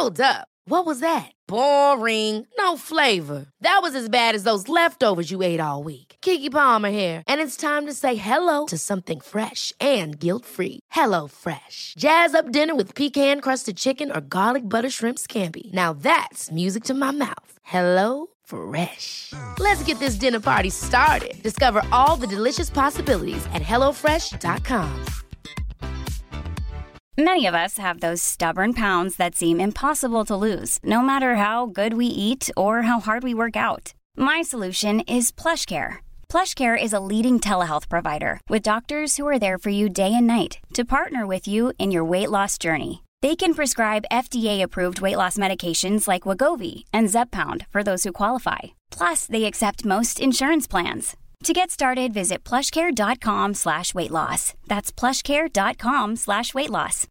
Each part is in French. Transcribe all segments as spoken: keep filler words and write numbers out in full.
Hold up. What was that? Boring. No flavor. That was as bad as those leftovers you ate all week. Keke Palmer here, and it's time to say hello to something fresh and guilt-free. Hello Fresh. Jazz up dinner with pecan-crusted chicken or garlic butter shrimp scampi. Now that's music to my mouth. Hello Fresh. Let's get this dinner party started. Discover all the delicious possibilities at hello fresh dot com. Many of us have those stubborn pounds that seem impossible to lose, no matter how good we eat or how hard we work out. My solution is PlushCare. PlushCare is a leading telehealth provider with doctors who are there for you day and night to partner with you in your weight loss journey. They can prescribe F D A-approved weight loss medications like Wegovy and Zepbound for those who qualify. Plus, they accept most insurance plans. To get started, visit plushcare.com slash weight loss. That's plushcare.com slash weight loss.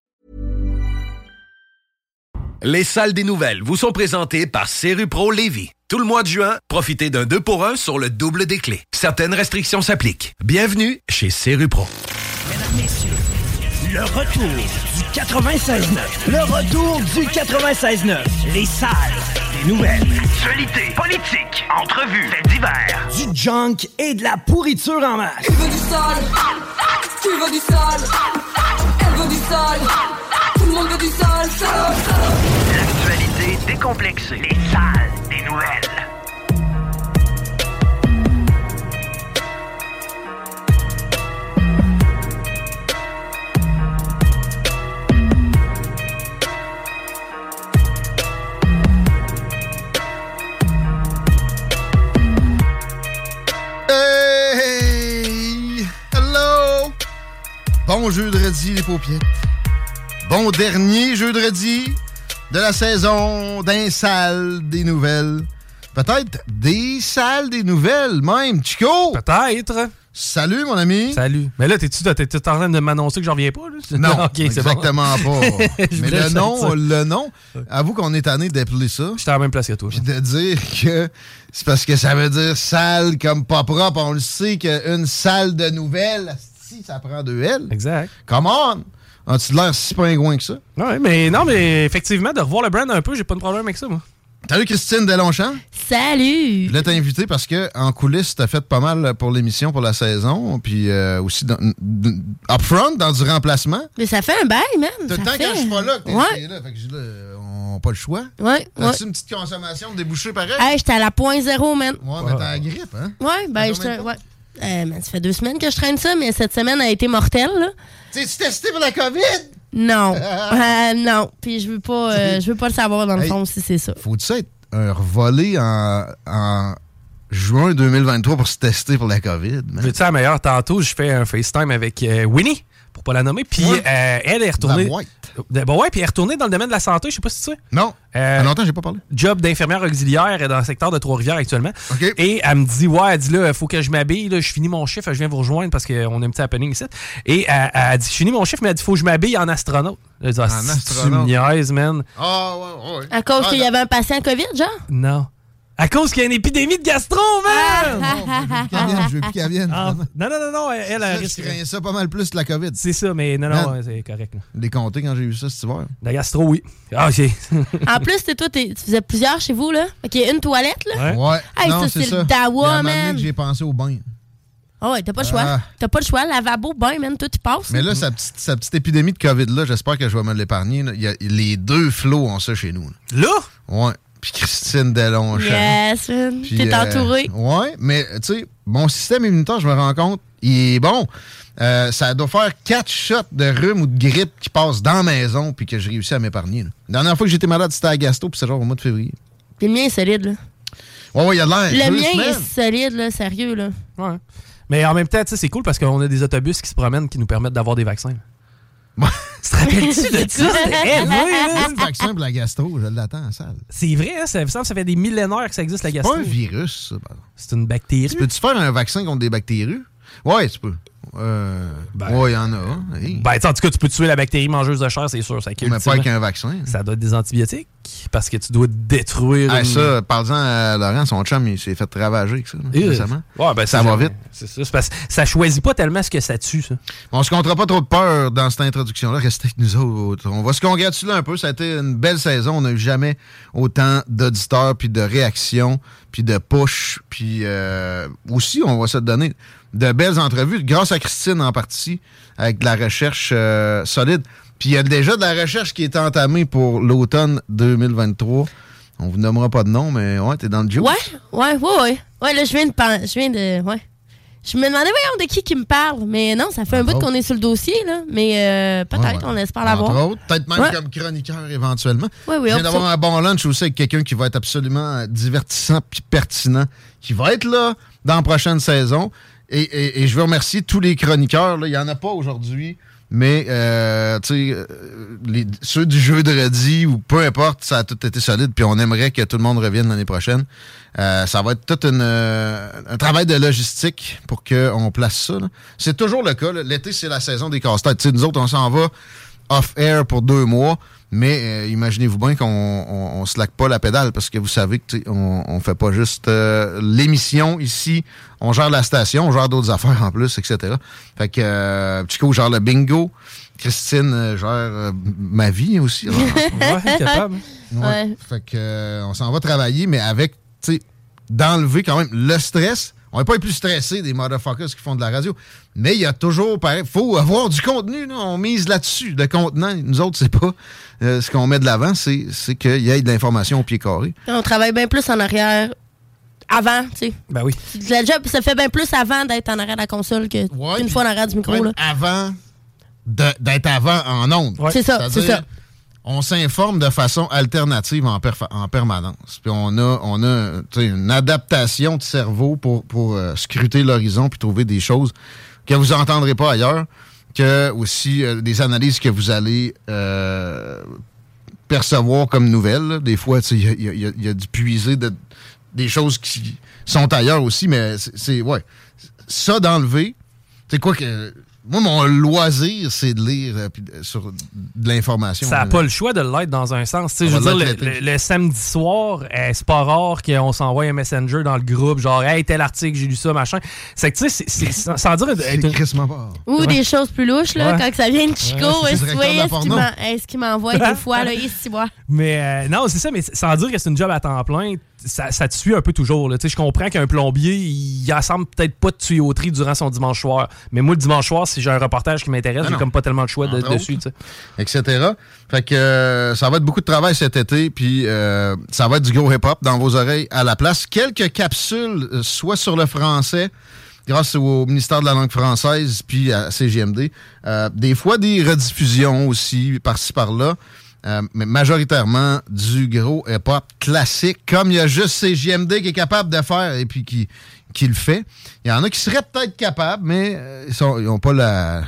Les salles des nouvelles vous sont présentées par Serupro Lévis. Tout le mois de juin, profitez d'un deux pour un sur le double des clés. Certaines restrictions s'appliquent. Bienvenue chez Serupro. Mesdames, messieurs, le retour du quatre-vingt-seize neuf. Le retour du quatre-vingt-seize neuf. Les salles des nouvelles. Actualité, politique, entrevues, faits divers. Du junk et de la pourriture en masse. Tu veux du sale? Tu veux du sale? Elle veut du sale? Tout le monde veut du sale, sale, sale. L'actualité décomplexée. Les salles des nouvelles. Hey! Hello! Bon jeudi les paupiètes. Bon dernier jeudi de la saison d'un salle des nouvelles. Peut-être des salles des nouvelles même. Chico! Peut-être. Salut mon ami. Salut. Mais là, t'es-tu t'es en train de m'annoncer que j'en reviens pas? Là? Non, okay, exactement bon. pas. Mais le nom, le nom, avoue qu'on est tanné d'appeler ça. J'étais à la même place que toi. Puis de dire que c'est parce que ça veut dire salle comme pas propre. On le sait qu'une salle de nouvelles, si ça prend deux L. Exact. Come on! As-tu l'air si pingouin que ça? Ouais, mais non, mais effectivement, de revoir le brand un peu, j'ai pas de problème avec ça, moi. Salut Christine Delonchamp. Salut! Je voulais t'inviter parce que en coulisses, t'as fait pas mal pour l'émission, pour la saison, puis euh, aussi dans, upfront, dans du remplacement. Mais ça fait un bail, même. T'as le temps fait... quand je suis pas là que t'es ouais. là. Fait que je là, on n'a pas le choix. Ouais. As-tu ouais. une petite consommation de débouchés pareil? Hey, j'étais à la point zéro, man. Ouais, mais t'as la grippe, hein? Ouais, ben, je ouais. Euh, man, ça fait deux semaines que je traîne ça, mais cette semaine a été mortelle, là. T'es-tu testé pour la COVID? Non. euh, non. Puis je veux pas euh, je veux pas le savoir, dans le hey, fond, si c'est ça. Faut-tu ça être un revolé en, en juin deux mille vingt-trois pour se tester pour la COVID? Veux-tu la meilleure? Tantôt, je fais un FaceTime avec euh, Winnie, pour pas la nommer, puis ouais. euh, elle est retournée... La Bon, ouais, puis elle est retournée dans le domaine de la santé, je sais pas si tu sais. Non. Euh, ça fait longtemps que j'ai pas parlé. Job d'infirmière auxiliaire dans le secteur de Trois-Rivières actuellement. Okay. Et elle me dit, ouais, elle dit là, il faut que je m'habille, là, je finis mon chiffre, je viens vous rejoindre parce qu'on a un petit happening ici. Et elle, elle dit, je finis mon chiffre, mais elle dit, il faut que je m'habille en astronaute. Elle dit, ah, en si astronaute. tu me niaises, man. Ah, ouais, ouais. À cause ah, qu'il y avait un patient COVID, genre? Non. À cause qu'il y a une épidémie de gastro, man! Ah, non, je veux plus qu'elle vienne. Ah, non, non, non, non, elle, elle ça, risque. Je craignais ça pas mal plus que la COVID. C'est ça, mais non, non, ouais, c'est correct. Là. Les comptés quand j'ai eu ça cet hiver. La gastro, oui. Ah, OK. En plus, t'es, toi, t'es, tu faisais plusieurs chez vous, là. OK, une toilette, là. Ouais. ouais. Hey, non, ça, c'est, c'est ça. le dawa, man. Que j'ai pensé au bain. Ah ouais, t'as pas le choix. Ah. T'as pas le choix. Lavabo, bain, man, tout, tu passes. Mais là, sa petite, sa petite épidémie de COVID-là, j'espère que je vais me l'épargner. Là. Il y a, les deux flots ont ça chez nous. Là? là? Ouais. Puis Christine Delonchamp. Yes, man. Puis, t'es euh, entouré. Ouais, mais tu sais, mon système immunitaire, je me rends compte, il est bon. Euh, ça doit faire quatre shots de rhume ou de grippe qui passent dans la maison puis que j'ai réussi à m'épargner. Là. La dernière fois que j'étais malade, c'était à gastro, puis c'est genre au mois de février. Puis le mien est solide, là. Ouais, ouais, il y a de l'air. Le mien semaines. est solide, là, sérieux, là. Ouais. Mais en même temps, tu sais, c'est cool parce qu'on a des autobus qui se promènent qui nous permettent d'avoir des vaccins. Ouais. Tu te rappelles-tu de ça? Hey, oui, le vaccin pour la gastro, je l'attends en salle. C'est vrai, hein? Ça, ça fait des millénaires que ça existe, la gastro. C'est pas un virus, ça. Ben. C'est une bactérie. Tu peux-tu faire un vaccin contre des bactéries? Ouais, tu peux. Euh, ben, ouais, il y en a. Hein? Hey. Ben, en tout cas, tu peux tuer la bactérie mangeuse de chair, c'est sûr. Ça mais pas avec un vaccin. Ça doit être des antibiotiques. parce que tu dois détruire... Ah, une... ça, parlant à Laurent, son chum, il s'est fait ravager avec ça, là, Et récemment. Ouais, ben, ça va vite. C'est ça, c'est parce que ça choisit pas tellement ce que ça tue, ça. On se comptera pas trop de peur dans cette introduction-là. Restez avec nous autres. On va se congratuler un peu. Ça a été une belle saison. On n'a eu jamais autant d'auditeurs, puis de réactions, puis de push, puis euh, aussi, on va se donner de belles entrevues, grâce à Christine en partie, avec de la recherche euh, solide. Puis il y a déjà de la recherche qui est entamée pour l'automne deux mille vingt-trois. On vous nommera pas de nom, mais ouais, t'es dans le juice. Ouais, ouais, ouais, ouais. Ouais, là, je viens de... pen- Je viens de... Ouais. Je me demandais, voyons, de qui qui me parle. Mais non, ça fait un bout qu'on est sur le dossier, là. Mais euh, peut-être, Ouais, ouais. on espère l'avoir. Entre autres, peut-être même Ouais. comme chroniqueur éventuellement. Oui, oui, Je viens hop, d'avoir ça. un bon lunch aussi avec quelqu'un qui va être absolument divertissant puis pertinent, qui va être là dans la prochaine saison. Et, et, et je veux remercier tous les chroniqueurs. Là. Il n'y en a pas aujourd'hui, mais euh, tu sais, euh, les- ceux du jeudi ou peu importe, ça a tout été solide. Puis on aimerait que tout le monde revienne l'année prochaine. Euh, ça va être tout une, euh, un travail de logistique pour qu'on place ça. Là. C'est toujours le cas. Là. L'été, c'est la saison des casse-têtes. Tu sais, nous autres, on s'en va off-air pour deux mois. Mais euh, imaginez-vous bien qu'on on, on slack pas la pédale parce que vous savez que tu sais, on, on fait pas juste euh, l'émission ici, on gère la station, on gère d'autres affaires en plus, et cetera. Fait que euh, Chico gère le bingo, Christine euh, gère euh, ma vie aussi. Alors, Ouais, capable. ouais. Ouais. Fait que euh, on s'en va travailler, mais avec, tu sais, d'enlever quand même le stress. On n'est pas les plus stressés des motherfuckers qui font de la radio. Mais il y a toujours, pareil, faut avoir du contenu. Là. On mise là-dessus. Le contenant, nous autres, c'est pas euh, ce qu'on met de l'avant, c'est, c'est qu'il y ait de l'information au pied carré. On travaille bien plus en arrière avant, tu sais. Ben oui. Le job se fait bien plus avant d'être en arrière de la console que Ouais, qu'une puis fois en arrière du micro, même là. avant de- d'être avant en ondes. Ouais. C'est ça, c'est C'est-à-dire, ça. on s'informe de façon alternative en, perfa- en permanence. Puis on a, on a tu sais, une adaptation de cerveau pour, pour euh, scruter l'horizon puis trouver des choses que vous n'entendrez pas ailleurs, que aussi euh, des analyses que vous allez euh, percevoir comme nouvelles. Là. Des fois, il y a, y a- y a du puiser de, des choses qui sont ailleurs aussi, mais c'est, c'est ouais. Ça d'enlever, c'est quoi que... Moi, mon loisir, c'est de lire euh, pis de- sur de l'information. Ça n'a là. pas le choix de l'être dans un sens. Tu sais, On je veux va dire, le, l'être l'été. le- le samedi soir, euh, c'est pas rare qu'on s'envoie un messenger dans le groupe, genre, hey, tel article, j'ai lu ça, machin. C'est que, tu sais, c'est- c'est- sans sans dire. C'est être une- crissement pas. Ou Ouais. des choses plus louches, là, Ouais. quand ça vient de Chico, Ouais, c'est est-ce le directeur de la est-ce qu'il porno. m'en- est-ce qu'il m'envoie des fois, là, ici, moi. Mais euh, non, c'est ça, mais sans dire que c'est une job à temps plein, ça, ça te suit un peu toujours. Là. Tu sais, je comprends qu'un plombier, il assemble peut-être pas de tuyauterie durant son dimanche soir. Mais moi, le dimanche soir, si j'ai un reportage qui m'intéresse, Ah j'ai non. comme pas tellement de choix de- Entre dessus. Tu sais. et cetera. Fait que euh, ça va être beaucoup de travail cet été, puis euh, ça va être du gros hip-hop dans vos oreilles à la place. Quelques capsules, euh, soit sur le français, grâce au ministère de la langue française, puis à C G M D. Euh, des fois, des rediffusions aussi, par-ci, par-là. Euh, mais majoritairement du gros hip-hop classique, comme il y a juste C G M D qui est capable de faire et puis qui, qui le fait. Il y en a qui seraient peut-être capables, mais euh, ils n'ont pas la,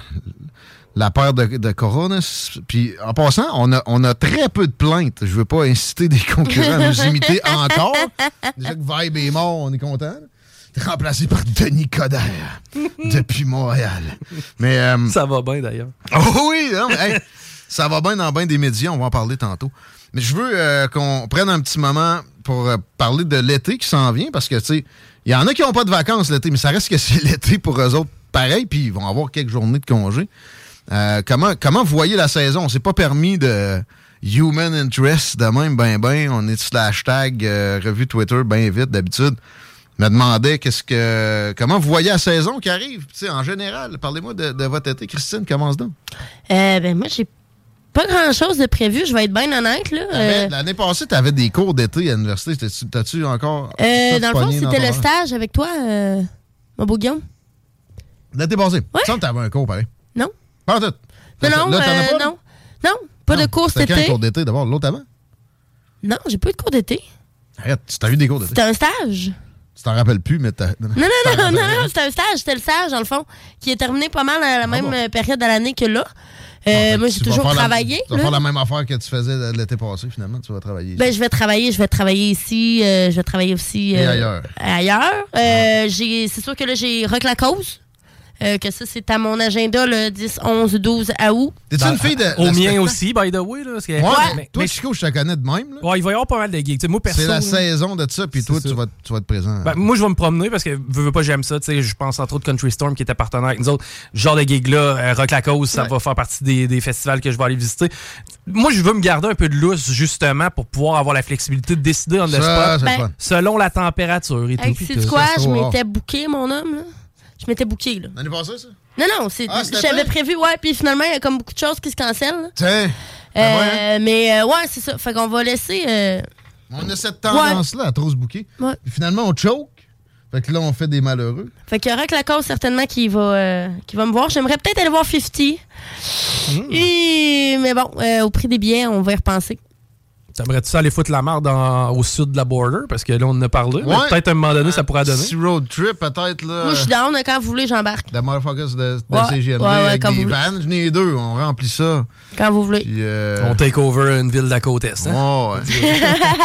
la peur de, de Corona. Puis en passant, on a, on a très peu de plaintes. Je veux pas inciter des concurrents à nous imiter encore. Déjà que Vibe est mort, on est content. Remplacé par Denis Coderre depuis Montréal. Mais euh, Ça va bien d'ailleurs. oh oui, non, mais, hey, ça va bien dans bien des médias, on va en parler tantôt. Mais je veux euh, qu'on prenne un petit moment pour euh, parler de l'été qui s'en vient, parce que, tu sais, il y en a qui n'ont pas de vacances l'été, mais ça reste que c'est l'été pour eux autres pareil, puis ils vont avoir quelques journées de congé. Euh, comment, comment vous voyez la saison? On s'est pas permis de human interest de même, ben ben. On est sur le hashtag euh, revue Twitter bien vite d'habitude. Je me demandais qu'est-ce que comment vous voyez la saison qui arrive, tu sais, en général. Parlez-moi de, de votre été. Christine, commence donc. Euh, ben, moi, j'ai pas grand-chose de prévu, je vais être bien honnête, là. T'avais- Euh, L'année passée, tu avais des cours d'été à l'université. T'as-tu, t'as-tu encore. euh, tout dans le fond, pogné dans c'était ton le horaire? stage avec toi, euh, mon beau Guillaume. L'été passé. Il me semble que t'avais un cours pareil. Non? Pas en tout. Non, non, Là, t'en as euh, pas, là? non. Non, pas Non, de cours c'était cet quand un été. cours d'été d'abord? L'autre avant? Non, j'ai pas eu de cours d'été. Arrête, tu t'as eu des cours d'été. C'était un stage. Tu t'en rappelles plus, mais t'as. Non, non, non, non, non, c'était un stage. C'était le stage, dans le fond, qui est terminé pas mal à la même bon? euh, période de l'année que là. Euh, Ah, fait moi, que j'ai tu vas toujours faire la- travaillé. Tu vas là. faire la même affaire que tu faisais l'été passé, finalement. Tu vas travailler. Ben, je vais travailler, je vais travailler ici, euh, je vais travailler aussi Et euh, ailleurs. ailleurs. Euh, j'ai, c'est sûr que là, j'ai Rock la cause. Euh, que ça, c'est à mon agenda le dix, onze, douze août. T'es-tu une fille de. Au mien spectacle? aussi, by the way. Là, parce que, Ouais, mais, mais, toi, mais, Chico, je te connais de même. Là. Ouais, il va y avoir pas mal de gigs. T'sais, moi, perso, c'est la là, saison de ça, puis toi, tu vas, tu vas être présent. Ben, moi, je vais me promener parce que veux, veux pas, j'aime ça. Je pense entre autres Country Storm qui était partenaire avec nous autres. Ce genre de gig-là, euh, Rock la Cause, ça ouais. va faire partie des, des festivals que je vais aller visiter. Moi, je veux me garder un peu de lousse, justement, pour pouvoir avoir la flexibilité de décider on the ça, spot ben, selon la température et hey, tout. C'est quoi? Je m'étais booké, mon homme. Là. Je m'étais booké. L'année passée, ça? Non, non, c'est, ah, j'avais prévu, ouais, puis finalement, il y a comme beaucoup de choses qui se cancellent. Tiens. Euh, ben ouais. Mais euh, ouais, c'est ça. Fait qu'on va laisser. Euh... On a cette tendance-là ouais. à trop se booker. Ouais. Puis finalement, on choke. Fait que là, on fait des malheureux. Fait qu'il y aura que la cause, certainement, qui va, euh, qui va me voir. J'aimerais peut-être aller voir cinquante. Mmh. Et... Mais bon, euh, au prix des billets, on va y repenser. T'aimerais-tu ça aller foutre la marde en, au sud de la border? Parce que là, on en a parlé. Ouais. Peut-être à un moment donné, ça pourrait donner. Si road trip, peut-être. là. Moi, je suis down. Quand vous voulez, j'embarque. The motherfuckers de, de ouais. C G M D ouais, ouais, avec des des vannes. J'en ai deux. On remplit ça. Quand vous voulez. Puis, euh... On take over une ville de la côte Est. Hein? Ouais, ouais.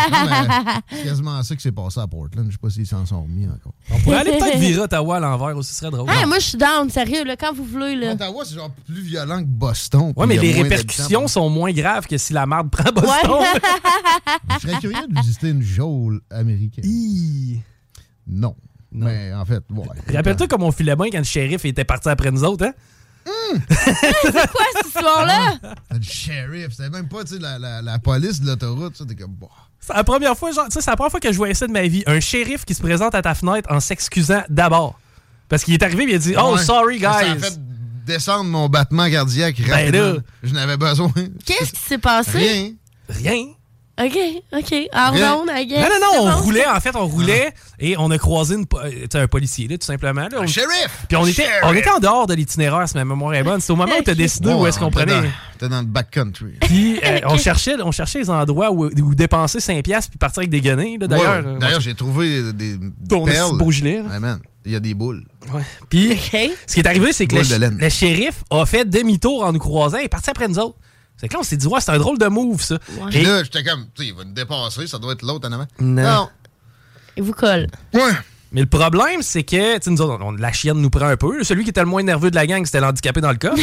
C'est quasiment ça qui s'est passé à Portland. Je sais pas s'ils s'en sont remis encore. On pourrait aller peut-être virer Ottawa à l'envers aussi. Ce serait drôle. Hey, moi, je suis down. Sérieux, là, quand vous voulez. Là. Ottawa, c'est genre plus violent que Boston. Ouais, mais les répercussions sont moins graves que si la marde prend Boston. Ouais. Je serais curieux de visiter une geôle américaine. Hi. Non. non. Mais en fait, ouais. Rappelle-toi comme on filait bien quand le shérif était parti après nous autres, hein? Mmh. C'est quoi cette histoire-là? Le shérif, c'était même pas la, la, la police de l'autoroute. T'es comme, bah. C'est la première fois, genre, c'est la première fois que je voyais ça de ma vie. Un shérif qui se présente à ta fenêtre en s'excusant d'abord. Parce qu'il est arrivé et il a dit, oh, ouais. sorry, guys. Ça a fait descendre mon battement cardiaque rapidement. Ben là. Je n'avais besoin. Qu'est-ce qui s'est passé? Rien. Rien. OK, OK. Ardon, I guess. Non, non, non, on bon. roulait, en fait, on roulait ah. et on a croisé une, un policier, là, tout simplement. Là, un on, shérif! Puis on était, shérif. on était en dehors de l'itinéraire, si ma mémoire est bonne. C'est au moment où tu as décidé oh, où est-ce qu'on prenait. T'es dans le backcountry. Puis euh, on, cherchait, on cherchait les endroits où, où dépenser cinq piastres puis partir avec des guenilles. Là, d'ailleurs, ouais, d'ailleurs, j'ai trouvé des ton perles. beau gilet. Ouais, man, il y a des boules. Ouais. Puis okay. ce qui est arrivé, c'est que le, le shérif a fait demi-tour en nous croisant et est parti après nous autres. C'est que là, on s'est dit, ouais, c'est un drôle de move, ça. Ouais. Et là, j'étais comme, tu sais, il va nous dépasser, ça doit être l'autre en avant. Non. non. Il vous colle. Ouais. Mais le problème, c'est que, tu sais, nous autres, on, la chienne nous prend un peu. Celui qui était le moins nerveux de la gang, c'était l'handicapé dans le coffre.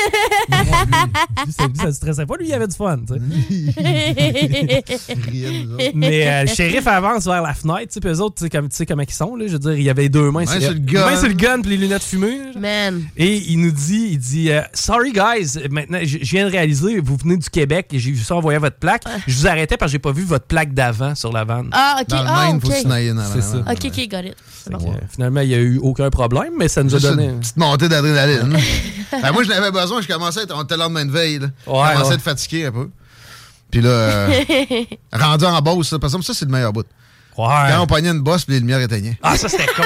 lui, ça, lui, ça stressait pas, lui, il avait du fun, tu sais. Mais euh, le shérif avance vers la fenêtre, tu sais, puis eux autres, tu sais, comme, tu sais comment ils sont, là. Je veux dire, il y avait deux mains sur le gun. Main sur le gun, puis les lunettes fumées. Man. Et il nous dit, il dit, euh, sorry guys, maintenant, je viens de réaliser, vous venez du Québec, et j'ai vu ça en voyant votre plaque. Je vous arrêtais parce que j'ai pas vu votre plaque d'avant sur la vanne. Ah, ok. Dans le ah, main, okay. faut se nailler dans C'est ça. Ok, ok, got it. Bon. Euh, finalement, il n'y a eu aucun problème, mais ça nous Juste a donné. Une petite montée d'adrénaline. Ben, moi, je n'avais besoin, je commençais à être. On était le lendemain de veille. Là. Ouais, je commençais ouais. à être fatigué un peu. Puis là, euh, rendu en bosse, ça, parce que ça, c'est le meilleur bout. Ouais. Quand on pognait une bosse, puis les lumières éteignaient. Ah, ça, c'était con.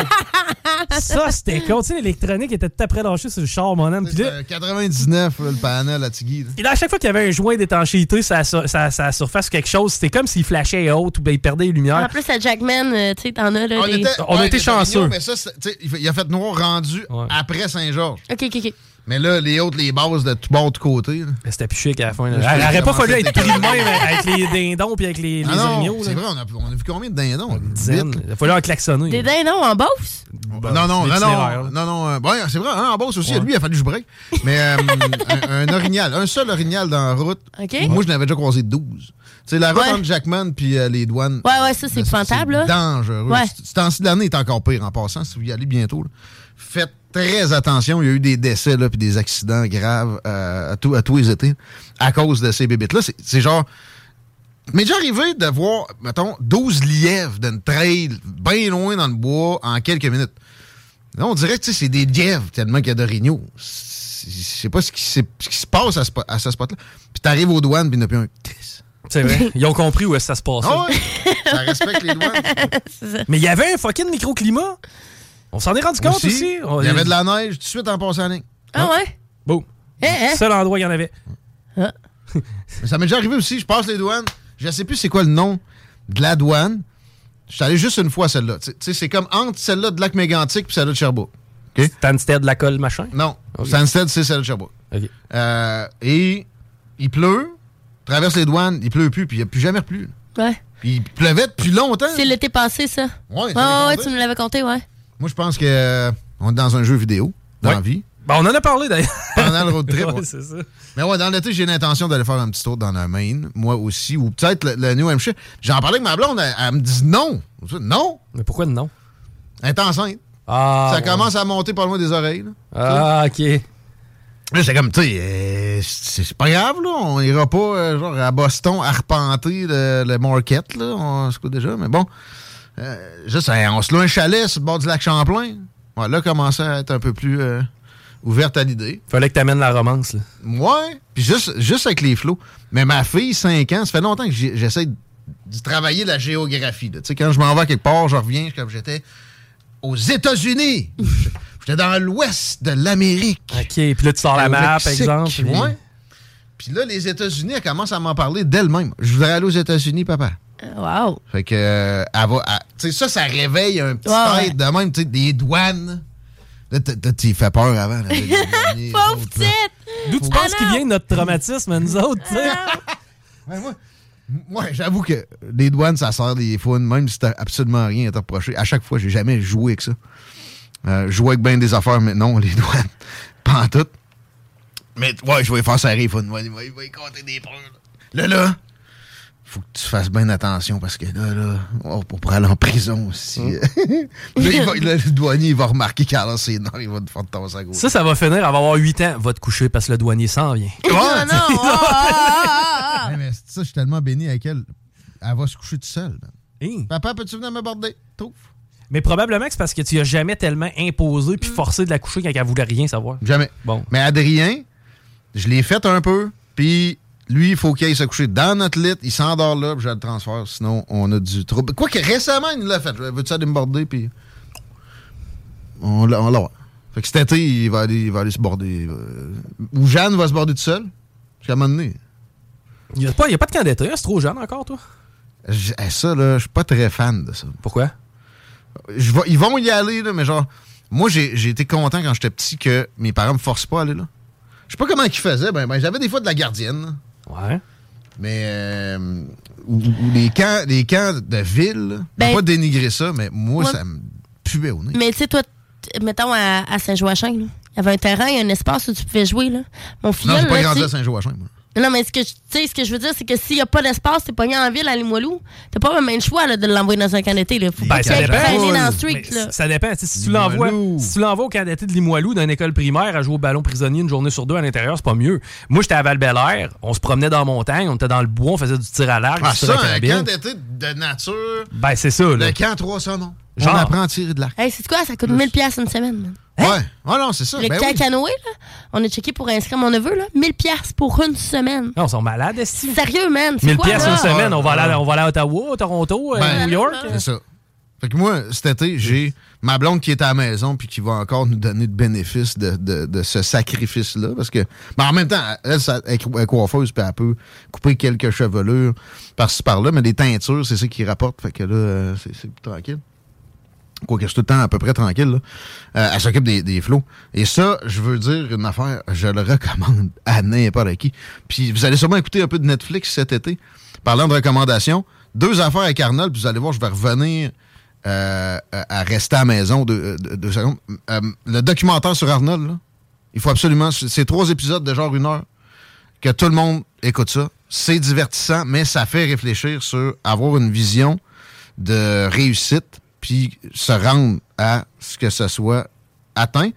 Ça, c'était con. Tu sais, l'électronique était tout après lâché sur le char, mon homme. Puis là, quatre-vingt-dix-neuf, là, le panel à Tigui. Et là, à chaque fois qu'il y avait un joint d'étanchéité, ça, ça, ça, ça surface quelque chose. C'était comme s'il flashait haute ou bien il perdait les lumières. En plus, à Jackman, euh, tu sais, t'en as là. On, des... était, on ouais, a été chanceux. Mais ça, il a fait noir rendu ouais. après Saint-Georges. OK, OK, OK. Mais là, les autres, les bases de tout bord, de tout côté. C'était plus chic à la fin. Elle n'aurait pas fallu être pris de même avec les dindons puis avec les, ah les non, orignaux. C'est vrai, on a, on a vu combien de dindons? Une dizaine. Il a fallu en klaxonner. Des dindons en Beauce? Bah, non, non, non, non, non, non. Euh, bon, c'est vrai, hein, en Beauce aussi. Ouais. Lui, il a fallu que je break. Mais euh, un, un orignal, un seul orignal dans la route. Okay. Moi, je n'avais déjà croisé douze. C'est la route ouais. entre Jackman puis euh, les douanes. Ouais, ouais, ça, c'est épouvantable, là. C'est dangereux. Ouais. Ce temps-ci de l'année est encore pire en passant, si vous y allez bientôt. Là. Faites très attention. Il y a eu des décès là, puis des accidents graves euh, à, tout, à tous les étés à cause de ces bébites-là. C'est, c'est genre... Mais déjà arrivé de voir, mettons, douze lièvres d'une trail bien loin dans le bois en quelques minutes. Là, on dirait que c'est des lièvres tellement qu'il y a d'orignaux. Je sais pas ce qui, ce qui se passe à ce, à ce spot-là. Puis t'arrives aux douanes, puis il n'y en a plus un... C'est vrai. Ils ont compris où est-ce que ça se passe. Oh ouais. Ça respecte les douanes. Mais il y avait un fucking microclimat. On s'en est rendu compte aussi. aussi. Il y avait de la neige tout de suite en passant en ligne. Ah ouais? Bon. Eh, eh. Seul endroit qu'il y en avait. Ah. Mais ça m'est déjà arrivé aussi. Je passe les douanes. Je sais plus c'est quoi le nom de la douane. Je suis allé juste une fois à celle-là. Tu sais, c'est comme entre celle-là de Lac-Mégantic et celle-là de Sherbrooke. Okay? Stansted, la colle, machin? Non. Okay. Stansted, c'est celle de Sherbrooke. Okay. Euh, et il pleut. Traverse les douanes, il pleut plus, puis il n'y a plus jamais plu. Ouais. Puis il pleuvait depuis longtemps. C'est l'été passé, ça. Ouais, oh, ouais, tu me l'avais compté, ouais. Moi, je pense que euh, on est dans un jeu vidéo. dans ouais. la vie. Ben, on en a parlé d'ailleurs. Pendant le road trip. ouais, ouais. c'est ça. Mais ouais, dans l'été, j'ai l'intention d'aller faire un petit tour dans le Maine, moi aussi, ou peut-être le, le New Hampshire. J'en parlais avec ma blonde, elle, elle me dit non. Non. Mais pourquoi non? Elle est enceinte. Ah, ça ouais. commence à monter par loin des oreilles. Là. Ah, OK. Là, c'est comme, tu sais, euh, c'est, c'est pas grave, là. On ira pas, euh, genre, à Boston, arpenter le, le market, là. On se coûte déjà, mais bon. Euh, juste, hein, on se loue un chalet sur le bord du lac Champlain. Ouais, là, commençait à être un peu plus euh, ouverte à l'idée. Fallait que t'amènes la romance, là. Ouais. Puis juste, juste avec les flots. Mais ma fille, cinq ans, ça fait longtemps que j'ai, j'essaie de, de travailler la géographie, là. Tu sais, quand je m'en vais quelque part, je reviens comme j'étais aux États-Unis. J'étais dans l'ouest de l'Amérique. OK, puis là, tu sors la map, par exemple. Puis... Ouais. Puis là, les États-Unis, elle commence à m'en parler d'elle-même. Je voudrais aller aux États-Unis, papa. Wow. Fait que, euh, elle va. Tu sais, ça, ça réveille un petit ouais, tête de même, tu sais, des douanes. Là, tu fait peur avant. Là, pauvre petite! D'où tu penses qu'il vient notre traumatisme, nous autres, tu sais? Ouais, moi, moi j'avoue que les douanes, ça sert des fun, même si t'as absolument rien à te reprocher. À chaque fois, j'ai jamais joué avec ça. Euh, jouer avec bien des affaires, mais non, les douanes, pas en tout. Mais ouais, je vais faire serrer, il va, il va, il va y compter des peurs. Là, là, là faut que tu fasses bien attention parce que là, là, on pourrait aller en prison aussi. Hum. là, il va, là, le douanier, il va remarquer qu'à c'est non, il va te faire tasser à gauche. Ça, ça va finir, elle va avoir huit ans, va te coucher parce que le douanier s'en vient. Ouais, non, non, oh, oh, oh, oh. Ouais, mais ça, je suis tellement béni avec elle. Elle va se coucher toute seule. Hey. Papa, peux-tu venir me border? Trouve. Mais probablement que c'est parce que tu as jamais tellement imposé puis forcé de la coucher quand elle voulait rien savoir. Jamais. Bon. Mais Adrien, je l'ai fait un peu, puis lui, il faut qu'il aille se coucher dans notre lit, il s'endort là, puis je le transfère, sinon on a du trouble. Quoique récemment, il l'a fait. Veux-tu aller me border, puis on l'a. On l'a. Fait que cet été, il va aller, il va aller se border. Ou Jeanne va se border tout seul. Jusqu'à un moment donné. Il n'y a, a pas de camp d'été, c'est trop jeune encore, toi? Je, ça, là, je suis pas très fan de ça. Pourquoi? Je vais, ils vont y aller, là, mais genre, moi, j'ai, j'ai été content quand j'étais petit que mes parents me forcent pas à aller là. Je sais pas comment ils faisaient. Ben, ben, j'avais des fois de la gardienne. Là. Ouais. Mais, euh, ou, ou les, camps, les camps de ville, là, ben, pas dénigrer ça, mais moi, ouais. ça me puait au nez. Mais tu sais, toi, t- mettons à, à Saint-Joachim, là, il y avait un terrain, un espace où tu pouvais jouer. Là. Mon filleul, non, j'ai pas là, grandi t'sais... à Saint-Joachim, moi. Non, mais ce que, ce que je veux dire, c'est que s'il n'y a pas d'espace, t'es pogné en ville à Limoilou, t'as pas même le choix là, de l'envoyer dans un camp d'été. Là. Faut ben, que ça tu dépend. traîner dans le street. Là. Ça dépend. Si tu, l'envoies, si tu l'envoies au camp d'été de Limoilou d'une école primaire à jouer au ballon prisonnier une journée sur deux à l'intérieur, c'est pas mieux. Moi, j'étais à Val-Bélair, on se promenait dans la montagne, on était dans le bois, on faisait du tir à l'arc. Ah, ça, un camp d'été de nature. Ben, c'est ça. Là. Le camp trois saumons. Genre. On apprend à tirer de l'arc. Hey, c'est quoi? Ça coûte mille dollars une semaine. Man. Hein? Ouais. Ah non, c'est ça. Le ben camp oui. canoë, là, on a checké pour inscrire mon neveu, là, mille dollars pour une semaine. Non, ils sont malades, est-ce Sérieux, man? mille dollars une semaine, ouais, on, va aller, ouais. on va aller à Ottawa, Toronto, ben, euh, New York. C'est ça. Fait que moi, cet été, j'ai ma blonde qui est à la maison puis qui va encore nous donner de bénéfices de, de, de ce sacrifice-là. Parce que, ben en même temps, elle, ça, elle est coiffeuse puis elle peut couper quelques chevelures par-ci par-là, mais les teintures, c'est ça qui rapporte. Fait que là, c'est, c'est plus tranquille. Quoique je suis tout le temps à peu près tranquille, là. Euh, elle s'occupe des, des flots. Et ça, je veux dire une affaire, je le recommande à n'importe qui. Puis vous allez sûrement écouter un peu de Netflix cet été. Parlant de recommandations, deux affaires avec Arnold, puis vous allez voir, je vais revenir euh, à rester à la maison deux, deux, deux secondes. Euh, le documentaire sur Arnold, là, il faut absolument... C'est trois épisodes de genre une heure. Que tout le monde écoute ça. C'est divertissant, mais ça fait réfléchir sur avoir une vision de réussite puis se rendre à ce que ce soit atteint.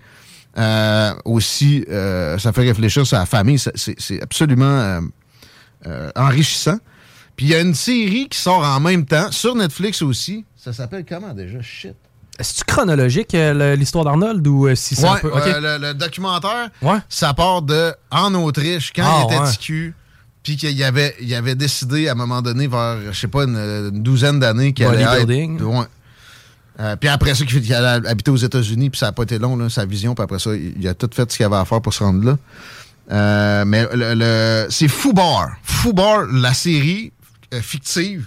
Euh, aussi, euh, ça fait réfléchir sur la famille. C'est, c'est, c'est absolument euh, euh, enrichissant. Puis il y a une série qui sort en même temps, sur Netflix aussi. Ça s'appelle comment déjà? Shit. Est-ce chronologique, euh, l'histoire d'Arnold, ou euh, si c'est ouais, un peu... Okay. euh, le, le documentaire, ouais. ça part de en Autriche, quand ah, il était ouais. T Q, puis qu'il avait, il avait décidé à un moment donné, vers, je sais pas, une, une douzaine d'années, qu'il allait être... Ouais. Euh, puis après ça, qu'il allait habiter aux États-Unis, puis ça n'a pas été long, là, sa vision. Puis après ça, il a tout fait ce qu'il avait à faire pour se rendre là. Euh, mais le, le, c'est Fubar. Fubar, la série euh, fictive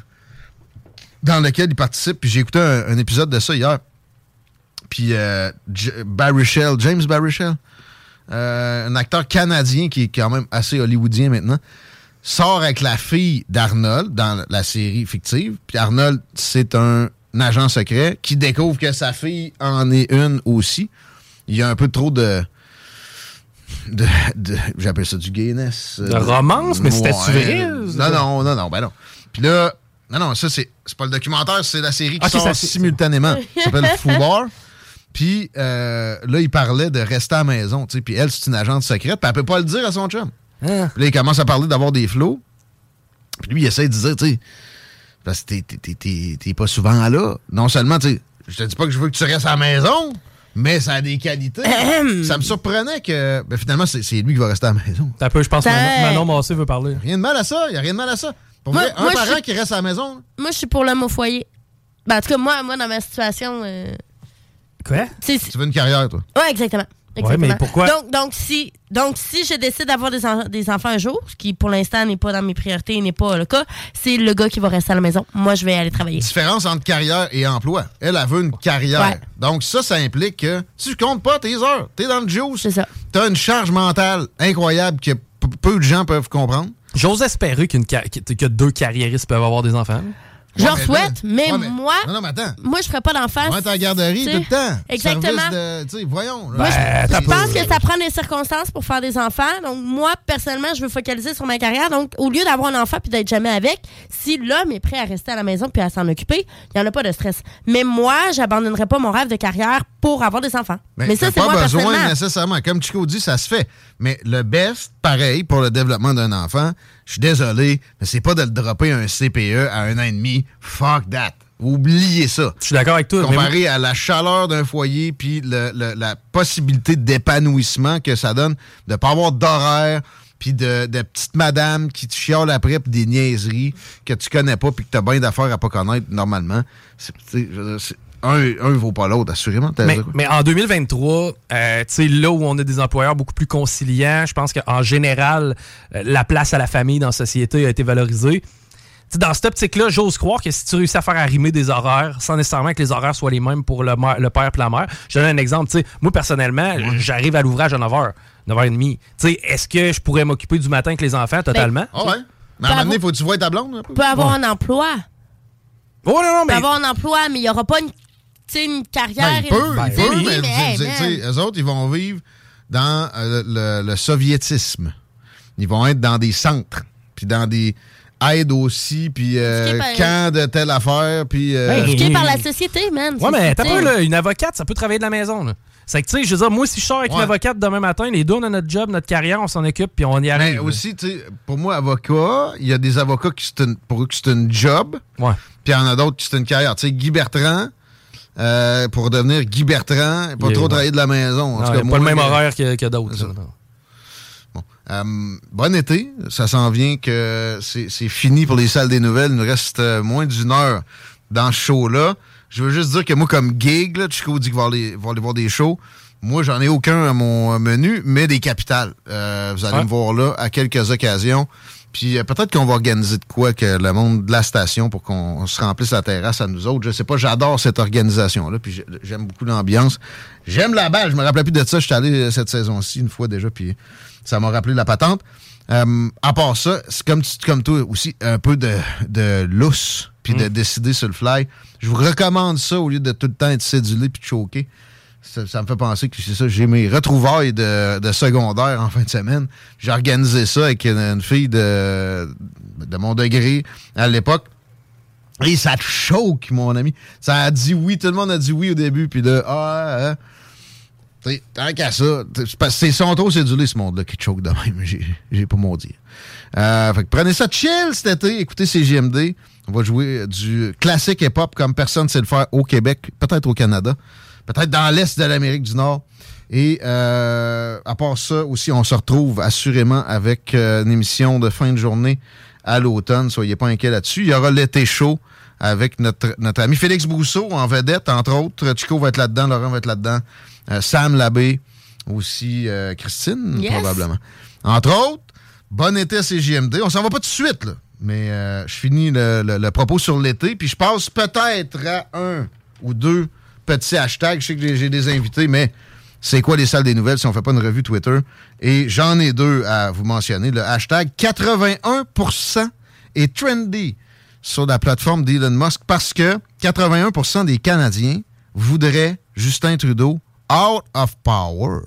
dans laquelle il participe. Puis j'ai écouté un, un épisode de ça hier. Puis euh, J- Baruchel, James Baruchel, euh, un acteur canadien qui est quand même assez hollywoodien maintenant, sort avec la fille d'Arnold dans la série fictive. Puis Arnold, c'est un... un agent secret qui découvre que sa fille en est une aussi. il y a un peu trop de... de, de j'appelle ça du gayness. De romance, mais c'était vrai? Non, non, non, non, ben non. Puis là, non, non, ça, c'est, c'est pas le documentaire, c'est la série qui okay, sort ça, simultanément. Ça s'appelle Foubar. Puis euh, là, il parlait de rester à la maison, tu sais. Puis elle, c'est une agente secrète, puis elle peut pas le dire à son chum. Ah. Puis là, il commence à parler d'avoir des flots. Puis lui, il essaie de dire, tu sais, parce que t'es, t'es, t'es, t'es pas souvent là. Non seulement, tu sais, je te dis pas que je veux que tu restes à la maison, mais ça a des qualités. Ça me surprenait que, ben finalement, c'est, c'est lui qui va rester à la maison. Un peu, je pense que Manon Massé veut parler. Rien de mal à ça, il y a rien de mal à ça. Pour moi, vrai, un moi, parent suis... qui reste à la maison. Moi, je suis pour l'homme au foyer. Ben, en tout cas, moi, moi dans ma situation... Euh... Quoi? Tu veux une carrière, toi? Oui, exactement. Oui, mais pourquoi? Donc, donc, si, donc, si je décide d'avoir des, en, des enfants un jour, ce qui, pour l'instant, n'est pas dans mes priorités, n'est pas le cas, c'est le gars qui va rester à la maison. Moi, je vais aller travailler. Différence entre carrière et emploi. Elle, elle veut une carrière. Ouais. Donc, ça, ça implique que tu comptes pas tes heures. T'es dans le juice. C'est ça. T'as une charge mentale incroyable que p- peu de gens peuvent comprendre. J'ose espérer qu'une car- que deux carriéristes peuvent avoir des enfants. Je leur souhaite, mais, ouais, mais moi, non, non, mais attends. moi, je ferais pas d'enfant. Moi, t'es à la garderie tout le temps. Exactement. De, voyons. Là. Moi, ben, je, je pense que ça prend des circonstances pour faire des enfants. Donc, moi, personnellement, je veux focaliser sur ma carrière. Donc, au lieu d'avoir un enfant puis d'être jamais avec, si l'homme est prêt à rester à la maison puis à s'en occuper, il n'y en a pas de stress. Mais moi, j'abandonnerais pas mon rêve de carrière pour avoir des enfants. Ben, mais ça, c'est pas moi besoin personnellement. nécessairement. Comme Chico dit, ça se fait. Mais le best, pareil, pour le développement d'un enfant, je suis désolé, mais c'est pas de le dropper un C P E à un an et demi. Fuck that. Oubliez ça. Je suis d'accord avec toi. Comparé mais... à la chaleur d'un foyer puis le, le, la possibilité d'épanouissement que ça donne, de ne pas avoir d'horaire puis de, de petites madames qui te chiolent après puis des niaiseries que tu connais pas puis que tu as bien d'affaires à pas connaître normalement. C'est, c'est, c'est, un ne vaut pas l'autre, assurément. Mais, mais en deux mille vingt-trois, euh, tu sais, là où on a des employeurs beaucoup plus conciliants, je pense qu'en général, euh, la place à la famille dans la société a été valorisée. T'sais, dans cette optique-là, j'ose croire que si tu réussis à faire arrimer des horaires, sans nécessairement que les horaires soient les mêmes pour le, mère, le père et la mère. Je donne un exemple. T'sais, moi, personnellement, ouais. j'arrive à l'ouvrage à neuf heures, neuf heures trente. T'sais, est-ce que je pourrais m'occuper du matin avec les enfants totalement? Ah ben, ouais. Mais à un moment donné, faut que tu vois ta blonde. Tu peux avoir ouais. un emploi. Oh non, non, mais... Tu peux avoir un emploi, mais il n'y aura pas une, une carrière. Ben, il peut, il peut, mais, mais hey, t'sais, eux autres, ils vont vivre dans euh, le, le soviétisme. Ils vont être dans des centres, puis dans des... aide aussi, puis euh, par... camp de telle affaire, puis... Euh... Ben, éduqué par la société, man. Ouais, mais t'as pas, là, une avocate, ça peut travailler de la maison, là. C'est que, tu sais, je veux dire, moi, si je sors avec ouais. une avocate demain matin, les deux, on a notre job, notre carrière, on s'en occupe, puis on y arrive. Mais aussi, tu sais, pour moi, avocat, il y a des avocats qui c'est une, pour eux que c'est une job, ouais. puis il y en a d'autres qui c'est une carrière. Tu sais, Guy Bertrand, euh, pour devenir Guy Bertrand, pas il trop est, travailler ouais. de la maison. En non, tout cas, moi, pas le même mais... horaire que, que d'autres. Bon. Euh, bon été, ça s'en vient que c'est, c'est fini pour les salles des nouvelles. Il nous reste euh, moins d'une heure dans ce show-là. Je veux juste dire que moi, comme gig, là, Chico dit qu'il va aller, va aller voir des shows. Moi, j'en ai aucun à mon menu, mais des capitales. Euh, vous allez ouais. me voir là à quelques occasions. Puis euh, peut-être qu'on va organiser de quoi que le monde de la station pour qu'on se remplisse la terrasse à nous autres. Je sais pas, j'adore cette organisation-là. Puis j'aime beaucoup l'ambiance. J'aime la balle. Je me rappelais plus de ça. Je suis allé cette saison-ci une fois déjà, puis ça m'a rappelé la patente. Euh, à part ça, c'est comme, comme toi aussi, un peu de, de lousse, puis mm. de décider sur le fly. Je vous recommande ça au lieu de tout le temps être cédulé puis de choquer. Ça, ça me fait penser que c'est ça. J'ai mes retrouvailles de, de secondaire en fin de semaine. J'ai organisé ça avec une, une fille de, de mon degré à l'époque. Et ça te choque, mon ami. Ça a dit oui. Tout le monde a dit oui au début. Puis là, ah, ah. T'sais, tant qu'à ça, c'est son trop cédulé, ce monde-là, qui te choque de même. J'ai, j'ai pas mon dire. Euh, fait que prenez ça chill cet été. Écoutez C J M D. On va jouer du classique hip-hop comme personne ne sait le faire au Québec, peut-être au Canada, peut-être dans l'Est de l'Amérique du Nord. Et euh, à part ça aussi, on se retrouve assurément avec euh, une émission de fin de journée à l'automne. Soyez pas inquiets là-dessus. Il y aura l'été chaud avec notre, notre ami Félix Brousseau en vedette, entre autres. Chico va être là-dedans, Laurent va être là-dedans. Euh, Sam Labbé, aussi euh, Christine, yes. probablement. Entre autres, bon été à C J M D. On s'en va pas tout de suite, là. Mais euh, je finis le, le, le propos sur l'été, puis je passe peut-être à un ou deux petits hashtags. Je sais que j'ai, j'ai des invités, mais c'est quoi les salles des nouvelles si on fait pas une revue Twitter? Et j'en ai deux à vous mentionner. Le hashtag quatre-vingt-un pour cent est trendy sur la plateforme d'Elon Musk parce que quatre-vingt-un pour cent des Canadiens voudraient Justin Trudeau Out of Power,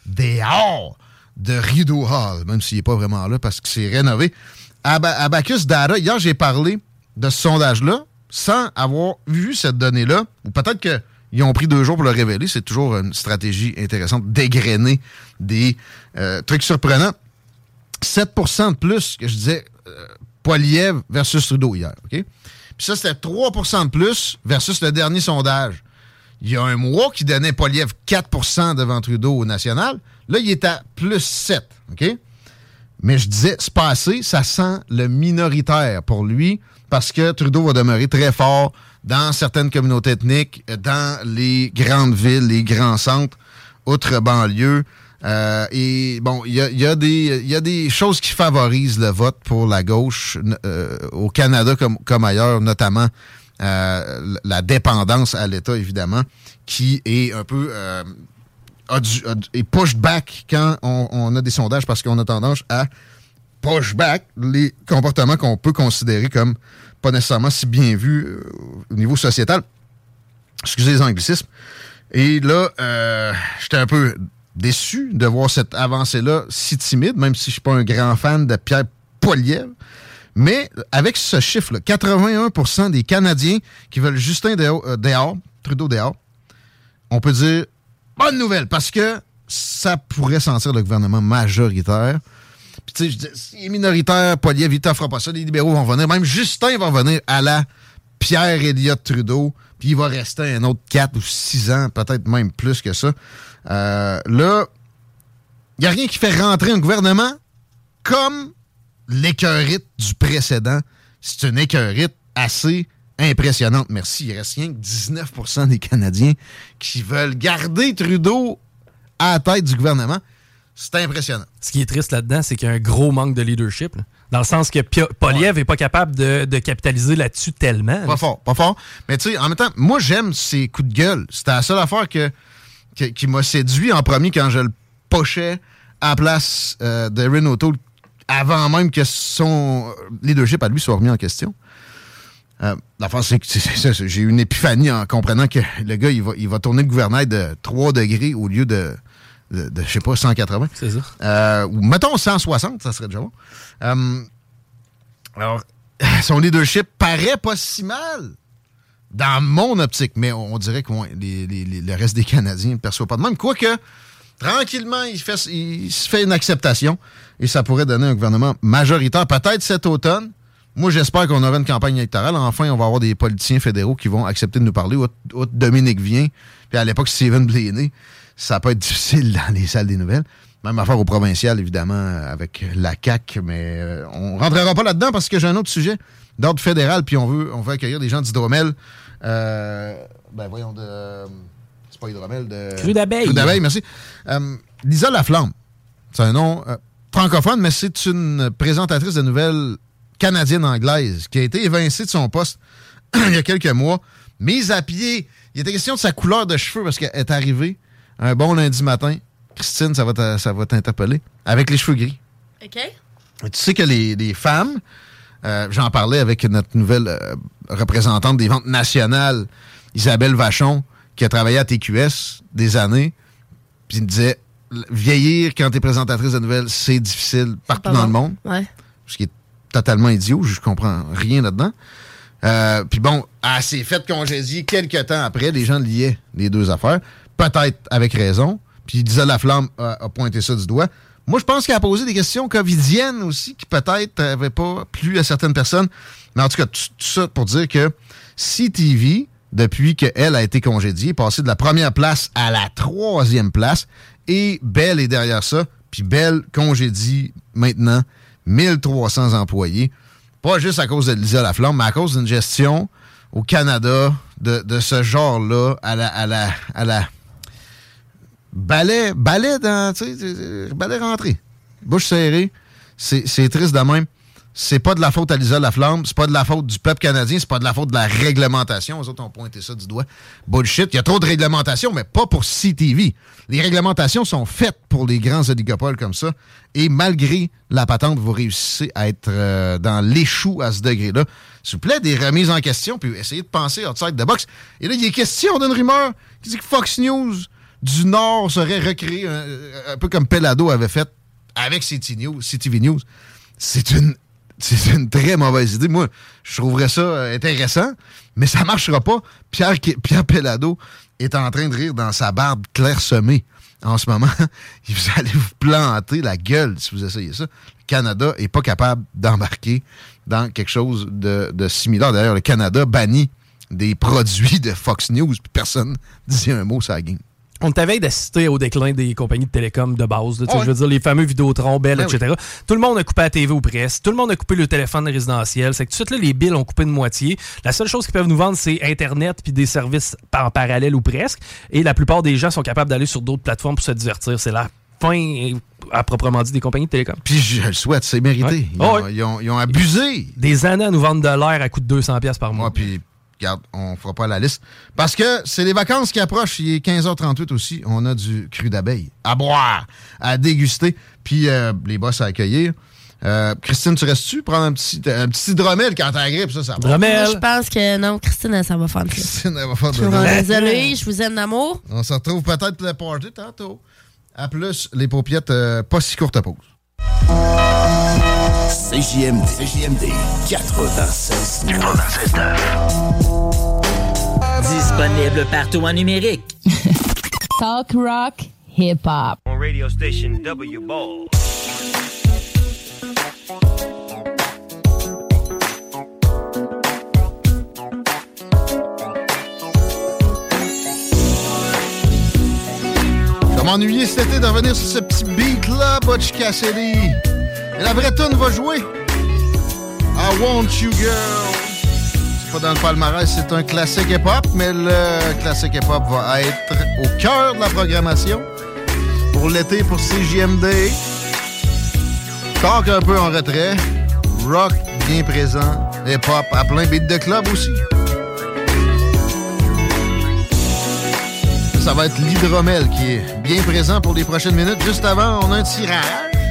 dehors de Rideau Hall, même s'il n'est pas vraiment là parce que c'est rénové. Ab- Abacus Data, hier, j'ai parlé de ce sondage-là sans avoir vu cette donnée-là, ou peut-être qu'ils ont pris deux jours pour le révéler. C'est toujours une stratégie intéressante d'égrener des euh, trucs surprenants. sept pour cent de plus que je disais euh, Poilievre versus Trudeau hier, OK? Puis ça, c'était trois pour cent de plus versus le dernier sondage. Il y a un mois qui donnait Poilievre quatre pour cent devant Trudeau au national. Là, il est à plus sept, OK? Mais je disais, c'est pas assez, ça sent le minoritaire pour lui parce que Trudeau va demeurer très fort dans certaines communautés ethniques, dans les grandes villes, les grands centres, outre-banlieue. Euh, et bon, il y a, y a des, y a des choses qui favorisent le vote pour la gauche euh, au Canada comme, comme ailleurs, notamment euh, la dépendance à l'État, évidemment, qui est un peu... Euh, A du, a du, et push back quand on, on a des sondages parce qu'on a tendance à push back les comportements qu'on peut considérer comme pas nécessairement si bien vus euh, au niveau sociétal. Excusez les anglicismes. Et là, euh, j'étais un peu déçu de voir cette avancée-là si timide, même si je suis pas un grand fan de Pierre Poilievre. Mais avec ce chiffre-là, quatre-vingt-un pour cent des Canadiens qui veulent Justin dehors, euh, dehors Trudeau dehors, on peut dire bonne nouvelle, parce que ça pourrait sentir le gouvernement majoritaire. Puis tu sais, je dis, s'il est minoritaire, Poilievre, il t'offre pas ça, les libéraux vont venir, même Justin va venir à la Pierre Elliott Trudeau, puis il va rester un autre quatre ou six ans, peut-être même plus que ça. Euh, là, il n'y a rien qui fait rentrer un gouvernement comme l'écœurite du précédent. C'est une écœurite assez impressionnante. Merci. Il reste rien que dix-neuf pour cent des Canadiens qui veulent garder Trudeau à la tête du gouvernement. C'est impressionnant. Ce qui est triste là-dedans, c'est qu'il y a un gros manque de leadership. Là. Dans le sens que Pio- Poilievre n'est ouais. pas capable de, de capitaliser là-dessus tellement. Pas là. fort, pas fort. Mais tu sais, en même temps, moi, j'aime ses coups de gueule. C'était la seule affaire que, que, qui m'a séduit en premier quand je le pochais à la place euh, d'Erin O'Toole avant même que son leadership à lui soit remis en question. Euh, L'affaire, c'est que c'est, c'est, c'est, j'ai eu une épiphanie en comprenant que le gars, il va, il va tourner le gouvernail de trois degrés au lieu de, de, de je sais pas, cent quatre-vingts. C'est ça. Euh, ou mettons cent soixante, ça serait déjà bon. Euh, alors, son leadership paraît pas si mal dans mon optique, mais on, on dirait que ouais, les, les, les, le reste des Canadiens ne perçoivent pas de même. Quoique, tranquillement, il, fait, il se fait une acceptation et ça pourrait donner un gouvernement majoritaire, peut-être cet automne. Moi, j'espère qu'on aura une campagne électorale. Enfin, on va avoir des politiciens fédéraux qui vont accepter de nous parler. Autre, autre Dominique Vien, puis à l'époque, Stephen Blaney. Ça peut être difficile dans les salles des nouvelles. Même affaire au provincial, évidemment, avec la C A Q, mais euh, on ne rentrera pas là-dedans parce que j'ai un autre sujet d'ordre fédéral, puis on veut, on veut accueillir des gens d'Hydromel. Euh, ben voyons, de... C'est pas Hydromel, de... Cru d'abeille. Cru d'abeille, merci. Euh, Lisa Laflamme, c'est un nom euh, francophone, mais c'est une présentatrice de nouvelles canadienne-anglaise qui a été évincée de son poste il y a quelques mois, mise à pied. Il était question de sa couleur de cheveux parce qu'elle est arrivée un bon lundi matin. Christine, ça va, ça va t'interpeller. Avec les cheveux gris. OK. Et tu sais que les, les femmes, euh, j'en parlais avec notre nouvelle euh, représentante des ventes nationales, Isabelle Vachon, qui a travaillé à T Q S des années, puis elle me disait, vieillir quand t'es présentatrice de nouvelles, c'est difficile partout dans bon. le monde. Ouais. Ce qui est totalement idiot, je comprends rien là-dedans. Euh, puis bon, elle s'est fait congédier quelques temps après, les gens liaient les deux affaires, peut-être avec raison, puis Lisa Laflamme a, a pointé ça du doigt. Moi, je pense qu'elle a posé des questions covidiennes aussi, qui peut-être n'avaient pas plu à certaines personnes, mais en tout cas, tout, tout ça pour dire que C T V, depuis qu'elle a été congédiée, est passée de la première place à la troisième place, et Bell est derrière ça, puis Bell congédie maintenant mille trois cents employés, pas juste à cause de Lisa Laflamme, mais à cause d'une gestion au Canada de, de ce genre-là, à la, à la, à la balai, balai dans, tu sais, balai rentré, bouche serrée, c'est, c'est triste de même. C'est pas de la faute à Lisa Laflamme, c'est pas de la faute du peuple canadien, c'est pas de la faute de la réglementation. Les autres ont pointé ça du doigt. Bullshit, il y a trop de réglementation, mais pas pour C T V. Les réglementations sont faites pour les grands oligopoles comme ça. Et malgré la patente, vous réussissez à être euh, dans l'échou à ce degré-là. S'il vous plaît, des remises en question, puis essayez de penser outside the box. Et là, il est question d'une rumeur qui dit que Fox News du Nord serait recréé, un, un peu comme Pelado avait fait avec C T News, C T V News. C'est une, c'est une très mauvaise idée. Moi, je trouverais ça intéressant, mais ça marchera pas. Pierre, Pierre Pelado est en train de rire dans sa barbe clairsemée en ce moment. Vous allez vous planter la gueule si vous essayez ça. Le Canada n'est pas capable d'embarquer dans quelque chose de, de similaire. D'ailleurs, le Canada bannit des produits de Fox News, puis personne ne dit un mot sur la game. On t'avait d'assister au déclin des compagnies de télécom de base. Là, oh ouais. Je veux dire, les fameux Vidéotron, Bell, ben et cetera. Oui. Tout le monde a coupé la T V ou presque. Tout le monde a coupé le téléphone résidentiel. C'est que tout de suite, là, les billes ont coupé de moitié. La seule chose qu'ils peuvent nous vendre, c'est Internet puis des services en parallèle ou presque. Et la plupart des gens sont capables d'aller sur d'autres plateformes pour se divertir. C'est la fin, à proprement dit, des compagnies de télécom. Puis je le souhaite, c'est mérité. Ouais. Ils, oh ont, ouais. ils, ont, ils ont abusé. Des années à nous vendre de l'air à coût de deux cents dollars par mois. Ouais, puis regarde, on fera pas la liste. Parce que c'est les vacances qui approchent. Il est quinze heures trente-huit aussi. On a du cru d'abeille à boire, à déguster. Puis euh, les boss à accueillir. Euh, Christine, tu restes-tu? Prendre un petit, un petit hydromel quand t'as la grippe, ça, ça va. Moi, je pense que non, Christine, ça va faire de Christine, elle va faire de Je suis désolée, je vous aime d'amour. On se retrouve peut-être pour le party tantôt. À plus, les paupiètes, euh, pas si courte pause. C J M D, C J M D quatre-vingt-seize neuf. Disponible partout en numérique. Talk rock, hip hop. On radio station W Ball. Je vais m'ennuyer cet été de revenir sur ce petit beat-là, Butch Cassidy. Et la vraie tune va jouer. I Want You Girl. C'est pas dans le palmarès, c'est un classique hip-hop, mais le classique hip-hop va être au cœur de la programmation pour l'été, pour C J M D. Talk un peu en retrait. Rock bien présent. Hip-hop à plein, beat de club aussi. Ça va être l'hydromel qui est bien présent pour les prochaines minutes. Juste avant, on a un tirage.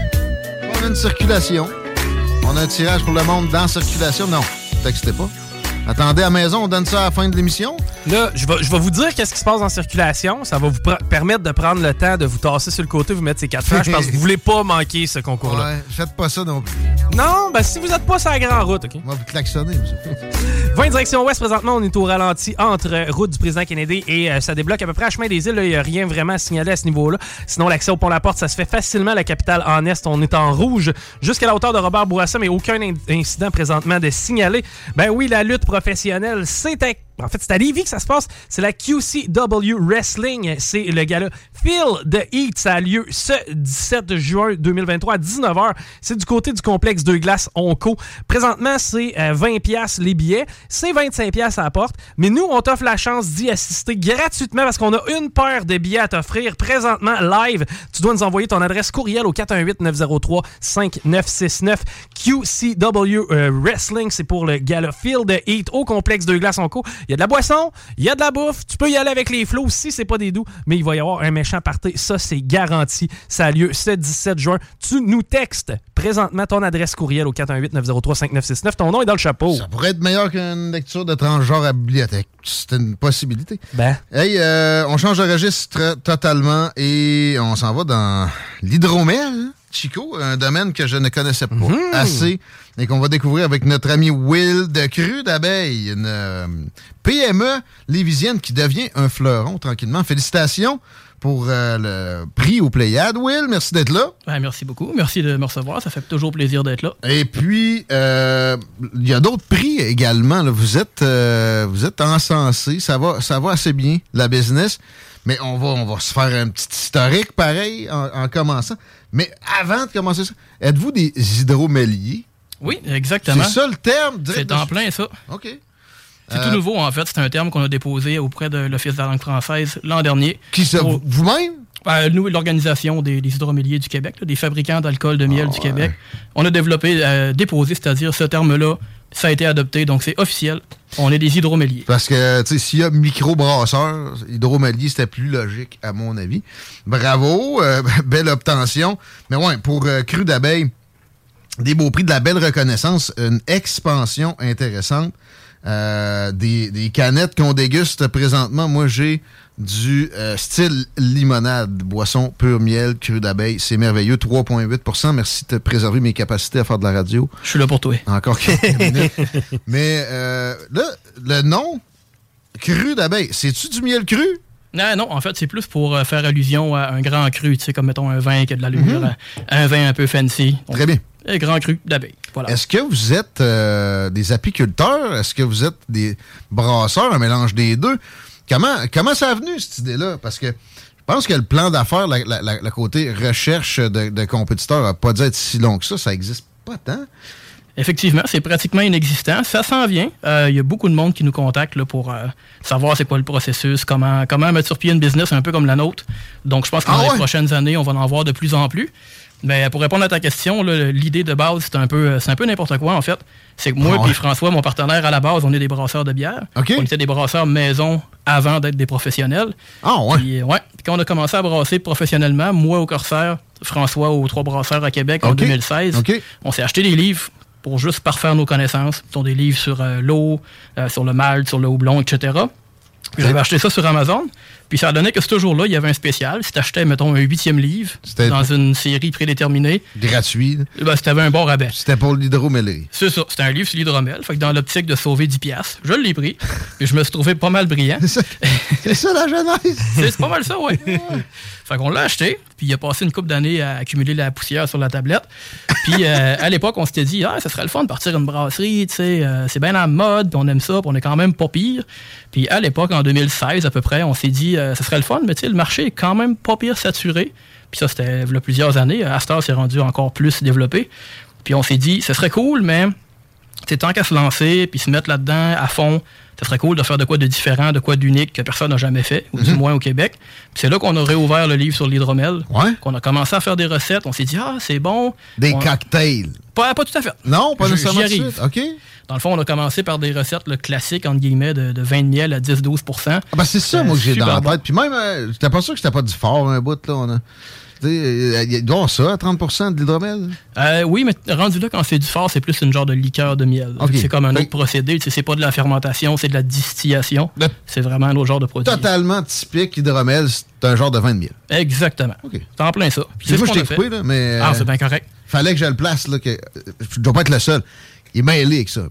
On a une circulation. On a un tirage pour le monde dans circulation. Non, textez pas. Attendez à la maison, on donne ça à la fin de l'émission. Là, je vais, je vais vous dire qu'est-ce qui se passe en circulation. Ça va vous pr- permettre de prendre le temps de vous tasser sur le côté, vous mettre ces quatre flashs parce que vous voulez pas manquer ce concours-là. Ouais, faites pas ça non plus. Non, ben si vous êtes pas sur la grande route, OK? On va vous klaxonner, monsieur. vingt direction ouest, présentement, on est au ralenti entre route du président Kennedy et euh, ça débloque à peu près à chemin des îles. Il n'y a rien vraiment à signaler à ce niveau-là. Sinon, l'accès au pont-la-porte, ça se fait facilement. La capitale en est, on est en rouge jusqu'à la hauteur de Robert Bourassa, mais aucun in- incident présentement de signaler. Ben oui, la lutte professionnelle, c'est à... En fait, c'est à Lévis que ça se passe. C'est la Q C W Wrestling. C'est le gala Feel the Heat. Ça a lieu ce dix-sept juin deux mille vingt-trois à dix-neuf heures. C'est du côté du complexe Deux Glaces Onco. Présentement, c'est euh, vingt dollars les billets. C'est vingt-cinq dollars à la porte. Mais nous, on t'offre la chance d'y assister gratuitement parce qu'on a une paire de billets à t'offrir présentement live. Tu dois nous envoyer ton adresse courriel au quatre un huit neuf zéro trois cinq neuf six neuf. Q C W euh, Wrestling, c'est pour le gala Feel the Heat au complexe Deux Glaces Onco. Il y a de la boisson, il y a de la bouffe, tu peux y aller avec les flots si c'est pas des doux, mais il va y avoir un méchant party, ça c'est garanti. Ça a lieu ce dix-sept juin. Tu nous textes présentement ton adresse courriel au quatre un huit neuf zéro trois cinq neuf six neuf. Ton nom est dans le chapeau. Ça pourrait être meilleur qu'une lecture de transgenre à bibliothèque. C'est une possibilité. Ben. Hey, euh, on change de registre totalement et on s'en va dans l'hydromel. Chico, un domaine que je ne connaissais pas mmh. assez et qu'on va découvrir avec notre ami Will de Cru d'abeille, une euh, P M E lévisienne qui devient un fleuron tranquillement. Félicitations pour euh, le prix aux Pléiades. Will, merci d'être là. Ouais, merci beaucoup. Merci de me recevoir. Ça fait toujours plaisir d'être là. Et puis, euh, il y a d'autres prix également. Là. Vous êtes euh, vous êtes encensé. Ça va, ça va assez bien, la business. Mais on va, on va se faire un petit historique pareil en, en commençant. Mais avant de commencer ça, êtes-vous des hydroméliers? Oui, exactement. C'est ça le terme? C'est en plein ça. OK. C'est euh, tout nouveau, en fait. C'est un terme qu'on a déposé auprès de l'Office de la langue française l'an dernier. Qui ça? Pour... Vous-même? Euh, nous, l'Organisation des, des hydroméliers du Québec, là, des fabricants d'alcool de miel oh, du Québec. Ouais. On a développé, euh, déposé, c'est-à-dire ce terme-là, ça a été adopté, donc c'est officiel. On est des hydroméliers. Parce que, tu sais, s'il y a microbrasseur, hydromélier, c'était plus logique, à mon avis. Bravo, euh, belle obtention. Mais ouais, pour euh, Cru d'abeille, des beaux prix, de la belle reconnaissance, une expansion intéressante. Euh, des, des canettes qu'on déguste présentement. Moi, j'ai du euh, style limonade, boisson pur miel, cru d'abeille. C'est merveilleux, trois virgule huit pour cent. Merci de préserver mes capacités à faire de la radio. Je suis là pour toi. Encore quelques minutes. Mais euh, là, le nom, cru d'abeille, c'est-tu du miel cru? Non, non, en fait, c'est plus pour euh, faire allusion à un grand cru, tu sais, comme, mettons, un vin qui a de l'allure, mm-hmm. un vin un peu fancy. Donc, très bien. Un grand cru d'abeille, voilà. Est-ce que vous êtes euh, des apiculteurs? Est-ce que vous êtes des brasseurs, un mélange des deux? Comment, comment ça a venu, cette idée-là? Parce que je pense que le plan d'affaires, la, la, la, la côté recherche de, de compétiteurs, n'a pas dû être si long que ça. Ça n'existe pas tant. Effectivement, c'est pratiquement inexistant. Ça s'en vient. Il euh, y a beaucoup de monde qui nous contacte là, pour euh, savoir c'est quoi le processus, comment, comment mettre sur pied une business un peu comme la nôtre. Donc, je pense que dans ah ouais? les prochaines années, on va en voir de plus en plus. Mais pour répondre à ta question, là, l'idée de base, c'est un peu, c'est un peu n'importe quoi, en fait. C'est que moi et ah ouais. François, mon partenaire, à la base, on est des brasseurs de bière. Okay. On était des brasseurs maison avant d'être des professionnels. Ah ouais? Puis, ouais. Puis quand on a commencé à brasser professionnellement, moi au Corsaire, François aux Trois Brasseurs à Québec okay. en deux mille seize, okay. on s'est acheté des livres pour juste parfaire nos connaissances. Ce sont des livres sur euh, l'eau, euh, sur le malt, sur le houblon, et cetera. Puis j'avais acheté ça sur Amazon. Puis ça a donné que ce jour-là, il y avait un spécial. Si tu achetais, mettons, un huitième livre c'était dans une série prédéterminée. Gratuit. Ben, si tu avais un bon rabais. C'était pour l'hydromellerie. C'est ça. C'était un livre sur l'hydromel. Fait que dans l'optique de sauver dix piastres, je l'ai pris. Puis je me suis trouvé pas mal brillant. C'est ça, c'est ça la genèse. c'est, c'est pas mal ça, oui. Fait qu'on l'a acheté. Puis il a passé une couple d'années à accumuler la poussière sur la tablette. Puis euh, à l'époque, on s'était dit, ah, ça serait le fun de partir une brasserie. Tu sais, euh, c'est bien en mode. Puis on aime ça. Puis on est quand même pas pire. Puis à l'époque, en deux mille seize à peu près, on s'est dit, euh, ça serait le fun, mais tu sais, le marché est quand même pas pire saturé. Puis ça, c'était il y a plusieurs années. Astor s'est rendu encore plus développé. Puis on s'est dit, ce serait cool, mais c'est tant qu'à se lancer puis se mettre là-dedans à fond, ça serait cool de faire de quoi de différent, de quoi d'unique que personne n'a jamais fait, ou mm-hmm. du moins au Québec. Puis c'est là qu'on a réouvert le livre sur l'hydromel. Ouais. Qu'on a commencé à faire des recettes. On s'est dit, ah, c'est bon. Des on... cocktails. Pas, pas tout à fait. Non, pas nécessairement. J'y arrive. OK. Dans le fond, on a commencé par des recettes là, classiques, entre guillemets, de, de vin de miel à dix à douze pour cent. Ah ben c'est ça, euh, moi, que j'ai dans la bon. tête. Puis même, euh, j'étais pas sûr que c'était pas du fort, un bout, là. On a... Il doit avoir ça, à trente pour cent de l'hydromel? Euh, oui, mais rendu là, quand c'est du fort, c'est plus une genre de liqueur de miel. Okay. C'est comme un autre fait... procédé. C'est pas de la fermentation, c'est de la distillation. Le... C'est vraiment un autre genre de produit. Totalement typique, hydromel, c'est un genre de vin de miel. Exactement. Okay. C'est en plein ça. Puis c'est moi, je t'ai coupé, là, mais... Ah, c'est bien correct. Fallait que je le place, là. Que... Je dois pas être le seul. Il est mêlé avec ça.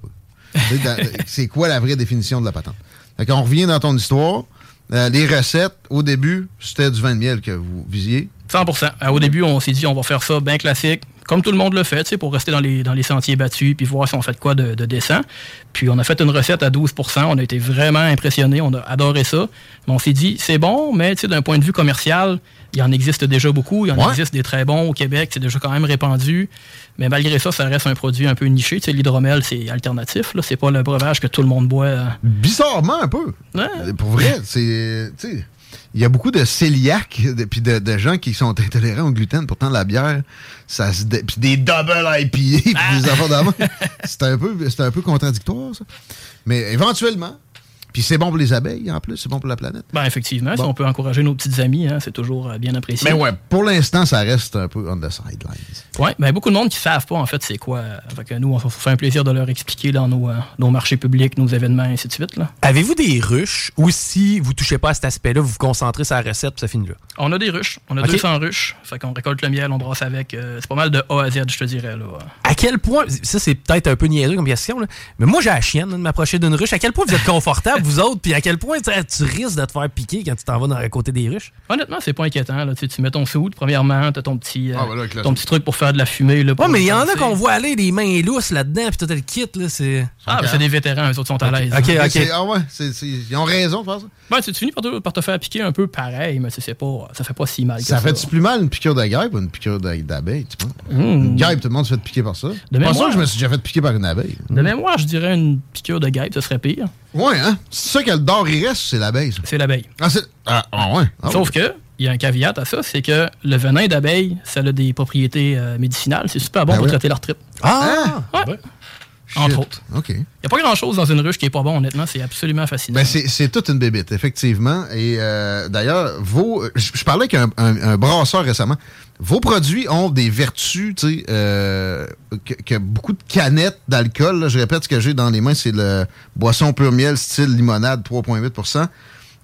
C'est quoi la vraie définition de la patente? Fait qu'on revient dans ton histoire. Euh, les recettes, au début, c'était du vin de miel que vous visiez? cent pour cent. Euh, au début, on s'est dit, on va faire ça bien classique, comme tout le monde le fait, tu sais, pour rester dans les, dans les sentiers battus, puis voir si on fait de quoi de, de décent. Puis on a fait une recette à douze pour cent. On a été vraiment impressionnés. On a adoré ça. Mais on s'est dit, c'est bon, mais tu sais, d'un point de vue commercial, il y en existe déjà beaucoup. Il y en ouais. existe des très bons au Québec. C'est déjà quand même répandu. Mais malgré ça, ça reste un produit un peu niché. Tu sais, l'hydromel, c'est alternatif. Là. C'est pas le breuvage que tout le monde boit. Bizarrement, un peu. Ouais. Pour vrai, c'est... Tu sais, il y a beaucoup de cœliaques puis de, de gens qui sont intolérants au gluten. Pourtant, la bière, ça se dé... puis des double I P A puis ah. des affaires d'avant. C'est un peu, c'est un peu contradictoire, ça. Mais éventuellement... Puis c'est bon pour les abeilles, en plus. C'est bon pour la planète. Ben effectivement, bon. Si on peut encourager nos petites amies, hein, c'est toujours euh, bien apprécié. Mais ouais, pour l'instant, ça reste un peu on the sidelines. Oui, ben beaucoup de monde qui ne savent pas, en fait, c'est quoi. Fait que nous, on se fait un plaisir de leur expliquer dans nos, euh, nos marchés publics, nos événements, et ainsi de suite. Là. Avez-vous des ruches ou si vous ne touchez pas à cet aspect-là, vous vous concentrez sur la recette puis ça finit là? On a des ruches. On a okay. deux cents ruches. Fait qu'on récolte le miel, on brasse avec. Euh, c'est pas mal de A à Z, je te dirais. Là. À quel point, ça c'est peut-être un peu niaiseux comme question, là, mais moi j'ai la chienne là, de m'approcher d'une ruche. À quel point vous êtes confortable, vous autres, puis à quel point tu risques de te faire piquer quand tu t'en vas dans le côté des ruches? Honnêtement, c'est pas inquiétant. Là. Tu, tu mets ton soude, premièrement, tu as ton petit, euh, ah, voilà, ton petit truc pour faire de la fumée. Là, ouais, mais il y en a qu'on voit aller des mains lousses là-dedans, puis tout le kit. Là, c'est... Ah, okay. C'est des vétérans, eux autres sont à l'aise. OK, OK. C'est, ah ouais, c'est, c'est, ils ont raison de faire ça. Ben, tu finis par te, par te faire piquer un peu pareil, mais c'est pas, ça fait pas si mal. Ça, ça fait-tu plus mal une piqûre de guêpe ou une piqûre d'abeille? Tu penses? Mmh. Une guêpe, tout le monde se fait piquer par ça. De pas sûr que je me suis déjà fait piquer par une abeille. De mémoire, je dirais une piqûre de guêpe, ce serait pire. Ouais, hein? C'est ça que le dard il reste, c'est l'abeille. Ça. C'est l'abeille. Ah, c'est... Ah, ah ouais. Ah, Sauf ouais. que, il y a un caveat à ça, c'est que le venin d'abeille, ça a des propriétés euh, médicinales. C'est super bon ben pour ouais. traiter l'arthrite. Ah! Ouais. Ben. Entre autres. OK. Il n'y a pas grand-chose dans une ruche qui est pas bon, honnêtement. C'est absolument fascinant. Ben c'est, c'est toute une bébite, effectivement. Et euh, d'ailleurs, vos, je, je parlais avec un, un, un brasseur récemment. Vos produits ont des vertus, tu sais, euh, que, que beaucoup de canettes d'alcool. Là, je répète, ce que j'ai dans les mains, c'est le boisson pur miel style limonade trois virgule huit pour cent.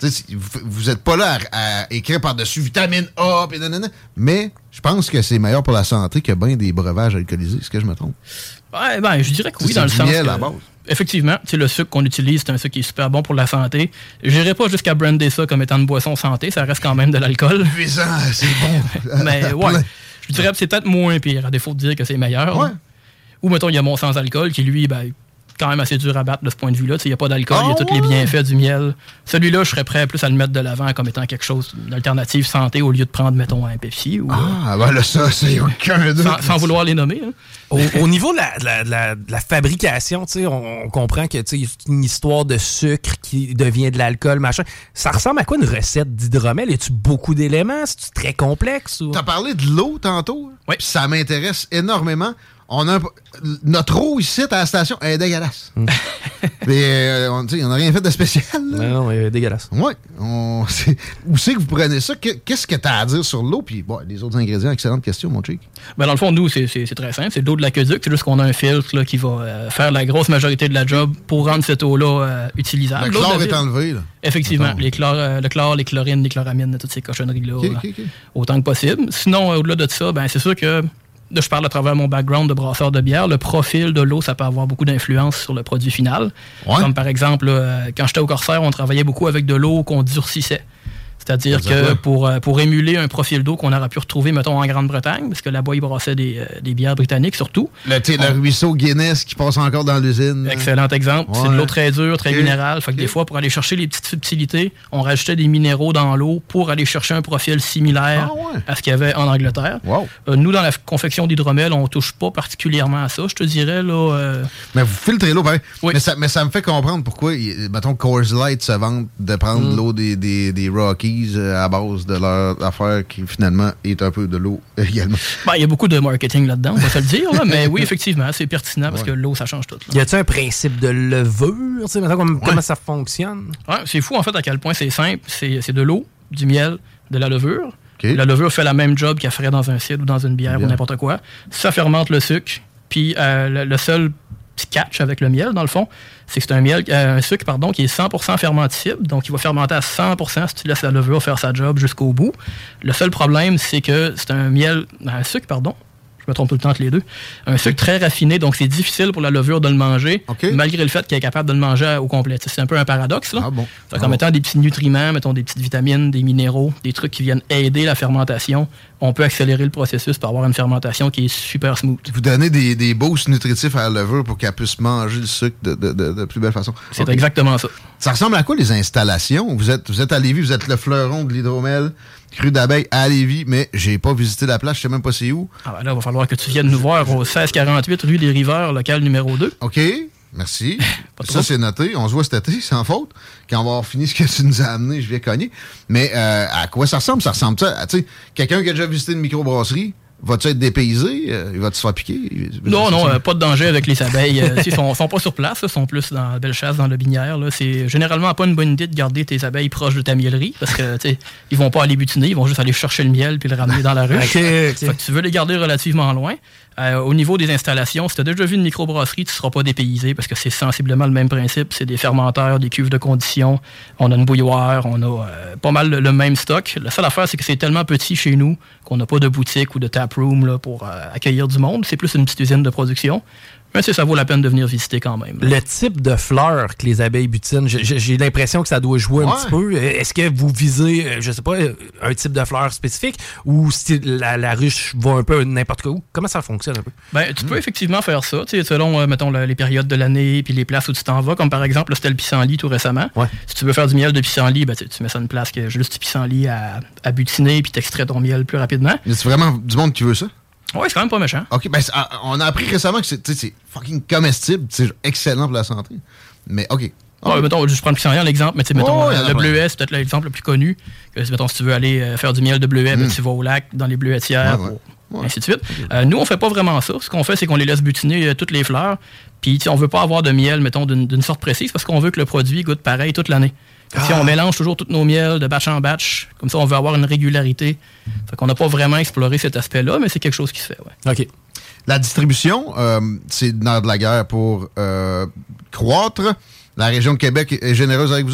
vous n'êtes pas là à, à écrire par-dessus vitamine A, pis nanana, mais je pense que c'est meilleur pour la santé que bien des breuvages alcoolisés. Est-ce que je me trompe? Ouais, ben, je dirais que oui, c'est dans le du sens miel que, à base. Effectivement, le sucre qu'on utilise, c'est un sucre qui est super bon pour la santé. Je n'irai pas jusqu'à brander ça comme étant une boisson santé, ça reste quand même de l'alcool. Puissant, c'est bon. Mais ouais, je dirais que c'est peut-être moins pire, à défaut de dire que c'est meilleur. Ouais. Ou mettons, il y a mon sans-alcool qui, lui, ben, quand même assez dur à battre de ce point de vue-là. Il n'y a pas d'alcool, il oh, y a tous ouais. les bienfaits du miel. Celui-là, je serais prêt plus à le mettre de l'avant comme étant quelque chose d'alternative santé au lieu de prendre, mettons, un Pepsi. Ou, ah, ben là, ça, c'est aucun doute. Sans, sans vouloir les nommer. Hein. Au, au niveau de la, de la, de la, de la fabrication, on, on comprend que c'est une histoire de sucre qui devient de l'alcool, machin. Ça ressemble à quoi une recette d'hydromel? Y a-tu beaucoup d'éléments? C'est très complexe? Ou... T'as parlé de l'eau tantôt? Oui. Ça m'intéresse énormément. On a un, notre eau ici à la station elle est dégueulasse. Mm. Mais euh, on n'a rien fait de spécial. Là. Non, non, elle est dégueulasse. Oui. On, c'est, où c'est que vous prenez ça? Qu'est-ce que tu as à dire sur l'eau? Puis bon, les autres ingrédients, excellente question, mon chic. Ben dans le fond, nous, c'est, c'est, c'est très simple. C'est de l'eau de l'aqueduc. C'est juste qu'on a un filtre là, qui va euh, faire la grosse majorité de la job pour rendre cette eau-là euh, utilisable. Le chlore est enlevé. Là. Effectivement. Les chlore, euh, le chlore, les chlorines, les chloramines, toutes ces cochonneries-là. Okay, okay, okay. Autant que possible. Sinon, euh, au-delà de ça, ben c'est sûr que là, je parle à travers mon background de brasseur de bière. Le profil de l'eau, ça peut avoir beaucoup d'influence sur le produit final. Ouais. Comme par exemple, là, quand j'étais au Corsair, on travaillait beaucoup avec de l'eau qu'on durcissait. C'est-à-dire que pour, pour émuler un profil d'eau qu'on aurait pu retrouver, mettons, en Grande-Bretagne, parce que là-bas, ils brassaient des, euh, des bières britanniques surtout. Le, on... le ruisseau Guinness qui passe encore dans l'usine. Excellent exemple. Ouais. C'est de l'eau très dure, très okay. minérale. Fait que okay. des fois, pour aller chercher les petites subtilités, on rajoutait des minéraux dans l'eau pour aller chercher un profil similaire ah ouais. à ce qu'il y avait en Angleterre. Wow. Euh, nous, dans la confection d'hydromel, on ne touche pas particulièrement à ça, je te dirais. Là, euh... Mais vous filtrez l'eau, pareil. Oui. Mais, ça, mais ça me fait comprendre pourquoi, mettons, Coors Light se vante de prendre mm. l'eau des, des, des Rockies à base de leur affaire qui finalement est un peu de l'eau également. Ben, il y a beaucoup de marketing là-dedans, on va se le dire, là, mais oui, effectivement, c'est pertinent parce ouais. que l'eau, ça change tout. Là. Y a-t-il un principe de levure? Comment, ouais. comment ça fonctionne? Ouais, c'est fou en fait à quel point c'est simple. C'est, c'est de l'eau, du miel, de la levure. Okay. La levure fait la même job qu'elle ferait dans un cidre ou dans une bière Bien. ou n'importe quoi. Ça fermente le sucre, puis euh, le, le seul petit catch avec le miel, dans le fond, c'est que c'est un miel, euh, un sucre pardon, qui est cent pour cent fermenticible, donc il va fermenter à cent pour cent si tu laisses la levure faire sa job jusqu'au bout. Le seul problème, c'est que c'est un miel, un sucre, pardon, je me trompe tout le temps entre les deux, un sucre très raffiné, donc c'est difficile pour la levure de le manger, okay. malgré le fait qu'elle est capable de le manger au complet. C'est un peu un paradoxe, là. Ah bon. Donc, ah en bon. mettant des petits nutriments, mettons des petites vitamines, des minéraux, des trucs qui viennent aider la fermentation, on peut accélérer le processus pour avoir une fermentation qui est super smooth. Vous donnez des, des boosts nutritifs à la levure pour qu'elle puisse manger le sucre de, de, de, de plus belle façon. C'est okay. exactement ça. Ça ressemble à quoi les installations? Vous êtes, vous êtes à Lévis, vous êtes le fleuron de l'hydromel, cru d'abeille à Lévis, mais j'ai pas visité la place, je sais même pas c'est où. Ah ben là, il va falloir que tu viennes nous voir au seize quarante-huit rue des Riveurs, local numéro deux. OK, merci. Ça, c'est noté. On se voit cet été, sans faute. Quand on va avoir fini ce que tu nous as amené, je vais cogner. Mais euh, à quoi ça ressemble? Ça ressemble ça à, tu sais, quelqu'un qui a déjà visité une microbrasserie, va-tu être dépaysé? Euh, il va-tu se faire piquer? Non, non, euh, pas de danger avec les abeilles. Euh, ils sont, sont pas sur place, ils sont plus dans la belle chasse, dans le binière. Là. C'est généralement pas une bonne idée de garder tes abeilles proches de ta miellerie parce que ils vont pas aller butiner, ils vont juste aller chercher le miel puis le ramener dans la ruche. Okay, okay. Fait que tu veux les garder relativement loin. Euh, au niveau des installations, si tu as déjà vu une microbrasserie, tu ne seras pas dépaysé parce que c'est sensiblement le même principe. C'est des fermenteurs, des cuves de condition. On a une bouilloire, on a euh, pas mal le, le même stock. La seule affaire, c'est que c'est tellement petit chez nous qu'on n'a pas de boutique ou de taproom là, pour euh, accueillir du monde. C'est plus une petite usine de production. Mais ça vaut la peine de venir visiter quand même. Le type de fleurs que les abeilles butinent, j'ai, j'ai l'impression que ça doit jouer ouais. un petit peu. Est-ce que vous visez, je sais pas, un type de fleurs spécifique ou si la, la ruche va un peu n'importe où? Comment ça fonctionne un peu? Ben, tu mmh. peux effectivement faire ça, selon, euh, mettons, le, les périodes de l'année puis les places où tu t'en vas. Comme par exemple, là, c'était le pissenlit tout récemment. Ouais. Si tu veux faire du miel de pissenlit, ben, tu mets ça une place qui a juste du pissenlit à, à butiner puis t'extrais ton miel plus rapidement. Mais c'est vraiment du monde qui veut ça? Oui, c'est quand même pas méchant. OK, ben on a appris récemment que c'est, c'est fucking comestible, c'est excellent pour la santé. Mais OK. Ouais, okay. mettons, je prends le pissenlit en exemple, mais tu sais, mettons, oh, euh, le bleuet, c'est peut-être l'exemple le plus connu. Que, mettons, si tu veux aller euh, faire du miel de bleuet, mm. ben, tu vas au lac, dans les bleuetières, ouais, ouais. Pour, ouais. ainsi de suite. Okay. Euh, nous, on fait pas vraiment ça. Ce qu'on fait, c'est qu'on les laisse butiner euh, toutes les fleurs. Puis, on veut pas avoir de miel, mettons, d'une, d'une sorte précise, parce qu'on veut que le produit goûte pareil toute l'année. Ah. Si on mélange toujours tous nos miels de batch en batch, comme ça, on veut avoir une régularité. Fait qu'on n'a pas vraiment exploré cet aspect-là, mais c'est quelque chose qui se fait, ouais. OK. La distribution, euh, c'est dans de la guerre pour euh, croître. La région de Québec est généreuse avec vous autres?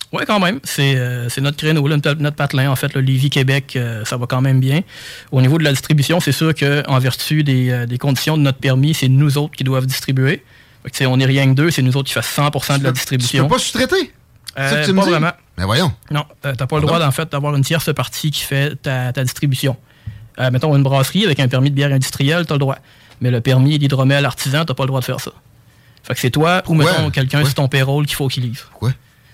Oui, quand même. C'est, euh, c'est notre créneau, là, notre, notre patelin. En fait, le Lévis-Québec, euh, ça va quand même bien. Au niveau de la distribution, c'est sûr qu'en vertu des, euh, des conditions de notre permis, c'est nous autres qui doivent distribuer. Fait que, on n'est rien que deux, c'est nous autres qui fassent cent pour cent de tu la peux, distribution. Tu peux pas sous-traiter? Euh, c'est ça que tu pas me dis? vraiment. Mais voyons. Non, euh, t'as pas le droit, en fait, d'avoir une tierce partie qui fait ta, ta distribution. Euh, mettons, une brasserie avec un permis de bière industrielle, t'as le droit. Mais le permis d'hydromel artisan, t'as pas le droit de faire ça. Fait que c'est toi ou, mettons, ouais. quelqu'un ouais. sur ton payroll qu'il faut qu'il livre. Quoi?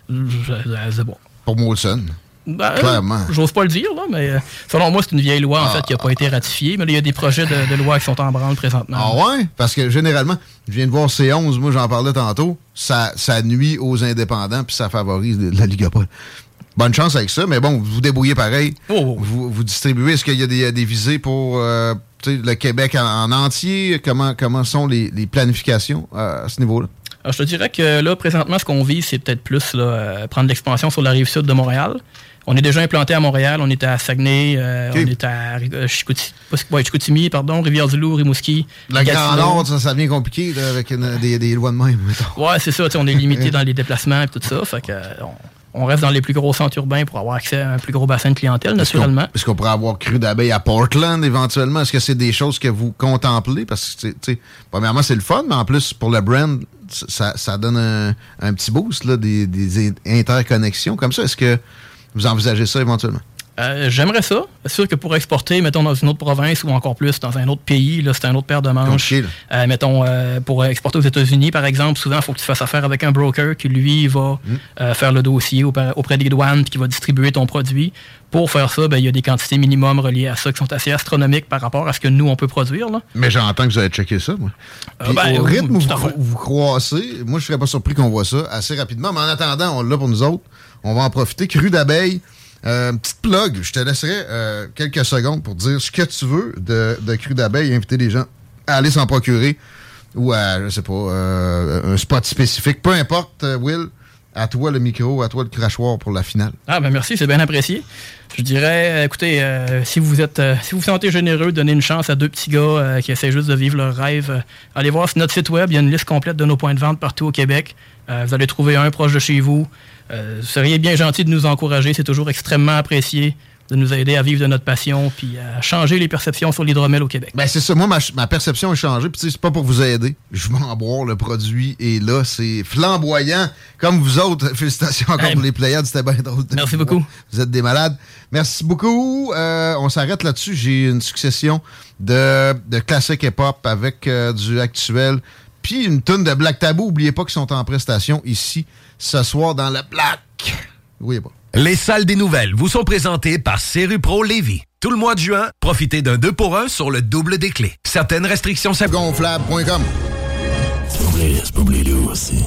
C'est bon. Pour Molson. Ben, Clairement. J'ose pas le dire, là, mais euh, selon moi, c'est une vieille loi, en ah, fait, qui n'a pas été ratifiée. Mais il y a des projets de, de loi qui sont en branle présentement. Ah ouais? Parce que généralement, je viens de voir C onze, moi j'en parlais tantôt, ça, ça nuit aux indépendants puis ça favorise la Ligapol. Bonne chance avec ça, mais bon, vous vous débrouillez pareil. Oh, oh. Vous, vous distribuez. Est-ce qu'il y a des, des visées pour euh, le Québec en, en entier? Comment, comment sont les, les planifications euh, à ce niveau-là? Alors, je te dirais que là, présentement, ce qu'on vise, c'est peut-être plus là, euh, prendre l'expansion sur la rive sud de Montréal. On est déjà implanté à Montréal, on est à Saguenay, euh, okay. on est à euh, Chicoutimi, ouais, Chicoutimi, pardon, Rivière-du-Loup, Rimouski. Le Grand Nord, ça, ça devient compliqué là, avec une, des, des lois de même. Mettons. Ouais, c'est ça, on est limité dans les déplacements et tout ça. Fait que, euh, on, on reste dans les plus gros centres urbains pour avoir accès à un plus gros bassin de clientèle, est-ce naturellement. Qu'on, est-ce qu'on pourrait avoir cru d'abeille à Portland éventuellement? Est-ce que c'est des choses que vous contemplez? Parce que, tu sais, premièrement, c'est le fun, mais en plus, pour le brand, ça, ça donne un, un petit boost, là, des, des interconnexions comme ça. Est-ce que vous envisagez ça éventuellement? Euh, j'aimerais ça. C'est sûr que pour exporter, mettons, dans une autre province ou encore plus dans un autre pays, là, c'est un autre paire de manches. Okay, euh, mettons, euh, pour exporter aux États-Unis, par exemple, souvent, il faut que tu fasses affaire avec un broker qui, lui, va mm. euh, faire le dossier auprès, auprès des douanes, qui va distribuer ton produit. Pour faire ça, ben, il y a des quantités minimum reliées à ça qui sont assez astronomiques par rapport à ce que nous, on peut produire. Là. Mais j'entends que vous allez checker ça, moi. Euh, ben, au rythme où vous, vous, vous croissez, moi, je ne serais pas surpris qu'on voit ça assez rapidement. Mais en attendant, on l'a pour nous autres. On va en profiter. Cru d'abeille. Euh, petite plug, je te laisserai euh, quelques secondes pour dire ce que tu veux de, de cru d'abeille et inviter les gens à aller s'en procurer ou à, je sais pas, euh, un spot spécifique. Peu importe, euh, Will, à toi le micro, à toi le crachoir pour la finale. Ah ben merci, c'est bien apprécié. Je dirais, écoutez, euh, si vous êtes, euh, si vous vous sentez généreux, donnez une chance à deux petits gars euh, qui essaient juste de vivre leur rêve. Euh, allez voir sur notre site web, il y a une liste complète de nos points de vente partout au Québec. Euh, vous allez trouver un proche de chez vous. Euh, vous seriez bien gentil de nous encourager, c'est toujours extrêmement apprécié de nous aider à vivre de notre passion puis à changer les perceptions sur l'hydromel au Québec. Ben c'est ça, moi ma, ma perception a changé, puis c'est pas pour vous aider. Je vais en boire, le produit est là, c'est flamboyant, comme vous autres. Félicitations encore hey, pour les Pléiades, c'était bien drôle. Merci beaucoup. Voir. Vous êtes des malades. Merci beaucoup. Euh, on s'arrête là-dessus. J'ai une succession de, de classiques hip-hop avec euh, du actuel, puis une tonne de Black Tabou. Oubliez pas qu'ils sont en prestation ici ce soir dans le Black. Oui, bon. Les salles des nouvelles vous sont présentées par Serupro Lévis. Tout le mois de juin, profitez d'un deux pour un sur le double des clés. Certaines restrictions s'appliquent. Gonflable point com. C'est pas oublié lui aussi.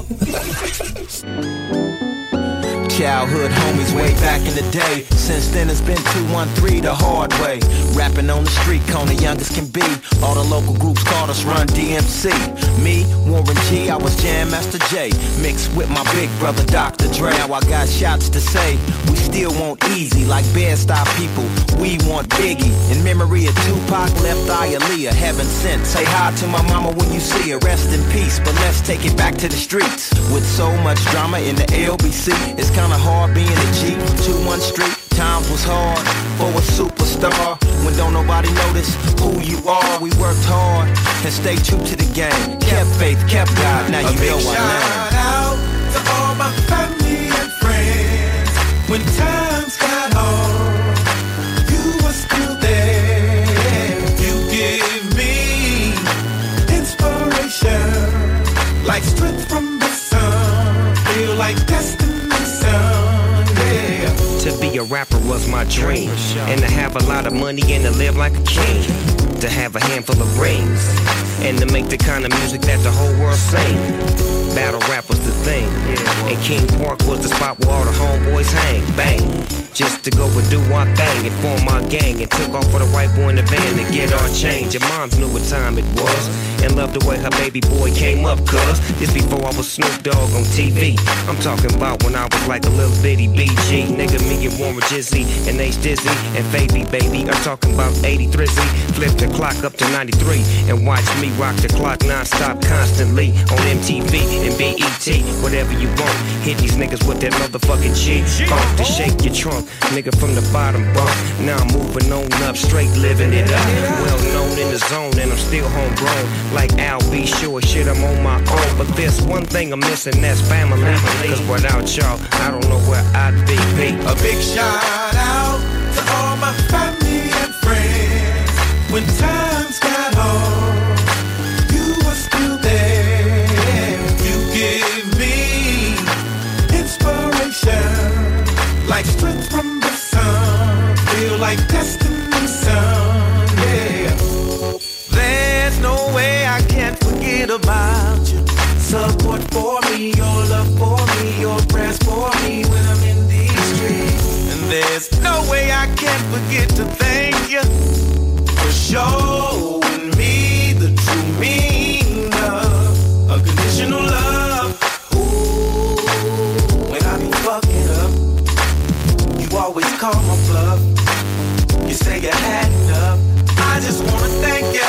Childhood homies way back in the day. Since then it's been two one three the hard way. Rapping on the street corner, youngest can be. All the local groups called us Run D M C. Me, Warren G, I was Jam Master Jay. Mixed with my big brother Doctor Dre. Now I got shots to say. We still want easy like Bed-Stuy people. We want Biggie. In memory of Tupac, Left Eye Aaliyah. Heaven sent. Say hi to my mama when you see her. Rest in peace. But let's take it back to the streets. With so much drama in the L B C, it's kinda hard being a G. two one Street, times was hard for a superstar. When don't nobody notice who you are. We worked hard and stayed true to the game. Kept faith, kept God. Now you know what I mean. Shout out to all my family and friends. When times got hard, you were still there. You give me inspiration, like strength from the sun. Feel like destiny. To be a rapper was my dream, and to have a lot of money and to live like a king, to have a handful of rings, and to make the kind of music that the whole world sing. Battle rap was the thing, and King Park was the spot where all the homeboys hang, bang. Just to go and do our thing and form my gang, and took off for the white boy in the van to get our change. Your moms knew what time it was, and loved the way her baby boy came up, cuz this before I was Snoop Dogg on T V. I'm talking about when I was like a little bitty B G. Nigga, me and Warren Jizzy and Ace Dizzy and Faby, baby. I'm talking about eighty-three Z. Flip the clock up to ninety-three and watch me rock the clock non-stop constantly on M T V and B E T. With whatever you want. Hit these niggas with that motherfucking G. Funk to shake your trunk, nigga from the bottom bump. Now I'm moving on up, straight living it up. Well known in the zone, and I'm still homegrown. Like Al B. Sure, shit, I'm on my own. But there's one thing I'm missing, that's family. Cause without y'all, I don't know where I'd be. A big shout out to all my family and friends. When times got hard, you were still there. You give me inspiration, like strength from the sun. Feel like destiny, son, yeah. There's no way I can't forget about you. Support for me, your love for me, your prayers for me when I'm in these streets. And there's no way I can forget to thank you for showing me the true meaning of unconditional love. Ooh, when I be fucking up, you always call my bluff. You say you had enough. I just wanna thank you.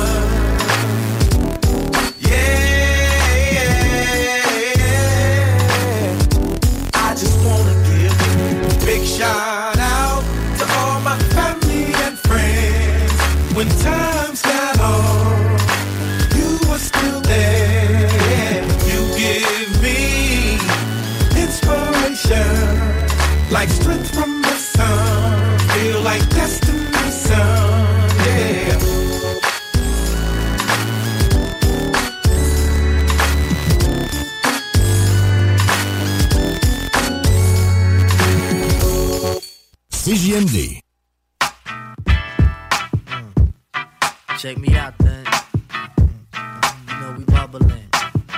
Shout out to all my family and friends. When times got hard, you were still there. You give me inspiration, like strength from the sun. Feel like destiny, son, yeah. C J M D. Mm. Check me out then. Mm. You know we bubbling.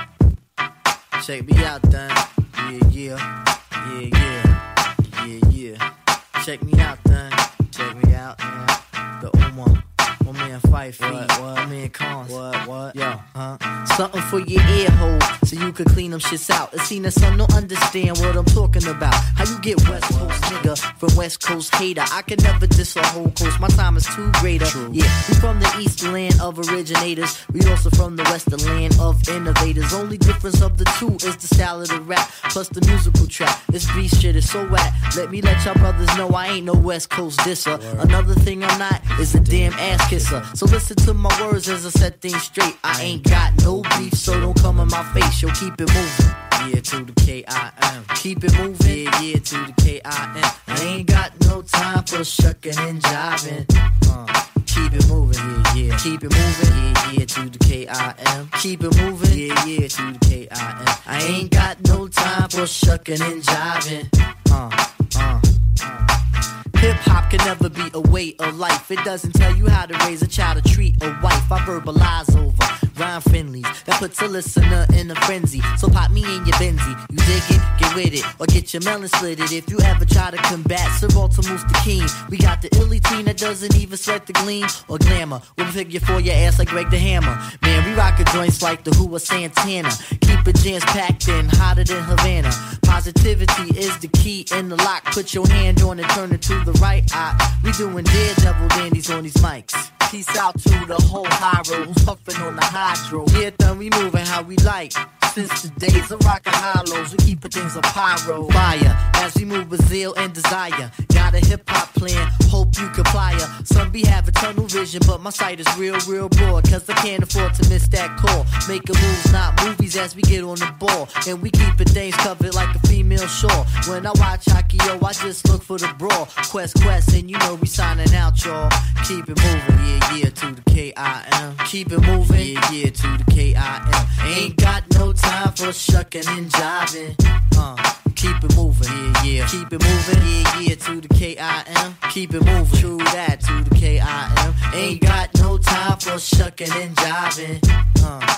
Check me out then. Yeah, yeah. Yeah, yeah. Yeah, yeah. Check me out then. Check me out, man. The Uma. My man Fight Feet. What, what? My man Cons. What, what? Yo, huh? Something for your ear hole, so you could clean them shits out. It seen that some don't understand what I'm talking about. How you get West Coast nigga from West Coast hater? I can never diss a whole coast, my time is too greater. True. Yeah, we from the east land of originators. We also from the western land of innovators. Only difference of the two is the style of the rap, plus the musical track. This beat shit is so whack. Let me let y'all brothers know I ain't no West Coast disser. Word. Another thing I'm not is a damn ass kisser. So listen to my words as I set things straight. I ain't got no beef, so don't come in my face. Yo, keep it moving. Yeah, to the K I M. Keep it moving. Yeah, yeah, to the K I M. I ain't got no time for shucking and jiving. Uh, keep it moving. Yeah, yeah. Keep it moving. Yeah, yeah, to the K I M. Keep it moving. Yeah, yeah, to the K I M. I ain't got no time for shucking and jiving. Uh, uh, uh. Hip-hop can never be a way of life. It doesn't tell you how to raise a child or treat a wife. I verbalize over rhyme friendlies that puts a listener in a frenzy. So pop me in your Benzie. You dig it? Get with it. Or get your melon slitted. If you ever try to combat Sir Walter Moose the King, we got the illy teen that doesn't even sweat the gleam or glamour. With a figure for your ass like Greg the Hammer. Man, we rockin' joints like the Who or Santana. Keep it jams packed in, hotter than Havana. Positivity is the key in the lock. Put your hand on it, turn it to the right eye. We doing daredevil dandies on these mics. Peace out to the whole high road who's puffin' on the hydro. Yeah, then we moving how we like. Since the days of rockin' hollows, we keepin' things a pyro. Fire, as we move with zeal and desire. Got a hip-hop plan, hope you comply. Some be having tunnel vision, but my sight is real, real broad. Cause I can't afford to miss that call. Making moves, not movies, as we get on the ball. And we keepin' things covered like a female shore. When I watch Akio, I just look for the brawl. Quest, quest, and you know we signing out, y'all. Keep it moving, yeah, yeah, to the K I M. Keep it moving, yeah, yeah, to the K I M. Ain't got no time for shucking and jiving. Uh, keep it moving, yeah, yeah. Keep it moving, yeah, yeah, to the K I M. Keep it moving, true that, to the K I M. Ain't got no time for shucking and jiving. Uh,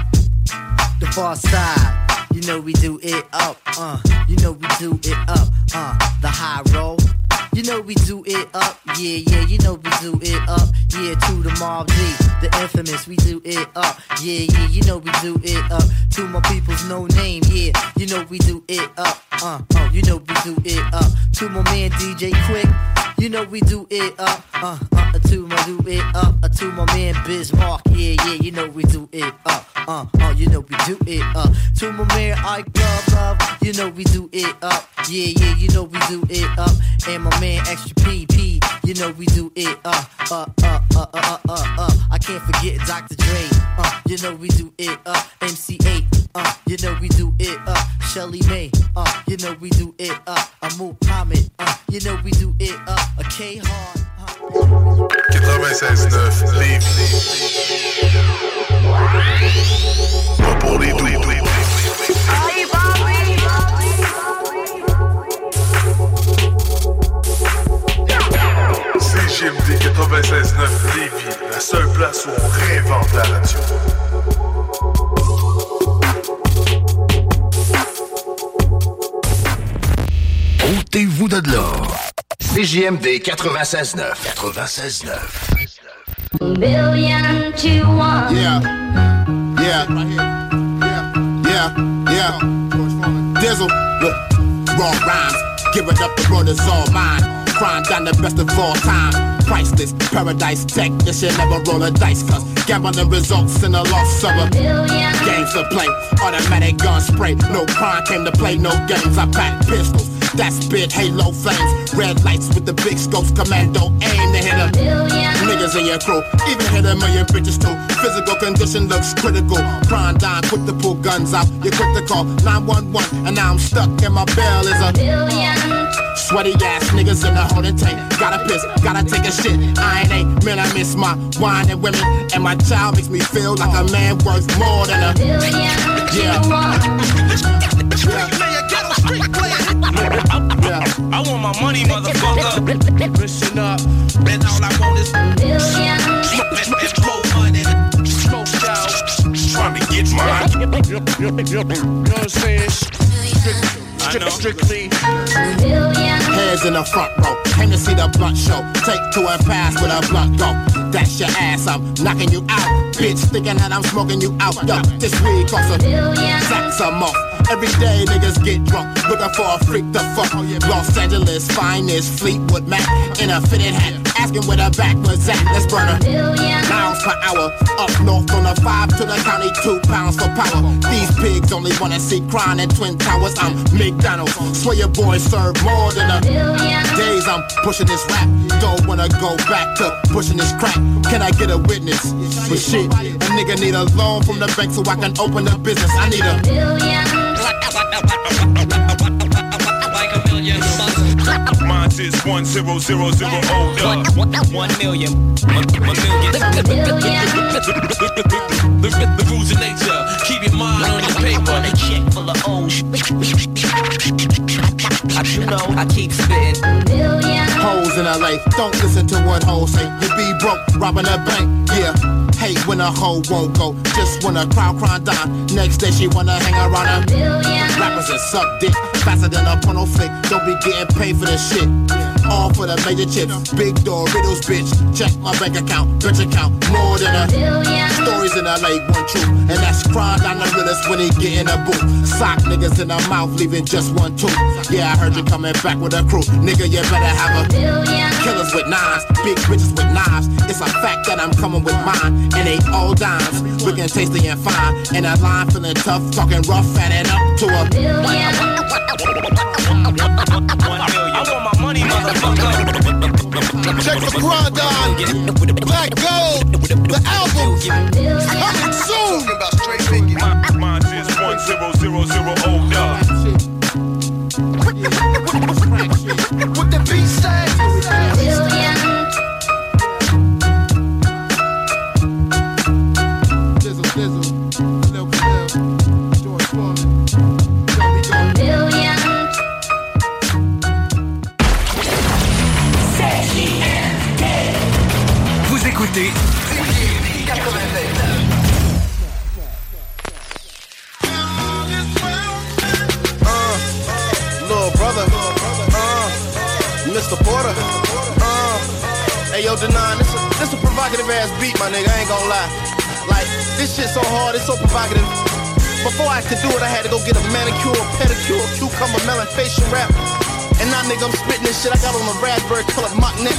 the far side, you know we do it up, uh. You know we do it up, uh. The high roll. You know we do it up, yeah, yeah, you know we do it up, yeah, to the Mob D, the infamous, we do it up, yeah, yeah, you know we do it up, to my people's no name, yeah, you know we do it up, uh, uh, you know we do it up, to my man D J Quick, you know we do it up, uh, uh, to my do it up, uh, to my man Bismarck, yeah, yeah, you know we do it up, uh, uh, you know we do it up, to my man Ike Love. love, love, you know we do it up. Yeah, yeah, you know we do it up. And my man Extra P P, you know we do it up, up, up, up, up, up, up. I can't forget Doctor Dre, uh, you know we do it up. M C eight, uh, you know we do it up. Shelly May, uh, you know we do it up. Amu Hamid, uh, you know we do it up. A K-Hard. quatre-vingt-seize neuf Lévis. Pas pour les doux. C J M D quatre-vingt-seize neuf Lévis, la seule place où on réinvente la radio. Ôtez-vous de l'or. C J M D quatre-vingt-seize neuf. quatre-vingt-seize neuf. Billion to one. Yeah. Yeah. Yeah. Yeah. Yeah. Dizzle. Look. Raw rhymes. Give it up, the road is all mine. Crime down the best of all time. Priceless. Paradise tech. This shit never roll a dice. Cause gambling results in a loss of a billion. Games to play. Automatic gun spray. No crime came to play. No games. I pack pistols. That spit halo flames, red lights with the big scopes, commando aim to hit a billion. Niggas in your crew, even hit a million bitches too. Physical condition looks critical. Prime dime, quick to pull guns out. You're quick to call nine one one, and now I'm stuck and my bell is a billion. Sweaty ass niggas in the holding tank. Gotta piss, gotta take a shit. I ain't ain't, man, I miss my wine and women. And my child makes me feel like a man worth more than a billion. Yeah. Yeah. I want my money, motherfucker. Listen up, and all I want is billion. Smoke and more money, smoke out. Trying to get mine. You know what I'm saying? Strictly, strictly. Heads in the front row, came to see the blunt show. Take two and pass with a blunt go. That's your ass, I'm knocking you out. Bitch, thinking that I'm smoking you out. Yo, this weed costs a billion. Sacks a month. Every day niggas get drunk, looking for a freak to fuck. Los Angeles finest Fleetwood Mac in a fitted hat, asking where the back was at. Let's burn a billion miles per hour. Up north on the five to the county, two pounds for power. These pigs only wanna see crying in Twin Towers. I'm McDonald's, swear your boys serve more than a billion. Days I'm pushing this rap, don't wanna go back to pushing this crack. Can I get a witness? But shit, a nigga need a loan from the bank so I can open a business. I need a billion. Like a million bucks. Mine is one zero zero zero oh one, one million. One million. The, the rules of nature. Keep your mind on your paper. A check full of O's. You know I keep spitting. Hoes in L A, don't listen to what hoes say. You be broke, robbing a bank, yeah. Hate when a hoe won't go, just when a crowd crying down. Next day she wanna hang around a billion. Rappers that suck dick, faster than a porno flick. Don't be getting paid for this shit. All for the major chips, big Doritos, bitch. Check my bank account, bitch account, more than a billion. Stories in L A, one true, and that's crime down the realest when he get in a booth. Sock niggas in the mouth, leaving just one tooth. Yeah, I heard you coming back with a crew, nigga. You better have a billion. Killers with nines, big bitches with knives. It's a fact that I'm coming with mine, and they all dimes. Looking tasty and fine, and a line feeling tough, talking rough, adding up to a billion. I want my money, motherfucker. Check the Grandon, Black Gold, the album coming soon. Mine is one zero zero zero oh What the beat say? Billion. Dizzle, dizzle, Lil Phil, George Foreman, Joey Jones. Billion. Vous écoutez quatre-vingt-seize. Little brother, uh, Mister Porter, uh, hey yo, Denon, this a, this a provocative ass beat, my nigga, I ain't gon' lie. Like, this shit so hard, it's so provocative. Before I could do it, I had to go get a manicure, pedicure, cucumber, melon, facial wrap. And now, nigga, I'm spitting this shit I got on a raspberry colored mock neck.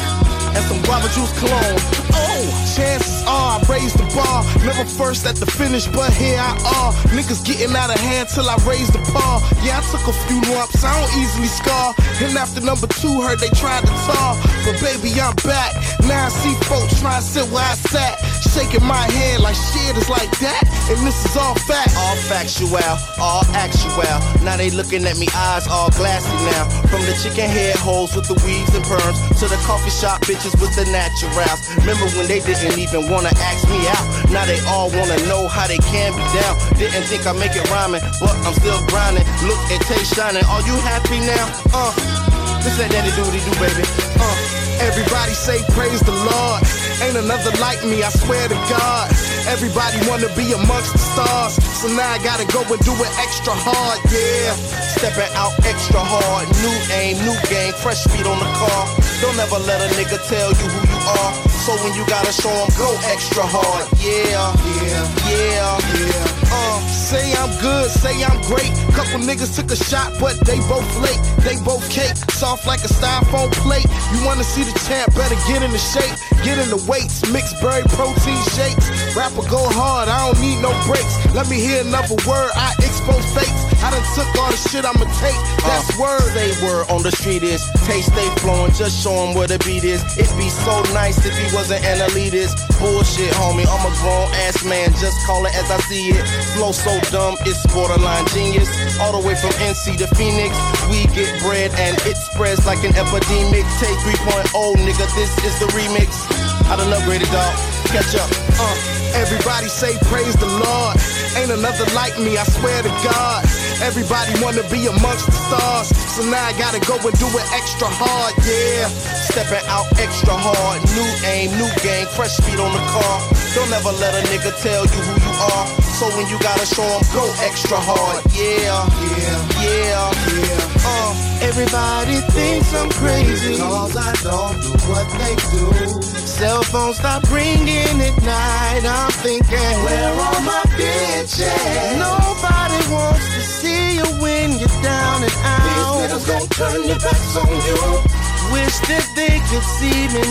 and some guava juice cologne. Oh, chances are I raised the bar. Never first at the finish, but here I are. Niggas getting out of hand till I raised the bar. Yeah, I took a few lumps, I don't easily scar. And after number two, heard they tried to tar. But baby, I'm back. Now I see folks trying to sit where I sat. Shaking my head like shit is like that. And this is all fact. All factual, all actual. Now they looking at me, eyes all glassy now. From the chicken head holes with the weaves and perms to the coffee shop bitches with the naturals. Remember when they didn't even wanna ask me out? Now they all wanna know how they can be down. Didn't think I make it rhyming, but I'm still grinding. Look at Tay shining. Are you happy now? Uh, this that daddy doody do, baby. Uh, everybody say praise the Lord. Ain't another like me, I swear to God. Everybody wanna be amongst the stars, so now I gotta go and do it extra hard, yeah. Stepping out extra hard, new aim, new game, fresh speed on the car. Don't ever let a nigga tell you who you are. So when you gotta show them, go extra hard, yeah, yeah, yeah, yeah. Uh, say I'm good, say I'm great. Couple niggas took a shot, but they both late. They both cake, soft like a styrofoam plate. You wanna see the champ, better get in the shape. Get in the weights, mixed berry protein shakes. Rapper go hard, I don't need no breaks. Let me hear another word, I expose fakes. I done took all the shit I'ma take, that's uh, word. Say word on the street is, taste stay flowing, just show him where the beat is. It'd be so nice if he wasn't an elitist. Bullshit, homie, I'm a grown ass man, just call it as I see it. Flow so dumb, it's borderline genius. All the way from N C to Phoenix, we get bread and it spreads like an epidemic. Take three point oh, nigga, this is the remix. I done upgraded, dog. Catch up. Uh, everybody say praise the Lord. Ain't another like me, I swear to God. Everybody wanna be amongst the stars, so now I gotta go and do it extra hard, yeah. Stepping out extra hard, new aim, new game, fresh speed on the car. Don't ever let a nigga tell you who you are. So when you gotta show them, go extra hard, yeah, yeah, yeah, yeah. Uh, everybody thinks I'm crazy, cause I don't do what they do. Cell phone stop ringing at night, I'm thinking, where are my bitches? Nobody wants to see you when you're down and out. These niggas gon' turn their backs on you. Wish that they could see me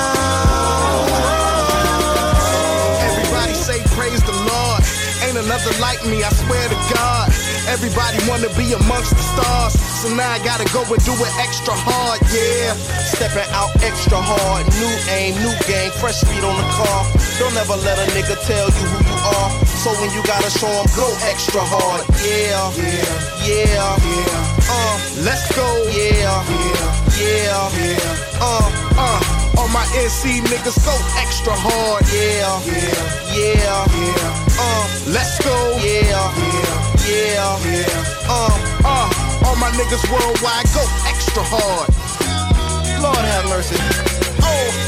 now. Everybody say praise the Lord. Ain't another like me, I swear to God. Everybody wanna be amongst the stars, so now I gotta go and do it extra hard, yeah. Stepping out extra hard, new aim, new game, fresh speed on the car. Don't ever let a nigga tell you who you are. So when you gotta show them, go extra hard, yeah, yeah, yeah, yeah. Uh, let's go, yeah, yeah, yeah, yeah. Uh, uh. All my N C niggas go extra hard, yeah, yeah, yeah, yeah. Uh, let's go, yeah, yeah, yeah, yeah. Uh, uh, all my niggas worldwide go extra hard. Lord have mercy. Oh.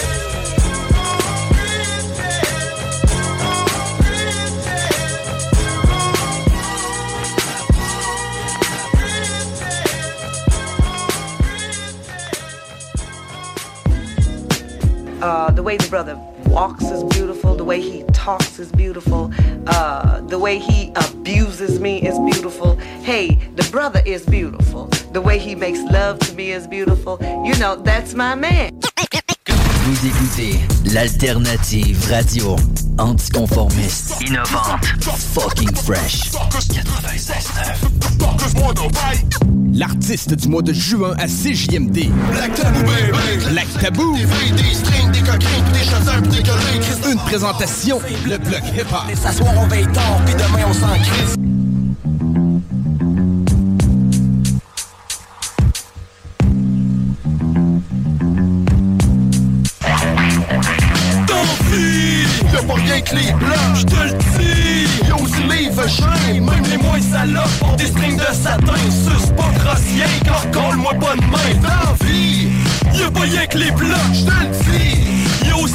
Uh, the way the brother walks is beautiful. The way he talks is beautiful. Uh, the way he abuses me is beautiful. Hey, the brother is beautiful. The way he makes love to me is beautiful. You know, that's my man. Vous écoutez l'alternative radio anticonformiste, innovante, fucking fresh. quatre-vingt-seize neuf. L'artiste du mois de juin à C J M D. Black Tabou, baby. Black Tabou. Des vrais, des strings, des coquins, des chasseurs, des collègues. Une présentation, le bloc hip-hop. Et s'asseoir, on veille tard, puis demain on s'en crisse. Y'a pas rien que les blancs, j'te le dis. Y'a aussi les vagins, même les moins salopes ont des strings de satin. Suce pas grossier, car colle-moi pas de main. Dans vie, y'a pas rien que les blancs, j'te le dis. Y'a aussi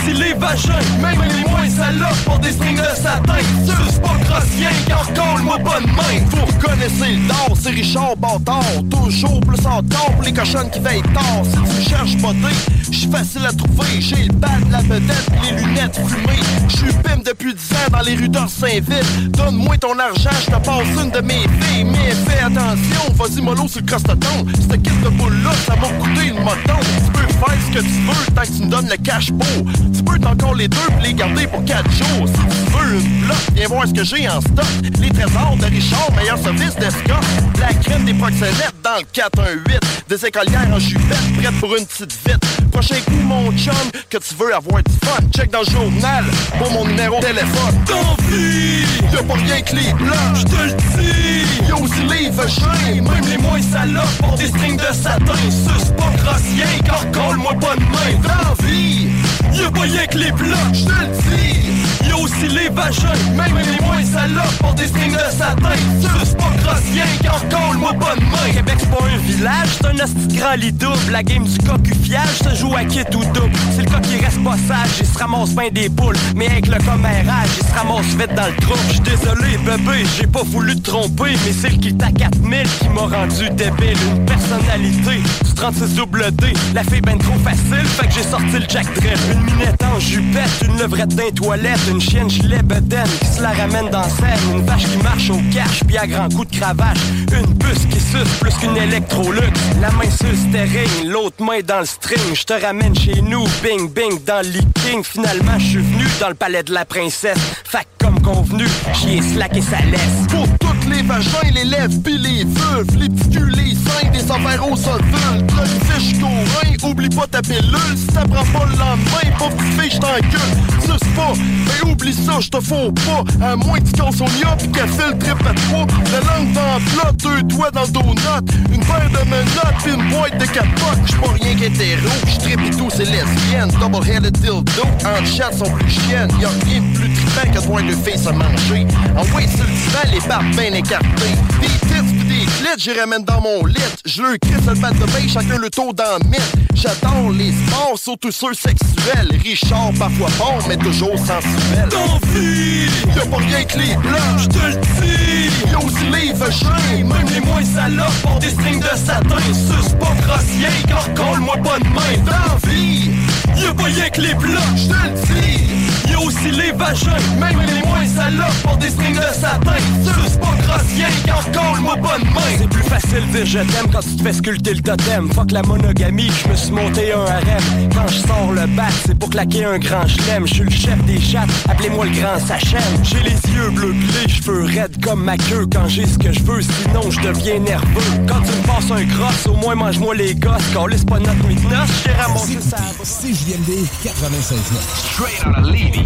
aussi les vagins, même les moins salopes pour des strings de satin. Suce pas grossien, car colle-moi pas de main. Vous reconnaissez le dard, c'est Richard Bâtard. Toujours plus en tard pour les cochonnes qui veillent tard. Si tu me cherches beauté, j'suis facile à trouver. J'ai le bad, la vedette, les lunettes fumées. J'suis pime depuis dix ans dans les rues d'Orsainville. Donne-moi ton argent, j'te passe une de mes filles. Mais fais attention, vas-y mollo sur le crostaton. Cette kit de boule-là, ça m'a coûté le moton. Tu peux faire ce que tu veux tant que tu me donnes le cash beau. Tu peux t'encore les deux pis les garder pour quatre jours. Si tu veux une bloc, viens voir ce que j'ai en stock. Les trésors de Richard, meilleur service d'escorte. La crème des proxénètes dans le quatre un huit. Des écolières en jupette, prête pour une petite vite. Prochain coup, mon chum, que tu veux avoir du fun. Check dans le journal pour mon numéro de téléphone. Tant pis, y'a pas rien que les blancs, j'te le dis. Y'a aussi les vagins, même les moins salopes pour des strings de satin. Suce pas grossien, car colle-moi pas de main. Dans vie, y'a pas rien que les blancs, j'te le dis. Y'a aussi les vagins, même les moins salopes pour des strings de satin. Suce pas grossien, car colle-moi pas de main. Québec c'est pas un village, c'est un hostie grand lit double. La game du cocufiage se joue à kit ou double. C'est le cas qui reste pas sage, il se ramasse bien des boules. Mais avec le commérage, il se ramasse vite dans le trou. J'suis désolé bébé, j'ai pas voulu te tromper. Mais c'est le kit à quatre mille qui m'a rendu débile. Une personnalité, du trente-six double D. La fille ben trop facile, fait que j'ai sorti le Jack Drill. Une minette en jupette, une levrette d'un toilette. Une chienne gilet bedaine qui se la ramène dans scène. Une vache qui marche au cash, puis à grands coups de cravache. Une puce qui suce plus qu'une électrolux. La main sur le steering, l'autre main dans le string. Je te ramène chez nous, bing bing dans le leaking. Finalement je suis venu dans le palais de la princesse. Fait que comme convenu, j'y ai slacké sa laisse. Pour toutes les vagins, les lèvres pis les vulves, les petits culs, les seins, des affaires au solvule. T'as une fiche courant, oublie pas ta pilule. Si ça prend pas le lendemain, pauvre petite fille, j't'encule. Suce pas, mais oublie ça, j'te fous pas. À moins que tu casses au nia pis qu'elle fait le trip à trois. La langue dans le plat, deux doigts dans le donut. Une paire de menottes pis une boîte de capotes. J'suis pas rien qu'hétéro, j'trippe et tout, c'est lesbienne. Double-headed dildo, en chat sont plus chiennes. Y'a rien de plus trippant que de voir deux filles se manger. En way sur le divan, les barbes bien écartées. Des tits pis des clits, j'y ramène dans mon lit. J'leur crisse le batte de bain, chacun le tour dans le mythe. J'adore les sports, surtout ceux sexuels. Richard, parfois bon, mais toujours sensuel. Tant pis, y'a pas rien que les blancs, j'te le dis. Y'a aussi les vagins, même les moins salopes pour des strings de satin. Suce pas grossien, car colle-moi pas de main. Dans vie, y'a pas rien que les blancs, j'te le dis. Y'a aussi les vagins, même les moins salopes pour des strings de satin. Suce pas grossien, car colle-moi pas de main. C'est plus facile de dire je t'aime quand tu te fais sculpter le totem. Fuck la monogamie, je me suis monté un harem. Quand je sors le bat, c'est pour claquer un grand chelem. Je suis le chef des chattes, appelez-moi le grand Sachem. J'ai les yeux bleus pis les cheveux raides comme ma queue. Quand j'ai ce que je veux, sinon je deviens nerveux. Quand tu me passes un cross, au moins mange-moi les gosses. Calisse pas notre nuit de noces, j'ai ramassé ça. C J M D quatre-vingt-seize neuf. Straight out of Levy.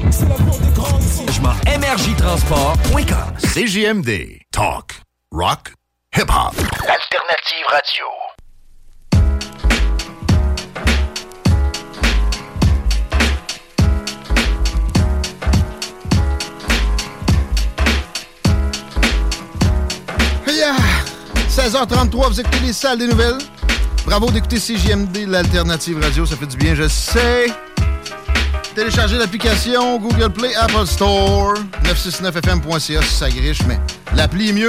Je m'en énergie transport point com. C J M D. Talk. Rock. Hip-hop. L'alternative radio. Yeah. seize heures trente-trois, vous écoutez les salles des nouvelles. Bravo d'écouter C J M D, l'alternative radio, ça fait du bien, je sais. Téléchargez l'application Google Play, Apple Store, neuf cent soixante-neuf F M point C A si ça griche, mais l'appli est mieux.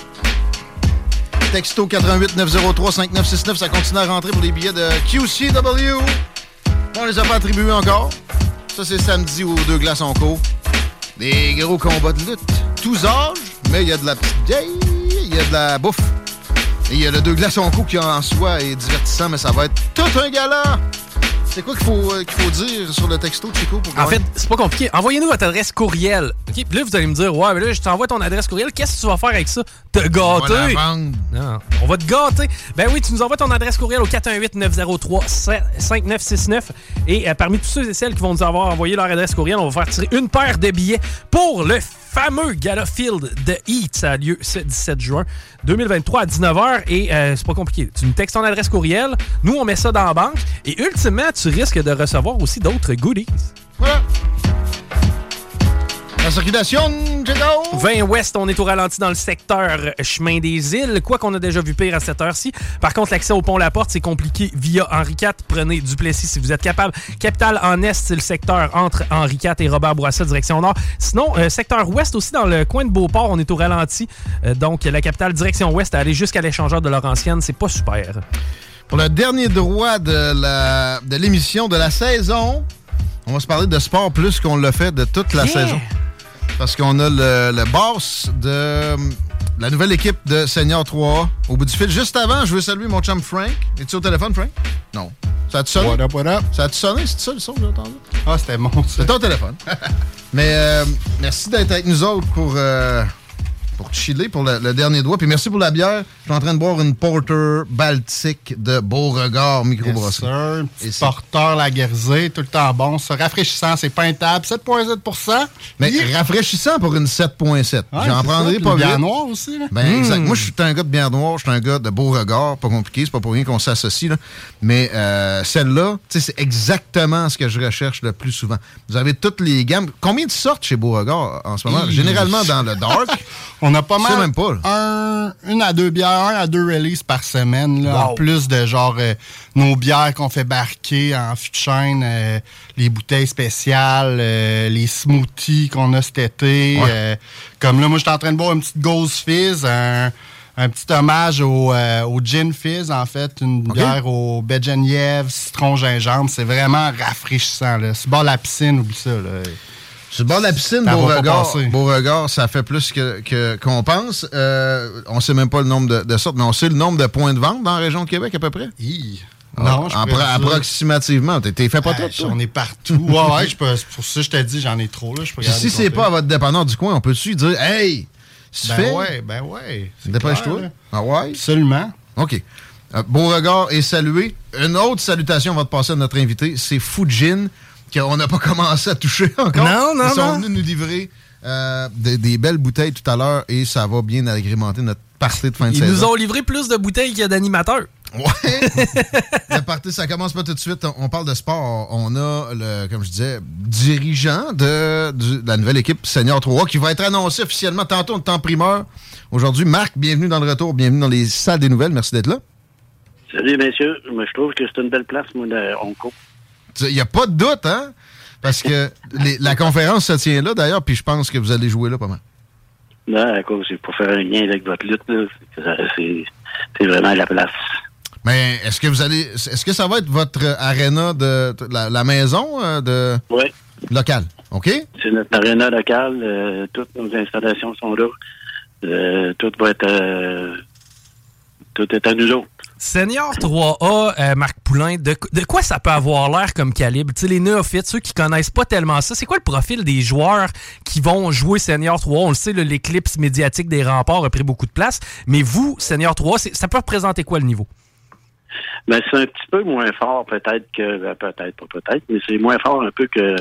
Texto quatre un huit neuf zéro trois cinq neuf six neuf, ça continue à rentrer pour les billets de Q C W. On les a pas attribués encore. Ça, c'est samedi aux deux glaces en cours. Des gros combats de lutte. Tous âges, mais il y a de la petite vieille, il y a de la bouffe. Et il y a le deux glaces en cours qui en soi est divertissant, mais ça va être tout un gala. C'est quoi qu'il faut, euh, qu'il faut dire sur le texto, Chico? Pour en fait, c'est pas compliqué. Envoyez-nous votre adresse courriel. OK? Puis là, vous allez me dire, ouais, mais là, je t'envoie ton adresse courriel. Qu'est-ce que tu vas faire avec ça? Te gâter? On va la vendre. Non, on va te gâter. Ben oui, tu nous envoies ton adresse courriel au quatre un huit neuf zéro trois cinq neuf six neuf. Et euh, parmi tous ceux et celles qui vont nous avoir envoyé leur adresse courriel, on va faire tirer une paire de billets pour le fameux Gala Field de Heat. Ça a lieu ce dix-sept juin deux mille vingt-trois à dix-neuf heures. Et euh, c'est pas compliqué. Tu nous textes ton adresse courriel. Nous, on met ça dans la banque. Et ultimement, tu risques de recevoir aussi d'autres goodies. Voilà. La circulation, Diego! vingt ouest, on est au ralenti dans le secteur chemin des îles, quoi qu'on a déjà vu pire à cette heure-ci. Par contre, l'accès au pont La Porte, c'est compliqué via Henri quatre. Prenez Duplessis si vous êtes capable. Capitale en est, c'est le secteur entre Henri quatre et Robert Bourassa, direction nord. Sinon, euh, secteur ouest aussi, dans le coin de Beauport, on est au ralenti. Euh, donc, la capitale direction ouest, à aller jusqu'à l'échangeur de Laurentienne, c'est pas super. Pour le dernier droit de, la, de l'émission de la saison, on va se parler de sport plus qu'on l'a fait de toute la yeah. saison. Parce qu'on a le, le boss de la nouvelle équipe de Senior trois A au bout du fil. Juste avant, je veux saluer mon chum Frank. Es-tu au téléphone, Frank? Non. Ça a-tu sonné? What up, what up? Ça a-tu sonné? C'est ça le son que j'ai entendu? Ah, c'était mon. C'est ton téléphone. Mais euh, merci d'être avec nous autres pour... Euh, pour chiller, pour le, le dernier doigt. Puis merci pour la bière. Je suis en train de boire une Porter Baltique de Beauregard microbrasserie. Yes, sir. Et porteur Laguerre, tout le temps bon. Ça, rafraîchissant, c'est peintable. sept virgule sept pour cent. Mais yeah. rafraîchissant pour une sept virgule sept. Ouais, j'en prendrai ça, pas vite. Bière noire aussi. Là. Ben, mmh. exact. Moi, je suis un gars de bière noire. Je suis un gars de Beauregard. Pas compliqué. C'est pas pour rien qu'on s'associe. Là. Mais euh, celle-là, c'est exactement ce que je recherche le plus souvent. Vous avez toutes les gammes. Combien de sortes chez Beauregard en ce moment? Mmh. Généralement dans le dark. On a pas mal même pas, un, une à deux bières, un à deux releases par semaine. Là, wow. En plus de genre euh, nos bières qu'on fait barquer en fût de chêne, euh, les bouteilles spéciales, euh, les smoothies qu'on a cet été. Ouais. Euh, comme là, moi, je suis en train de boire une petite Ghost Fizz, un, un petit hommage au, euh, au Gin Fizz, en fait. Une okay. bière au baie de Genièvre, citron, gingembre. C'est vraiment rafraîchissant. Là. C'est bord de la piscine, oublie ça. Là. Sur le bord de la piscine, Beauregard, Beauregard, ça fait plus que, que, qu'on pense. Euh, on ne sait même pas le nombre de, de sortes, mais on sait le nombre de points de vente dans la région de Québec, à peu près? Hi. Non, je Appro- Approximativement. T'es, t'es fait pas ah, tout, J'en ai partout. ouais, ouais, je peux, pour ça, je t'ai dit, j'en ai trop. Là, je peux Puis si c'est pas à votre dépanneur du coin, on peut-tu dire, hey, tu ben fais? ouais, ben ouais. Dépêche-toi. Ah ouais? Absolument. OK. Euh, Beauregard est salué. Une autre salutation va te passer à notre invité, c'est Fujin, qu'on n'a pas commencé à toucher encore. Non, non, Ils sont non. venus nous livrer euh, des, des belles bouteilles tout à l'heure et ça va bien agrémenter notre party de fin de Ils saison. nous ont livré plus de bouteilles qu'il y a d'animateurs. Ouais. Le party, ça commence pas tout de suite. On parle de sport. On a, le, comme je disais, dirigeant de, de la nouvelle équipe Senior trois A qui va être annoncé officiellement tantôt en temps primeur. Aujourd'hui, Marc, bienvenue dans le retour. Bienvenue dans les salles des nouvelles. Merci d'être là. Salut, messieurs. Moi, je trouve que c'est une belle place, moi, de Onco. Il n'y a pas de doute, hein? Parce que les, la conférence se tient là, d'ailleurs, puis je pense que vous allez jouer là pas mal. Non, à cause, c'est pour faire un lien avec votre lutte, là. C'est, c'est vraiment la place. Mais est-ce que vous allez. Est-ce que ça va être votre aréna de, de la, la maison de oui. locale? OK? C'est notre aréna locale. Euh, toutes nos installations sont là. Euh, tout va être. Euh, tout est à nous autres. Senior trois A, euh, Marc Poulain, de, de quoi ça peut avoir l'air comme calibre? Tu sais, les néophytes, ceux qui connaissent pas tellement ça, c'est quoi le profil des joueurs qui vont jouer Senior trois A? On le sait, là, l'éclipse médiatique des remparts a pris beaucoup de place, mais vous, Senior trois A, c'est, ça peut représenter quoi le niveau? Ben, c'est un petit peu moins fort peut-être que... Ben, peut-être, pas peut-être, mais c'est moins fort un peu que...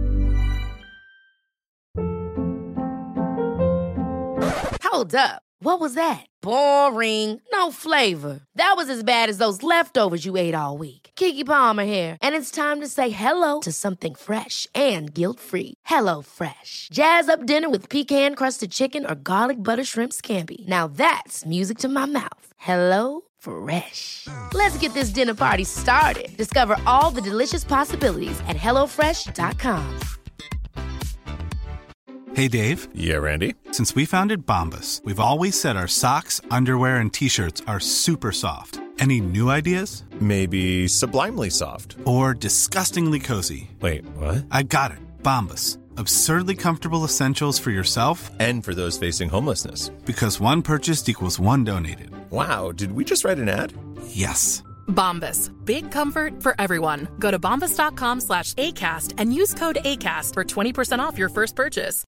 Hold up. What was that? Boring. No flavor. That was as bad as those leftovers you ate all week. Keke Palmer here, and it's time to say hello to something fresh and guilt-free. Hello Fresh. Jazz up dinner with pecan-crusted chicken or garlic butter shrimp scampi. Now that's music to my mouth. Hello Fresh. Let's get this dinner party started. Discover all the delicious possibilities at hello fresh dot com. Hey, Dave. Yeah, Randy. Since we founded Bombas, we've always said our socks, underwear, and T-shirts are super soft. Any new ideas? Maybe sublimely soft. Or disgustingly cozy. Wait, what? I got it. Bombas. Absurdly comfortable essentials for yourself and for those facing homelessness. Because one purchased equals one donated. Wow, did we just write an ad? Yes. Bombas. Big comfort for everyone. Go to bombas.com slash ACAST and use code ACAST for twenty percent off your first purchase.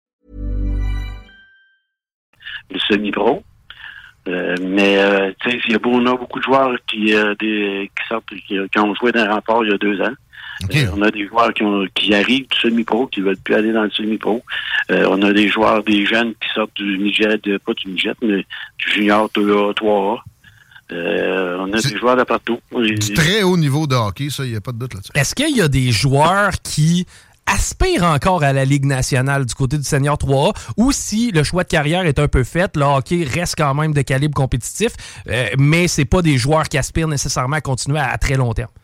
Le semi-pro. Euh, mais, euh, tu sais, il y a beaucoup, on a beaucoup de joueurs qui, euh, des, qui sortent, qui, qui ont joué dans le rempart il y a deux ans. Okay. Euh, on a des joueurs qui, ont, qui arrivent du semi-pro, qui ne veulent plus aller dans le semi-pro. Euh, on a des joueurs, des jeunes qui sortent du midget, pas du midget, mais du junior deux A, trois A. Euh, on a C'est des joueurs de partout. Du très haut niveau de hockey, ça, il n'y a pas de doute là-dessus. Est-ce qu'il y a des joueurs qui aspirent encore à la Ligue nationale du côté du Senior trois A, ou si le choix de carrière est un peu fait, le hockey reste quand même de calibre compétitif, euh, mais c'est pas des joueurs qui aspirent nécessairement à continuer à, à très long terme.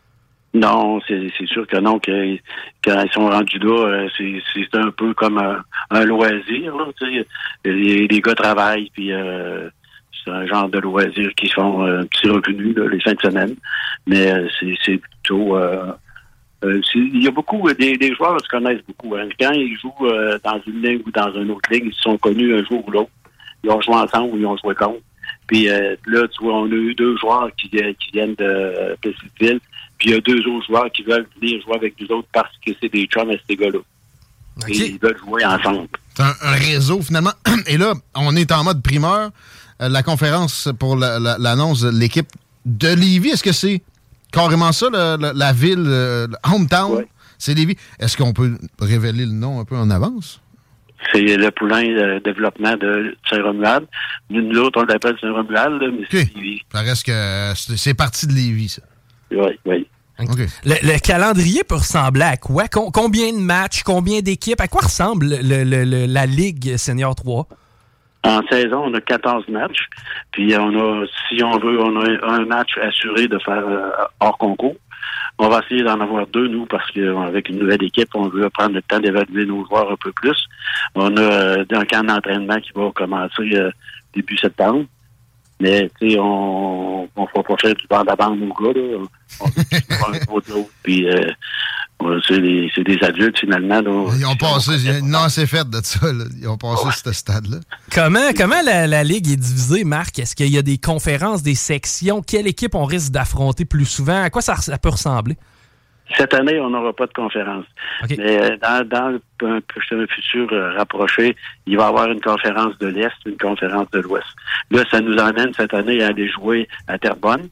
Non, c'est, c'est sûr que non, que, quand ils sont rendus là, c'est, c'est un peu comme un, un loisir. Là, les, les gars travaillent, puis euh, c'est un genre de loisir qui font un petit revenu là, les fins de semaine. Mais euh, c'est, c'est plutôt... Euh, euh, c'est, il y a beaucoup, des, des joueurs se connaissent beaucoup. Hein. Quand ils jouent euh, dans une ligue ou dans une autre ligue, ils se sont connus un jour ou l'autre. Ils ont joué ensemble ou ils ont joué contre. Puis euh, là, tu vois, on a eu deux joueurs qui, qui viennent de Plessisville. Puis il y a deux autres joueurs qui veulent venir jouer avec nous autres parce que c'est des chums à ces gars-là. Okay. Et ils veulent jouer ensemble. C'est un, un réseau, finalement. Et là, on est en mode primeur. Euh, la conférence pour la, la, l'annonce de l'équipe de Lévis, est-ce que c'est carrément ça, le, le, la ville, le hometown? Ouais. C'est Lévis. Est-ce qu'on peut révéler le nom un peu en avance? C'est le poulain de développement de Saint-Romuald. Nous, nous autres, on l'appelle Saint-Romuald, mais okay. C'est Lévis. Ça reste que c'est, c'est parti de Lévis, ça. Oui, oui. Okay. Le, le calendrier peut ressembler à quoi? Com- combien de matchs? Combien d'équipes? À quoi ressemble le, le, le, la Ligue Senior trois? En saison, on a quatorze matchs. Puis on a, si on veut, on a un match assuré de faire euh, hors concours. On va essayer d'en avoir deux, nous, parce qu'avec une nouvelle équipe, on veut prendre le temps d'évaluer nos joueurs un peu plus. On a euh, un camp d'entraînement qui va commencer euh, début septembre. Mais, tu sais, on ne va pas faire du bande à bande aux gars, là. On veut un gros de l'autre. Puis, euh, c'est, des, c'est des adultes, finalement. Là. Ils ont passé, non, c'est fait de ça, là. Ils ont passé ouais. ce stade-là. Comment, comment la, la Ligue est divisée, Marc? Est-ce qu'il y a des conférences, des sections? Quelle équipe on risque d'affronter plus souvent? À quoi ça, ça peut ressembler? Cette année, on n'aura pas de conférence. Okay. Mais dans, dans un, un futur rapproché, il va y avoir une conférence de l'Est, une conférence de l'Ouest. Là, ça nous emmène cette année à aller jouer à Terrebonne.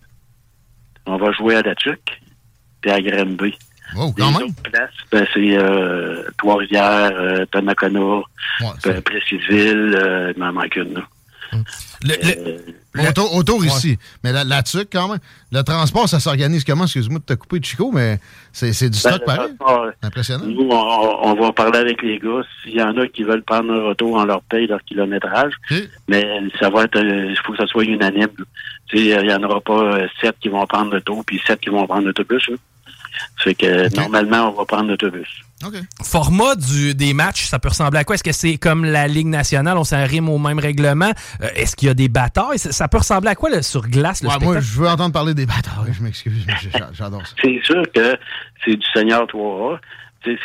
On va jouer à La Tuque, puis à Granby. Oh, quand Les même. autres places, ben, c'est euh, Trois-Rivières, euh, Donnacona, ouais, Plessisville, euh, il m'en manque une, là. Le, euh, le, autour autour ouais. ici. Mais la, la tuque, quand même. Le transport, ça s'organise comment? Excuse-moi de te couper, Chico, mais c'est, c'est du stock ben, pareil. C'est impressionnant. Nous, on, on va parler avec les gars. S'il y en a qui veulent prendre un auto, on leur paye leur kilométrage. Okay. Mais ça va être, il faut que ça soit unanime. Tu sais, il n'y en aura pas sept qui vont prendre l'auto, puis sept qui vont prendre l'autobus. Là. Fait que okay. Normalement, on va prendre l'autobus. Okay. Format du, des matchs, ça peut ressembler à quoi? Est-ce que c'est comme la Ligue nationale, on s'en rime au même règlement? Euh, est-ce qu'il y a des batailles? Ça, ça peut ressembler à quoi là, sur glace, le ouais, spectacle? Moi, je veux entendre parler des batailles, je m'excuse, mais j'adore ça. C'est sûr que c'est du Senior trois A. Tu sais,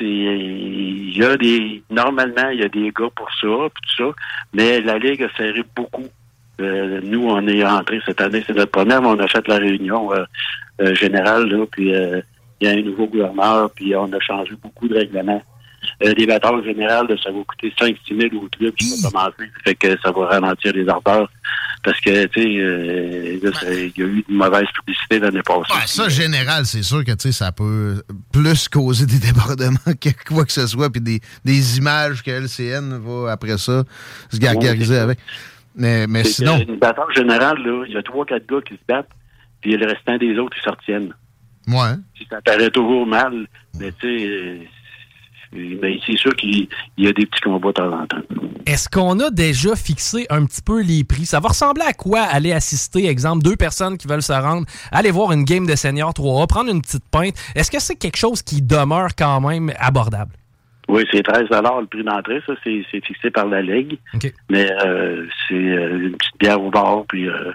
il y a des... Normalement, il y a des gars pour ça, puis tout ça, mais la Ligue a serré beaucoup. Euh, nous, on est entrés cette année, c'est notre première, mais on a fait la réunion euh, euh, générale, là, puis... Euh, il y a un nouveau gouverneur, puis on a changé beaucoup de règlements. Euh, les batailles générales, ça va coûter cinq à six mille au club qui va commencer. Ça fait que ça va ralentir les ardeurs. Parce que, tu sais, euh, il y a eu une mauvaise publicité l'année passée. Ouais, ça, général, c'est sûr que, tu sais, ça peut plus causer des débordements que quoi que ce soit, puis des, des images que L C N va, après ça, se gargariser ouais, avec. Mais, mais sinon... Une bataille générale, là, il y a trois quatre gars qui se battent, puis le restant des autres, ils s'en retiennent. Ouais. Si ça paraît toujours mal, mais tu sais, euh, mais c'est sûr qu'il y a des petits combats de temps en temps. Est-ce qu'on a déjà fixé un petit peu les prix? Ça va ressembler à quoi aller assister, exemple, deux personnes qui veulent se rendre, aller voir une game de Senior trois A, prendre une petite pinte? Est-ce que c'est quelque chose qui demeure quand même abordable? Oui, c'est treize dollars le prix d'entrée, ça, c'est, c'est fixé par la Ligue. Okay. Mais euh, c'est euh, une petite bière au bar, puis... Euh,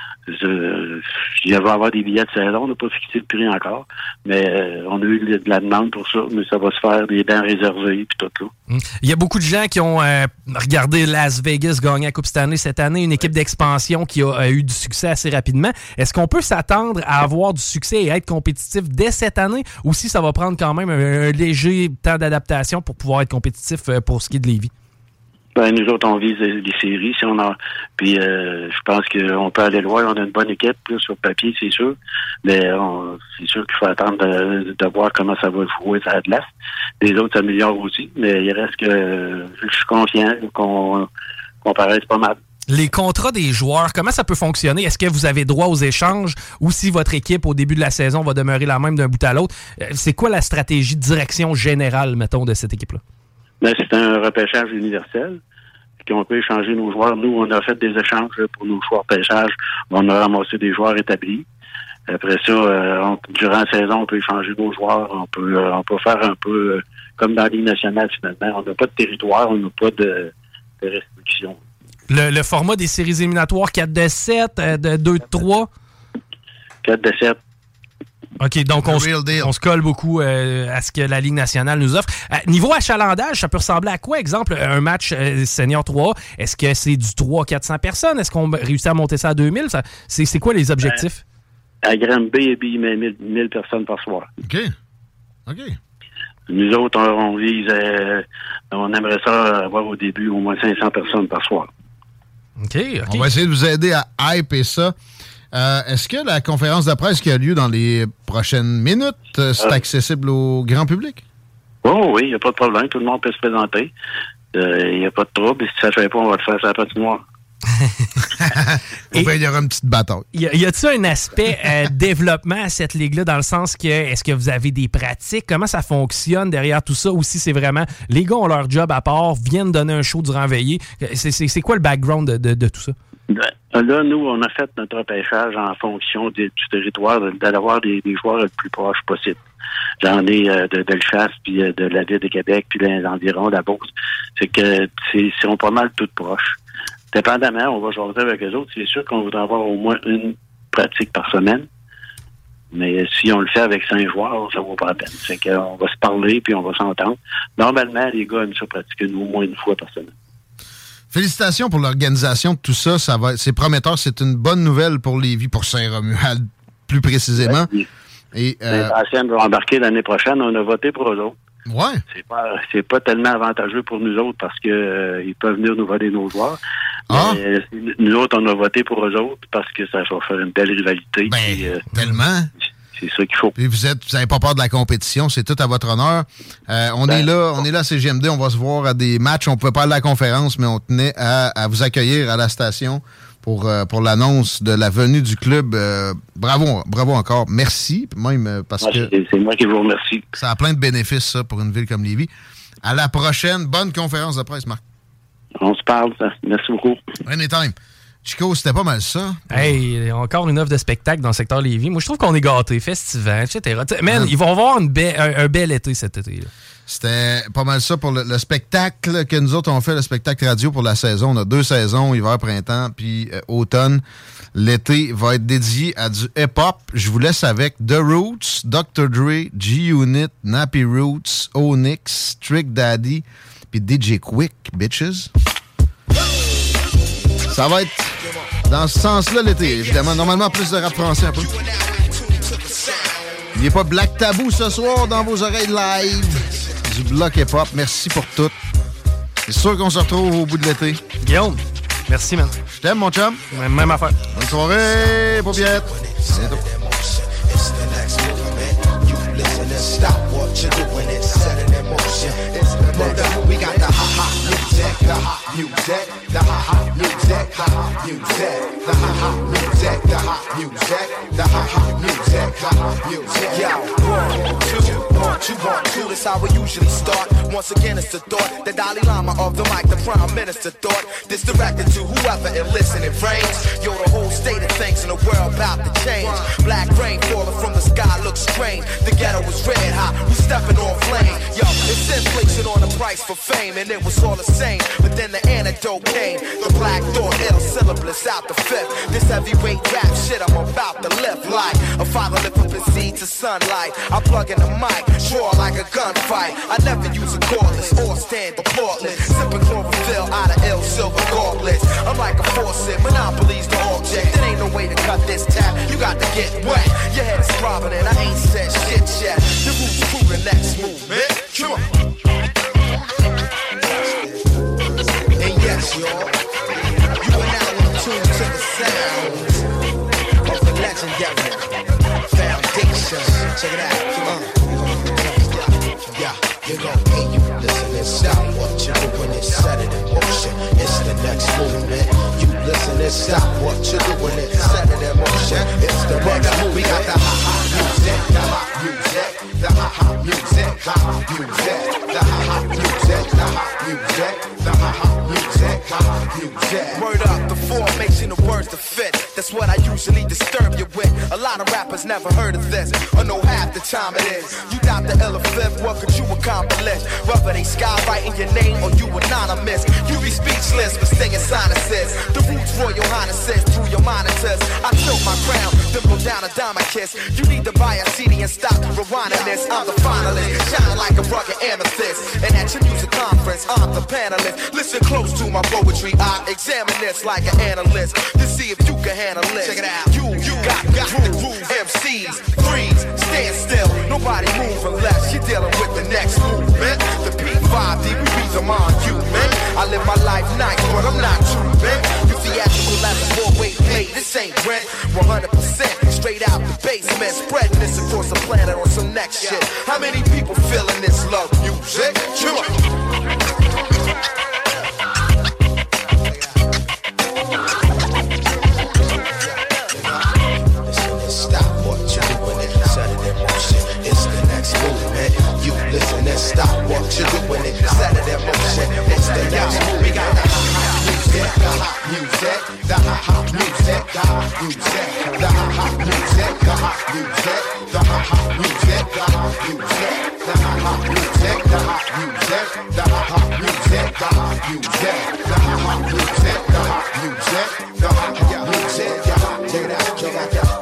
Je, il va y avoir des billets de saison, on n'a pas fixé le prix encore, mais euh, on a eu de la demande pour ça, mais ça va se faire des dents réservées puis tout là. Mmh. Il y a beaucoup de gens qui ont euh, regardé Las Vegas gagner la Coupe Stanley cette année, une équipe d'expansion qui a, a eu du succès assez rapidement. Est-ce qu'on peut s'attendre à avoir du succès et être compétitif dès cette année, ou si ça va prendre quand même un, un léger temps d'adaptation pour pouvoir être compétitif euh, pour ce qui est de Lévis? Ben, nous autres, on vise les séries, si on a. Puis, euh, je pense qu'on peut aller loin. On a une bonne équipe, là, sur papier, c'est sûr. Mais on, c'est sûr qu'il faut attendre de, de voir comment ça va jouer à la glace. Les autres s'améliorent aussi. Mais il reste que je suis confiant qu'on, qu'on paraisse pas mal. Les contrats des joueurs, comment ça peut fonctionner? Est-ce que vous avez droit aux échanges ou si votre équipe, au début de la saison, va demeurer la même d'un bout à l'autre? C'est quoi la stratégie de direction générale, mettons, de cette équipe-là? Ben, c'est un repêchage universel. On peut échanger nos joueurs. Nous, on a fait des échanges pour nos choix de repêchage. On a ramassé des joueurs établis. Après ça, euh, on, durant la saison, on peut échanger nos joueurs. On peut, euh, on peut faire un peu euh, comme dans la Ligue nationale, finalement. On n'a pas de territoire, on n'a pas de, de restrictions. Le, le format des séries éliminatoires quatre de sept, euh, de deux de trois? quatre de sept. OK, donc on, on se colle beaucoup euh, à ce que la Ligue nationale nous offre. Euh, niveau achalandage, ça peut ressembler à quoi? Exemple, un match euh, senior trois A, est-ce que c'est du trois à quatre cents personnes? Est-ce qu'on réussit à monter ça à deux mille? Ça, c'est, c'est quoi les objectifs? Euh, à Granby, il met mille personnes par soir. OK. OK. Nous autres, on, on vise, euh, on aimerait ça avoir au début au moins cinq cents personnes par soir. OK, OK. On va essayer de vous aider à hyper ça. Euh, est-ce que la conférence de presse qui a lieu dans les prochaines minutes, euh, c'est euh, accessible au grand public? Oh oui, il n'y a pas de problème. Tout le monde peut se présenter. Il euh, n'y a pas de trouble. Et si ça ne fait pas, on va le faire sur la patinoire. Ou bien il y aura une petite bataille. Y, a, y a-t-il un aspect euh, développement à cette ligue-là dans le sens que est-ce que vous avez des pratiques? Comment ça fonctionne derrière tout ça? Ou si c'est vraiment les gars ont leur job à part, viennent donner un show durant la veillée. C'est, c'est, c'est quoi le background de, de, de tout ça? Là, nous, on a fait notre repêchage en fonction de, du territoire, d'avoir des, des joueurs le plus proches possible. J'en ai euh, de Bellechasse, puis euh, de la ville de Québec, puis les environs, la Beauce. C'est que c'est, sont pas mal toutes proches. Dépendamment, on va jouer avec eux autres. C'est sûr qu'on voudrait avoir au moins une pratique par semaine. Mais si on le fait avec cinq joueurs, ça vaut pas la peine. C'est qu'on va se parler, puis on va s'entendre. Normalement, les gars aiment ça pratiquer au moins une fois par semaine. Félicitations pour l'organisation de tout ça. Ça va, c'est prometteur. C'est une bonne nouvelle pour Lévis, pour Saint-Romuald, plus précisément. Ouais, et euh... Saint-Ancienne va embarquer l'année prochaine. On a voté pour eux autres. Ouais. C'est pas, c'est pas tellement avantageux pour nous autres parce que euh, ils peuvent venir nous voler nos joueurs. Ah. Mais, euh, nous autres, on a voté pour eux autres parce que ça va faire une belle rivalité. Ben, puis, euh, tellement. C'est ça qu'il faut. Puis vous êtes, vous n'avez pas peur de la compétition, c'est tout à votre honneur. Euh, on ben, est là, on est là à C G M D, on va se voir à des matchs. On pouvait pas aller à la conférence, mais on tenait à, à vous accueillir à la station pour euh, pour l'annonce de la venue du club. Euh, bravo, bravo encore. Merci, même parce moi, que c'est, c'est moi qui vous remercie. Ça a plein de bénéfices ça pour une ville comme Lévis. À la prochaine, bonne conférence de presse, Marc. On se parle, ça. Merci beaucoup. Anytime. Chico, c'était pas mal ça. Hey, encore une offre de spectacle dans le secteur Lévis. Moi, je trouve qu'on est gâtés, festivants, et cetera. T'sais, man, ils vont avoir une ba- un, un bel été cet été. Là. C'était pas mal ça pour le, le spectacle que nous autres on fait, le spectacle radio pour la saison. On a deux saisons, hiver, printemps, puis euh, automne. L'été va être dédié à du hip-hop. Je vous laisse avec The Roots, docteur Dre, G-Unit, Nappy Roots, Onyx, Trick Daddy, puis D J Quick, bitches. Ça va être dans ce sens-là l'été, évidemment. Normalement, plus de rap français un peu. Il n'y a pas Black Tabou ce soir dans vos oreilles live. Du bloc hip-hop. Merci pour tout. C'est sûr qu'on se retrouve au bout de l'été. Guillaume, merci, man. Je t'aime, mon chum. Même, même affaire. Bonne soirée, paupiette. À bientôt. We got the ha-ha music, the hot music, the ha-ha music, ha-ha music, the ha-ha music, the hot music, the ha-ha music, ha-ha music. Yo, one, two, one, two, one, two, that's how we usually start. Once again, it's the thought, the Dalai Lama of the mic, the Prime Minister thought. This directed to whoever it listening frames. Yo, the whole state of things in the world about to change. Black rain falling from the sky looks strange. The ghetto was red hot, we stepping on flame. Yo, it's inflation on the price for fame, and it was all the same. But then the antidote came. The black thought, ill syllabus out the fifth. This heavyweight rap shit I'm about to lift like a father lift up his seed to sunlight. I plug in the mic, draw like a gunfight. I never use a cordless or stand applaudless. Sipping chlorophyll out of ill silver gauntlets. I'm like a faucet, monopolies the object. There ain't no way to cut this tap. You got to get wet. Your head is throbbing and I ain't said shit yet. The roots prove the next movement. Come on. And yes, y'all, you are now in tune to the sounds of the legendary Foundation. Check it out. Uh, yeah, you gon' hear you listen and stop what you're doing and set it in motion. It's the next movement. You stop what you're doing it. Set it in motion. It's the next move. We got the ha-ha music, the hot music, the ha-ha music, hot music, the ha-ha music, the hot music, the ha-ha music, hot music. Word up, the formation of words to fit. That's what I usually disturb you with. A lot of rappers never heard of this, or know half the time it is. You doubt the ill fifth, what could you accomplish? Whether they skywriting your name or you anonymous, you be speechless for staying sinuses. The roots Royal Highnesses through your monitors. I tilt my crown, then blow down a diamond kiss. You need to buy a C D and stop rewinding this. I'm the finalist, shining like a rugged amethyst. And at your music conference, I'm the panelist. Listen close to my poetry, I examine this like an analyst to see if you can handle it. Check it out. You, you got, got the groove. M Cs, freeze, stand still. Nobody move unless you're dealing with the next movement. The P five D, we beat them on you, man. I live my life nice, but I'm not true, man. You theatrical as a four-way play. This ain't rent. one hundred percent straight out the basement. Spreading this across the planet on some next shit. How many people feeling this love music? Chill up. Listen and stop what you're doing it. Set it in motion. It's the next move. We got the hot music, the hot music, the hot music, the hot music, the hot music, the hot music, the hot music, the hot music, the hot music, the hot music, the hot music, the hot music, the hot music, the hot music, the hot music. Check it out, check it out, check it out.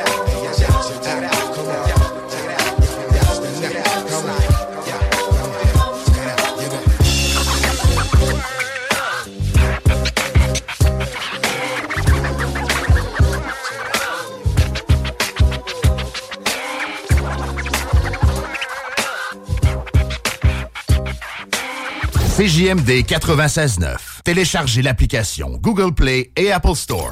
C J M D quatre-vingt-seize neuf. Téléchargez l'application Google Play et Apple Store.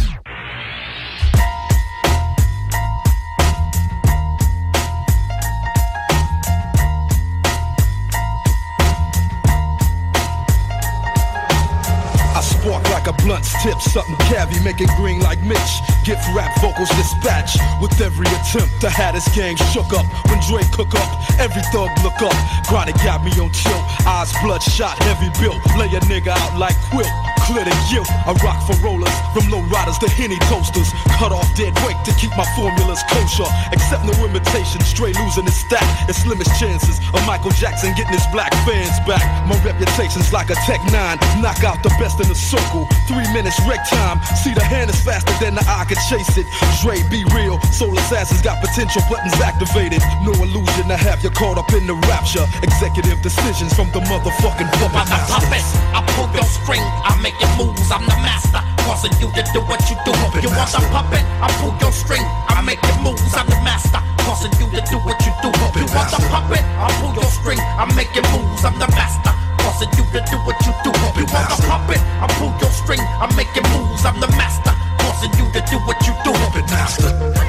Spark like a blunt's tip, something cavi, make it green like Mitch. Gift rap vocals dispatch with every attempt. The Hatters gang shook up when Dre cook up. Every thug look up. Chronic got me on tilt. Eyes bloodshot, heavy built. Lay a nigga out like quilt. Clear the guilt. I rock for rollers, from low riders to Henny toasters. Cut off dead weight to keep my formulas kosher. Accept no imitation, Stray losing his stack. It's slimmest chances of Michael Jackson getting his black fans back. My reputation's like a Tech nine. Knock out the best in the circle. Three minutes wreck time. See the hand is faster than the eye can chase it. Dre be real. Soul assassins got potential buttons activated. No illusion to have you caught up in the rapture. Executive decisions from the motherfucking puppet master. I pull your string, I make your moves, I'm the master. Causing you to do what you do. Puppet you master. Want a puppet? I pull your string, I make your moves, I'm the master. Causing you to do what you do. Puppet you master. Want a puppet? I pull your string, I make your moves, I'm the master. Causing you to do what you do. Puppet you want master. A puppet? I pull your string, I make your moves, I'm the master. Causing you to do what you do. Puppet master.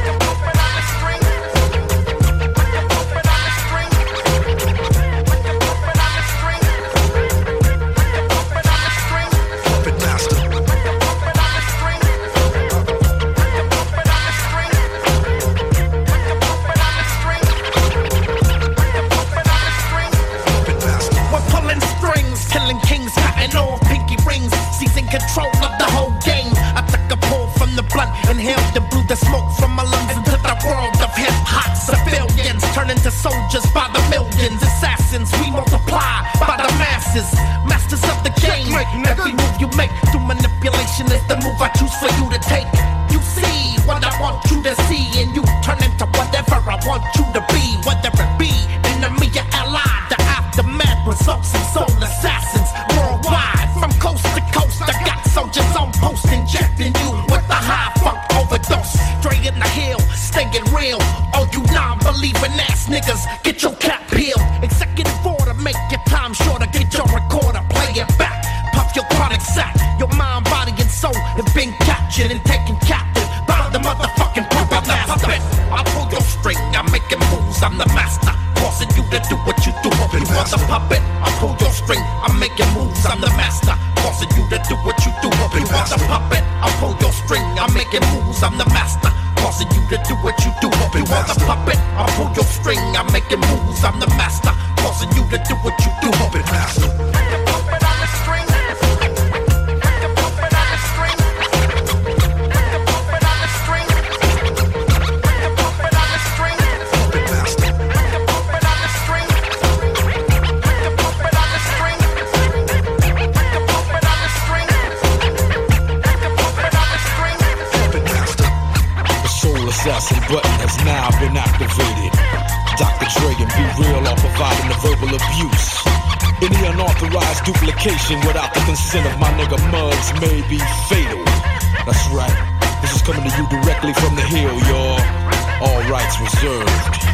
Control of the whole game. I took a pull from the blunt, inhaled and blew the smoke from my lungs into the world of hip hop. Civilians turn into soldiers by the millions. Assassins, we multiply by the masses. Masters of the game. Every move you make through manipulation is the move I choose for you to take. You see what I want you to see, and you turn into whatever I want you to be. Whether it be enemy or ally, the aftermath results in soul assassins worldwide. From coast to coast, I got soldiers on post injecting you with the high funk overdose. Straight in the hill, staying real. All you non-believing ass niggas, get your cap peeled. Executive order, make your time shorter. Get your recorder, play it back. Puff your chronic sack. Your mind, body, and soul have been captured and taken captive by the motherfucking puppet master. I pull your string, I make it moves, I'm the master. Causing you to do what you do. You want the puppet? I pull your string, I make it moves, I'm the master. Causing you to do what you do. You want the puppet? I pull making moves, I'm the master. Causing you to do what you do. You are the puppet, I pull your string, I'm making moves, I'm the master. Causing you to do what you do. Puppet master. Assassin button has now been activated. Doctor Dre and Be Real are providing the verbal abuse. Any unauthorized duplication without the consent of my nigga Muggs may be fatal. That's right, this is coming to you directly from the hill, y'all. All rights reserved.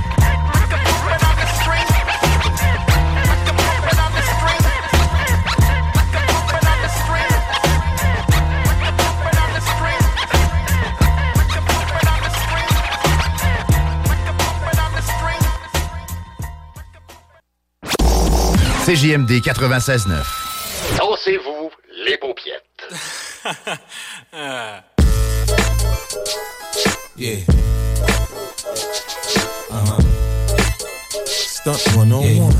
C J M D quatre-vingt-seize neuf. Dansez-vous les paupiètes. Yeah. Uh-huh. Stunt one oh one.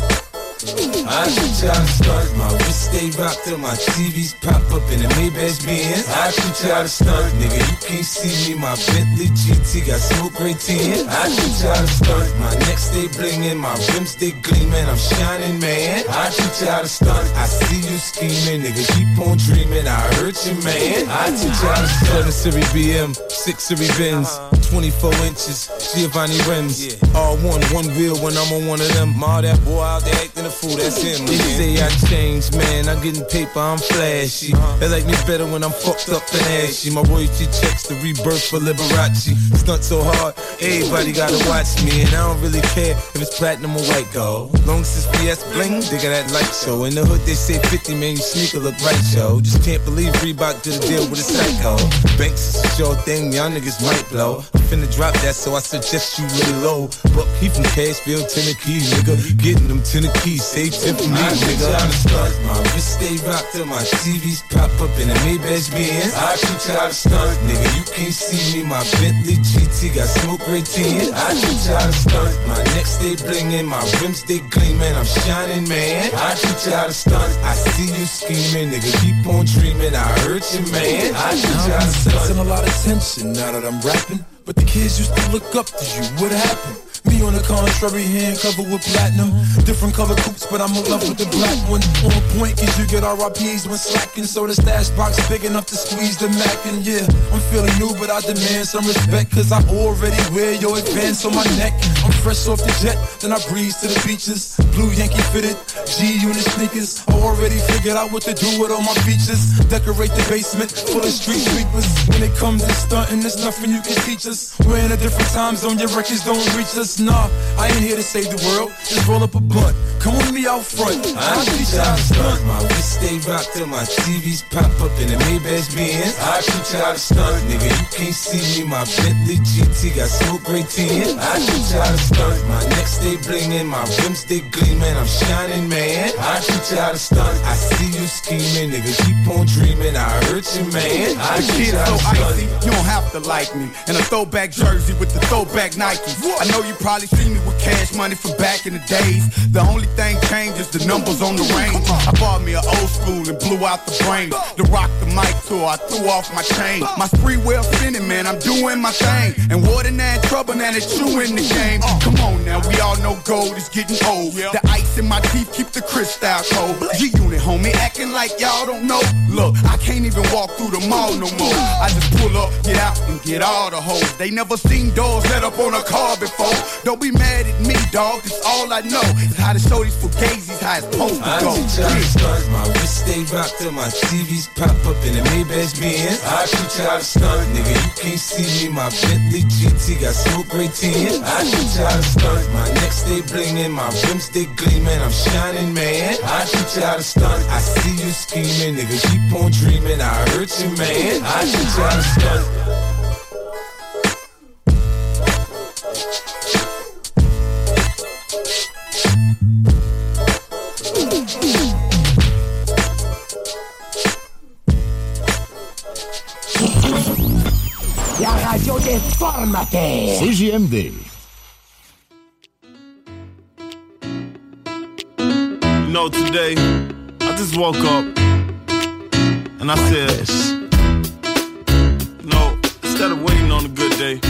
I shoot y'all to stunt, my wrist stay rocked till my T Vs pop up in the Maybach Benz. I shoot y'all to stunt, nigga, you can't see me, my Bentley G T got smoke right tin. I shoot y'all to stunt, my neck stay blingin', my rims stay gleamin', I'm shining, man. I shoot y'all to stunt, I see you scheming, nigga, keep on dreamin', I hurt you, man. I shoot y'all to stunt. seven Series B M, six Series Benz, twenty-four inches, Giovanni rims. All one, one wheel when I'm on one of them. All that boy out there acting a fool, that's him. They say I changed, man, I'm getting paper, I'm flashy. They like me better when I'm fucked up and ashy. My royalty checks the rebirth for Liberace. Stunt so hard, everybody gotta watch me. And I don't really care if it's platinum or white gold. Long as it's B S bling, they got that light show. In the hood they say fifty, man, your sneaker look right, yo. Just can't believe Reebok did a deal with a psycho. Banks is a sure thing, y'all niggas might blow. I'm finna drop that, so I suggest you lay low. But he from Cashville, Tennessee, nigga. Getting them Tennessee, say tip for me, nigga. I stunt, my wrist stay rocked till my T Vs pop up in the Maybach Benz. I shoot y'all to stunt, nigga, you can't see me, my Bentley G T got smoke right tin. I shoot y'all to stunt, my neck stay blingin', my rims stay gleamin', I'm shining, man. I shoot y'all to stunt, I see you scheming, nigga, keep on dreamin', I hurt you, man. I shoot y'all to stunt. Sensing a lot of tension now that I'm rapping, but the kids used to look up to you. What happened? Me on the contrary, hand covered with platinum. Different color coupes, but I'm in love with the black one. On point, cause you get R I Ps when slacking. So the stash box big enough to squeeze the Mac. And yeah, I'm feeling new, but I demand some respect, cause I already wear your advance on my neck. I'm fresh off the jet, then I breeze to the beaches. Blue Yankee fitted, G-Unit sneakers. I already figured out what to do with all my features. Decorate the basement full of street sweepers. When it comes to stunting, there's nothing you can teach us. We're in a different time zone, your records don't reach us. Nah, I ain't here to save the world. Just roll up a blunt. Come with me out front. I shoot y'all to stunt. My wrist stay rocked till my T Vs pop up in the Maybach Benz. I shoot y'all to stunt, nigga. You can't see me. My Bentley G T got smoke right tin. I shoot y'all to stunt. My neck stay blingin', my rims stay gleamin', I'm shining, man. I shoot y'all to stunt. I see you scheming, nigga. Keep on dreamin', I hurt you, man. I shoot y'all to stunt. Icy, you don't have to like me. In a throwback jersey with the throwback Nikes. I know you probably see me with cash money from back in the days. The only thing changed is the numbers on the range. I bought me an old school and blew out the brain. To rock the mic tour, I threw off my chain. My spree well spinning, man, I'm doing my thing. And more than that, trouble now that you in the game. Come on now, we all know gold is getting old. The ice in my teeth keep the crystal cold. G-Unit, homie, acting like y'all don't know. Look, I can't even walk through the mall no more. I just pull up, get out, and get all the hoes. They never seen doors let up on a car before. Don't be mad at me, dog, cause all I know is how to show these fugazis how it's supposed to go. I shoot y'all to stunt, my wrist stay rocked till my T Vs pop up in the Maybach Benz. I shoot y'all to stunt, nigga, you can't see me, my Bentley G T got smoke right tin. I shoot y'all to stunt, my neck stay blingin', my rims stay gleamin', I'm shining, man. I shoot y'all to stunt, I see you scheming, nigga, keep on dreamin', I hurt you, man. I shoot y'all to stunt. la radio des formateurs. C J M D. You know, today, I just woke up and I said, you know, instead of waiting on a good day,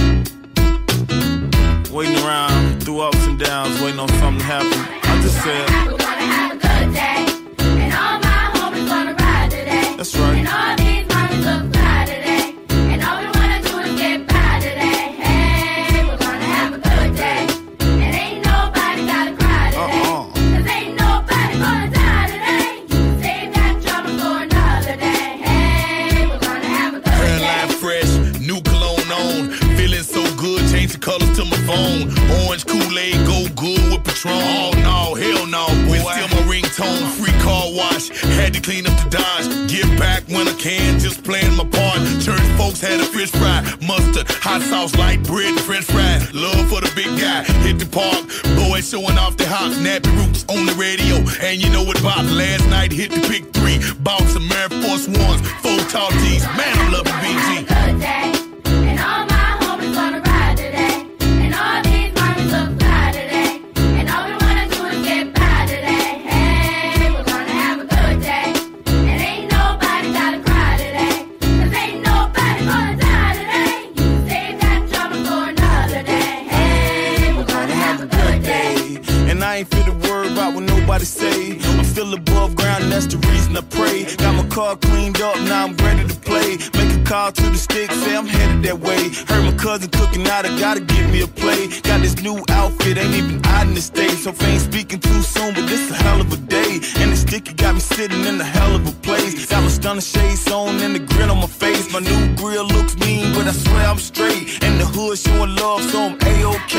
waiting around through ups and downs, waiting on something to happen, I just said, we're gonna have a good day, and all my homies gonna ride today. That's right. And all these mommies look fly today, and all we wanna do is get by today. Hey, we're gonna have a good day, and ain't nobody gotta cry today. Uh-uh. Cause ain't nobody gonna die today. You can save that trouble for another day. Hey, we're gonna have a good day. Hairline fresh, new cologne on. Feeling so good, change the colors to my phone. Orange Kool-Aid, go good with Patron. Oh no, hell no, boy. Still my ringtone, free car wash. Had to clean up the Dodge. Give back when I can, just playing my part. Church folks had a fish fry, mustard, hot sauce, light bread, and French fries. Love for the big guy, hit the park. Boys showing off their hops, nappy roots on the radio. And you know what about last night, hit the pick three. Bought some Air Force Ones, four tall tees. Man, I'm loving B G. Good day, and all my homies gonna ride today, and all these mommies look fly today, and all we wanna do is get by today. Hey, we're gonna have a good day, and ain't nobody gotta cry today, cause ain't nobody gonna die today. You can save that trouble for another day. Hey, we're gonna have a good day. And I ain't fit to worry about what nobody say. I'm still above ground, and that's the reason I pray. Got my car cleaned up, now I'm ready to play. Make a call to the stick, say I'm headed that way. Heard my cousin cooking out, I gotta give me a play. Got this new outfit, ain't even out in the States. So if I ain't speaking too soon, but this a hell of a day. And the sticky got me sitting in a hell of a place. Got my stunner shades on and the grin on my face. My new grill looks mean, but I swear I'm straight. And the hood showing love, so I'm A-OK.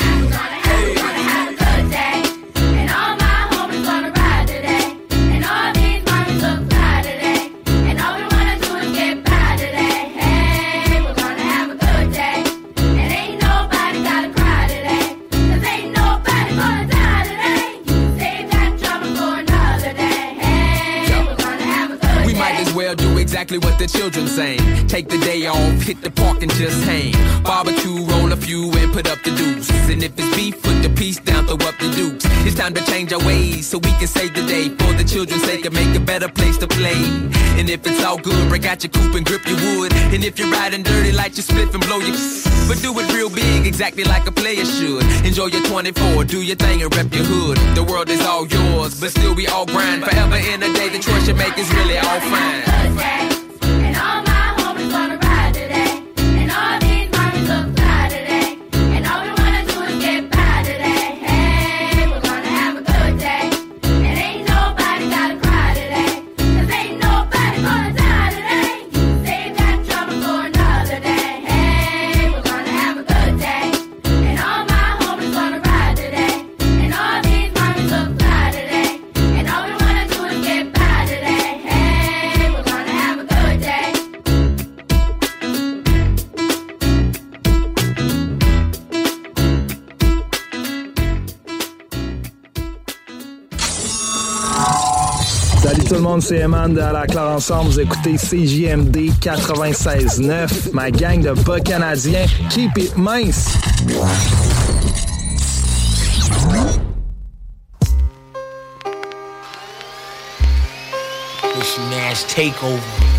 Hey. Have a good day, and all my homies gonna ride today, and all these mommies look fly today, and all we wanna do is get by today. Hey, we're gonna have a good day, and ain't nobody gotta cry today, cause ain't nobody gonna die today. You can save that trouble for another day. Hey, we're gonna have a good We day. might as well do exactly what the children saying. Take the day off, hit the park and just hang. Barbecue, roll a few and put up the deuce. And if it's beef, put the piece down, throw up the dukes. It's time to change our ways so we can save the day. For the children's sake and make a better place to play. And if it's all good, break out your coupe and grip your wood. And if you're riding dirty, light your spliff and blow your but do it real big, exactly like a player should. Enjoy your twenty-four, do your thing and rep your hood. The world is all yours, but still we all grind. Forever in a day, the choice you make is really all fine. And all my homies gonna ride today, and all these mommies look fly today, and all we wanna do is get by today. Hey, we're gonna have a good day, and ain't nobody gotta cry today, cause ain't nobody gonna die today. You can save that trouble for another day. Hey, we're gonna have a good day, and all my homies gonna ride today, and all these mommies look fly today, and all we wanna do is get by today. Hey, we're gonna have a good day. Salut tout le monde, c'est Eman de À la Claire Ensemble. Vous écoutez C J M D quatre-vingt-seize neuf, ma gang de bas canadiens. Keep it mince! This Nash takeover.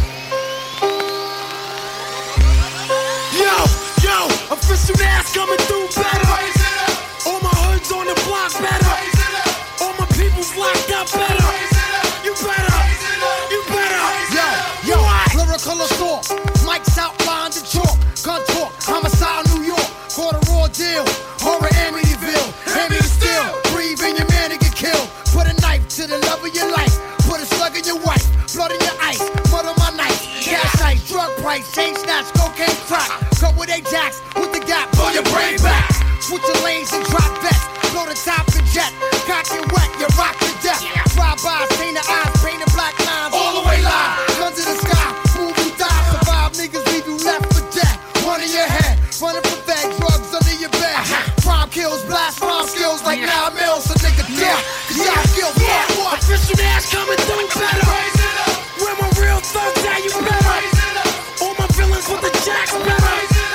Yo, yo, official Nash coming through better. All my hoods on the block better. All my people's locked up better. You better, you better. Yo, yo, lyrical assault. Mike's outlined the chalk. Gun talk, homicide New York. Caught a raw deal. Horror Amityville. Amityville still. Breathe in your man and get killed. Put a knife to the love of your life. Put a slug in your wife. Blood in your ice. Mud on my knife. Cash ice. Drug price. Chain snatch. Cocaine crack. Cut with Ajax. With the gap. Blow your brain back. Switch your lanes and drop bets. Blow the top and jet. Cock and wet. You rock to death. Drive by. Stain the eyes. Painted black lines. All the way live. Guns in the sky. Move you die. Survive. Niggas leave you left for dead. One in your head. Running for fed. Drugs under your bed. Crime kills. Blast rhyme skills like nine mils. So nigga dead. Cause y'all skills. What? What? Official Nash coming through better. Where my real thugs at, you better. All my villains with the jacks better.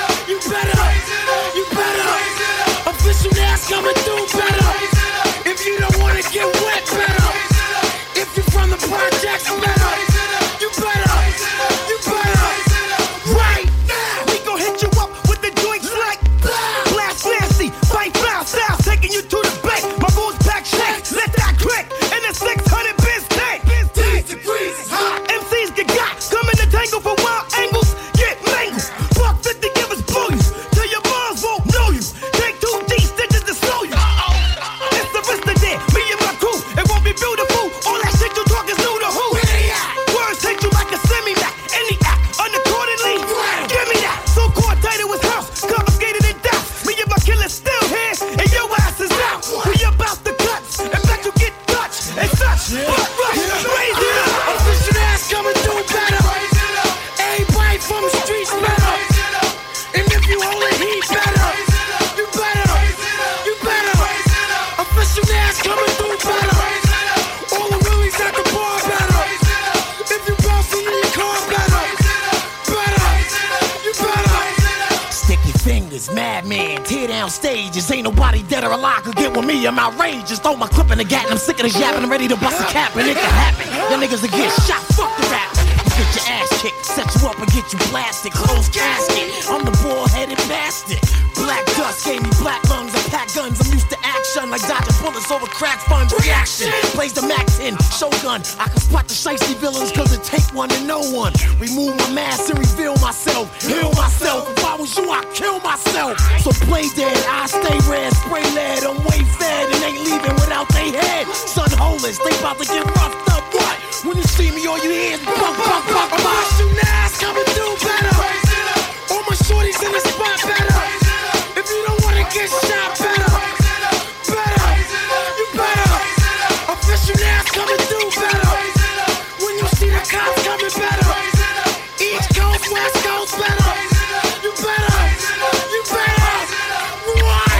fingers, madman, tear down stages. Ain't nobody dead or alive could get with me. I'm outrageous. Throw my clip in the gat and I'm sick of this yapping. I'm ready to bust a cap and it can happen. Y'all niggas will get shot. Fuck the rap. You get your ass kicked, set you up and get you blasted. Closed casket. I'm the bald-headed bastard. Black dust gave me black lungs. I pack guns. I'm used to action like dodging bullets over crack funds. Reaction. Blaze the Mac ten. Shogun. I can spot the shiesty villains cause it take one to know one. Remove my mask and reveal myself. Heal myself. If I was you, I'd kill myself. So play dead. I stay red. Spray lead. I'm way fed and ain't leaving without they head. Sun holers. They about to get roughed up. What? When you see me, all you hear is buck, buck, buck, buck. My shooting ass coming through better. All my shorties in the spot better. If you don't wanna get shot better, better, you better. Official ass coming through better. When you see the cops coming better. East Coast, West Coast better. You better, you better. What?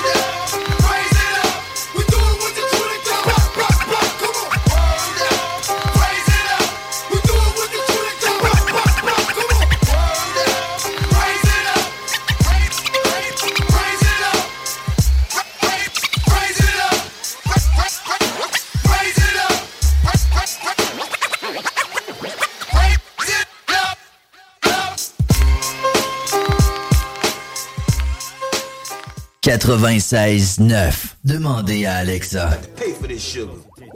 We doing what the truth do. Come on. Raise it up. We doing what the truth do. Come on. Raise it up. Raise it up. Raise it up. Raise it up. Raise it up. quatre-vingt-seize neuf. Demandez à Alexa. Pay for this sugar.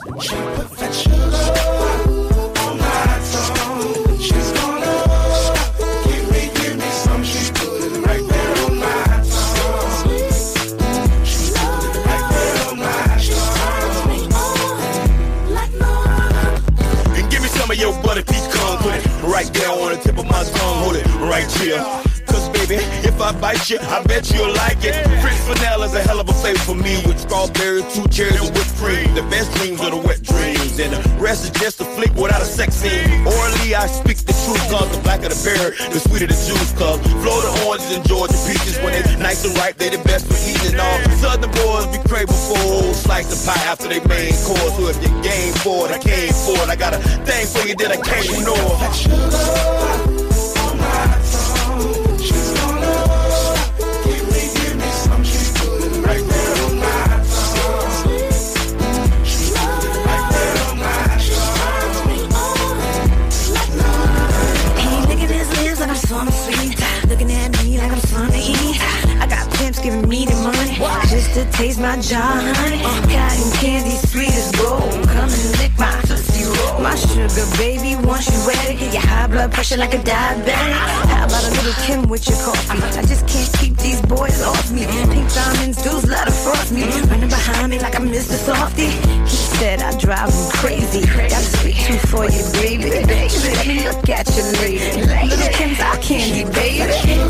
And give me some of your butter peach corn, put it right there on the tip of my tongue, hold it right here. Cause baby, if I bite you, I bet you'll like it. French vanilla is a hell of a flavor for me. With strawberry, two cherries, and whipped cream. The best dreams are the wet dreams. And the rest is just a flick without a sex scene. Orally, I speak the truth. Cause the blacker the berry, the sweeter the juice. Cause Florida oranges and Georgia peaches, when they nice and ripe, they the best for eating. All southern boys be craving for old slice of pie after they main course. So if you game for it, I came for it. I got a thing for you that I can't ignore. Looking at me like I'm something to eat. I got pimps giving me the money just to taste my jar, honey. Cotton candy sweet as gold. Come and lick my tootsie roll. My sugar baby, once you wet it, get your high blood pressure like a diabetic. How about a little Kim with your coffee? I just can't keep these boys off me. Pink diamonds, dudes let her frost me. Running behind me like I'm Mister Softy. He said I drive him crazy. Got a sweet tooth for you, baby. Let me look at you, lady. Little Kim's our candy, baby.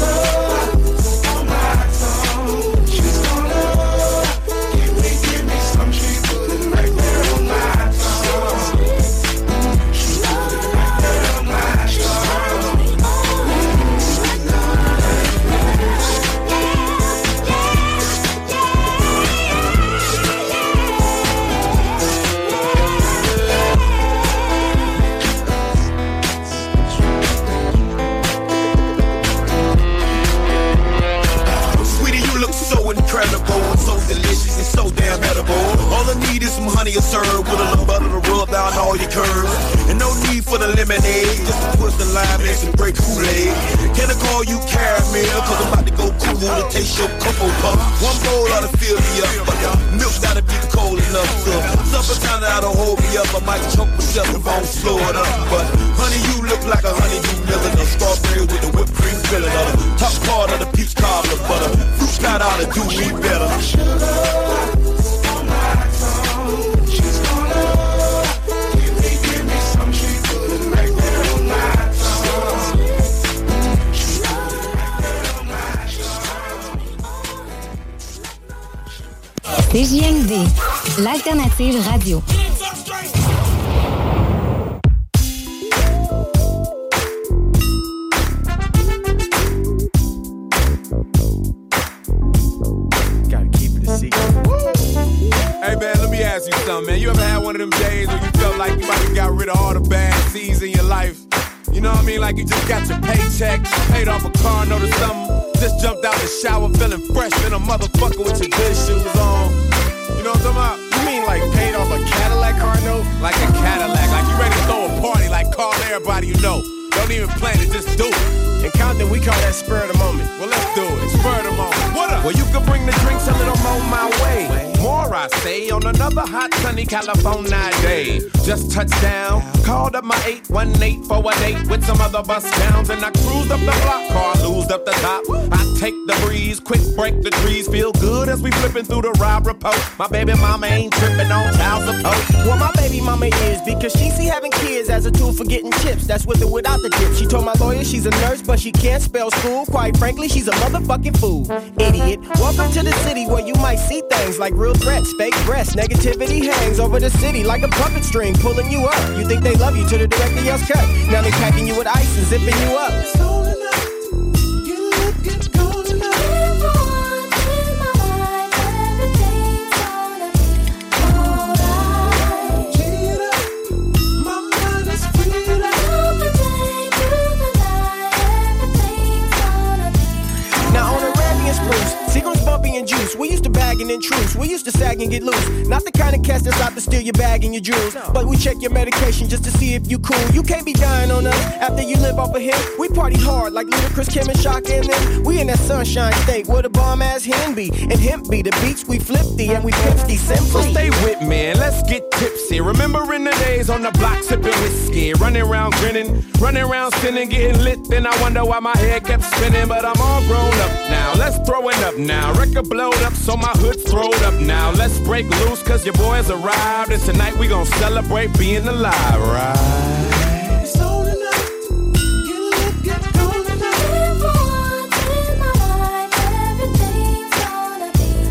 So damn edible. All I need is some honey or syrup with a little butter to rub down all your curves. And no need for the lemonade, just to push the lime and some great Kool-Aid. Can I call you caramel? Cause I'm about to go cool to taste your cocoa puff. One bowl ought to fill me up, but the milk gotta be cold enough to suffer kinda oughta hold me up. I might choke myself if I don't slow it up. But honey, you look like a honeydew milling, a strawberry with the whipped cream filling, or the top part of the peach cobbler butter. Fruit got ought to do me better. C J M D, l'alternative radio. Hey man, let me ask you something, man. You ever had one of them days where you felt like you might have got rid of all the bad seeds in your life? You know what I mean? Like you just got your paycheck, paid off a car note or something. Just jumped out the shower feeling fresh, been a motherfucker with your good shoes on. You know what I'm talking about? You mean like paid off a Cadillac car note? Like a Cadillac, like you ready to throw a party, like call everybody you know. Don't even plan it, just do it. In Compton, we call that spur of the moment. Well, let's do it. Spur of the moment. What up? Well, you can bring the drinks a little more my way. More, I say, on another hot, sunny California day. Just touched down, called up my eight one eight for a date with some other bus downs, and I cruised up the block, car loosed up the top. I take the breeze, quick break the trees, feel good as we flipping through the Rob Report. My baby mama ain't tripping on child support. Well, my baby mama is, because she see having kids as a tool for getting chips. That's with or without the dip. She told my lawyer she's a nurse, but she can't spell school. Quite frankly, she's a motherfucking fool. Idiot. Welcome to the city where you might see things like real threats, fake breasts. Negativity hangs over the city like a puppet string pulling you up. You think they love you till the director yells cut. Now they packing you with ice and zipping you up. And juice. We used to bag and intrude. We used to sag and get loose. Not the kind of cast that's out to steal your bag and your jewels. But we check your medication just to see if you cool. You can't be dying on us after you live off of him. We party hard like Ludacris, Kim, and Shaka and them. We in that sunshine state where the bomb ass hen be. And hemp be the beats we flip thee and we pimp thee simply. So stay with me and let's get tipsy. Remembering the days on the block sipping whiskey. Running around grinning, running around sinning, getting lit. Then I wonder why my head kept spinning. But I'm all grown up now. Let's throw it up now. Record blowed up so my hood's throwed up now. Let's break loose cause your boys arrived. And tonight we gon' celebrate being alive, right? It's all tonight. Get lit, get going tonight. Once in my life, everything's gonna be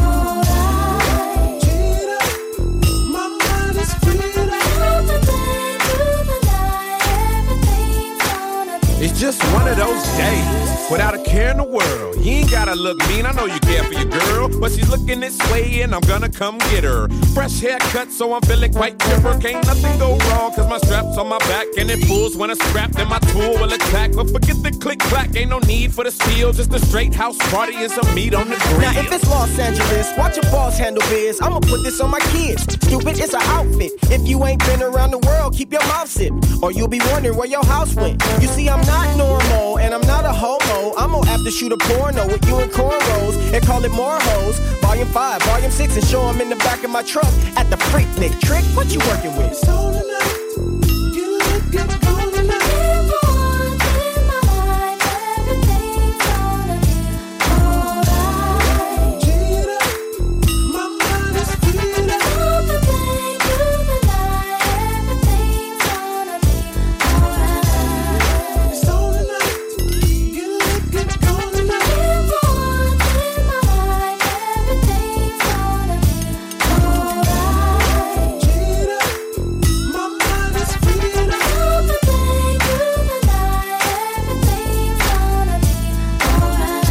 alright. Cheat up, my mind is freed up. From the day to the night, everything's gonna be. It's just one of those days. Without a care in the world. You ain't gotta look mean, I know you care for your girl. But she's looking this way and I'm gonna come get her. Fresh haircut, so I'm feeling quite chipper. Can't nothing go wrong, cause my strap's on my back. And it pulls when I scrap, then my tool will attack. But forget the click-clack, ain't no need for the steel. Just a straight house party and some meat on the grill. Now if it's Los Angeles, watch your boss handle biz. I'ma put this on my kids. Stupid, it's an outfit. If you ain't been around the world, keep your mouth zipped. Or you'll be wondering where your house went. You see, I'm not normal, and I'm not a homo. I'm gonna have to shoot a porno with you in cornrows and call it more hoes. Volume five, volume six, and show them in the back of my truck at the Freak Nick Trick. What you working with? So tonight, get lit, get going tonight. Once in my life, everything's gonna be alright. Cheat up, my mind is freed up. From the day to the night, everything's gonna be alright. So tonight, get lit, get going tonight. Once in my life, everything's gonna be alright. Cheat up, my mind is freed up. From the day to the night, everything's gonna be alright.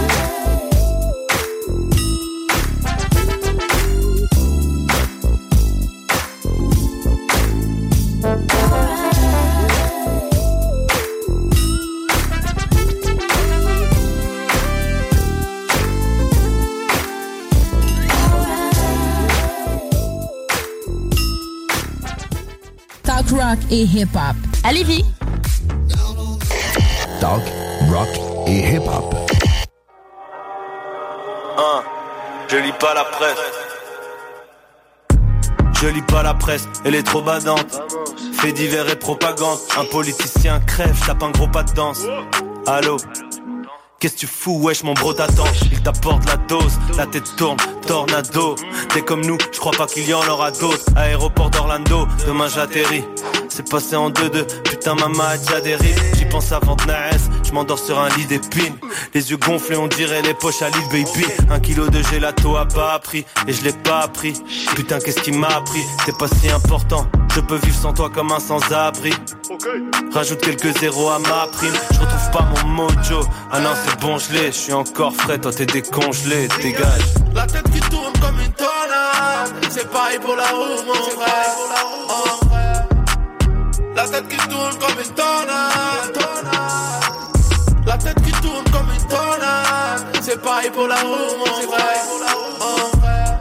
Talk rock et hip-hop. À Lévis. Talk, rock et hip-hop. Hein, je lis pas la presse. Je lis pas la presse, elle est trop badante. Fait divers et propagande. Un politicien crève, tape un gros pas de danse. Allô? Qu'est-ce que tu fous, wesh, mon bro t'attend. Il t'apporte la dose, la tête tourne, tornado. T'es comme nous, je crois pas qu'il y en aura d'autres. Aéroport d'Orlando, demain j'atterris. C'est passé en deux deux, putain maman a déjà dérive. J'y pense avant de naître, je m'endors sur un lit d'épines. Les yeux gonflés, on dirait les poches à Lil Baby. Un kilo de gelato à bas prix, et je l'ai pas appris. Putain qu'est-ce qui m'a appris, c'est pas si important. Je peux vivre sans toi comme un sans-abri. Rajoute quelques zéros à ma prime. Je retrouve pas mon mojo. Ah non c'est bon je l'ai, je suis encore frais. Toi t'es décongelé, dégage. La tête qui tourne comme une tornade. C'est pareil pour la roue mon frère. Oh. La tête qui tourne comme une tornade. La tête qui tourne comme une tornade. c'est pareil pour la roue, mon frère. Oh.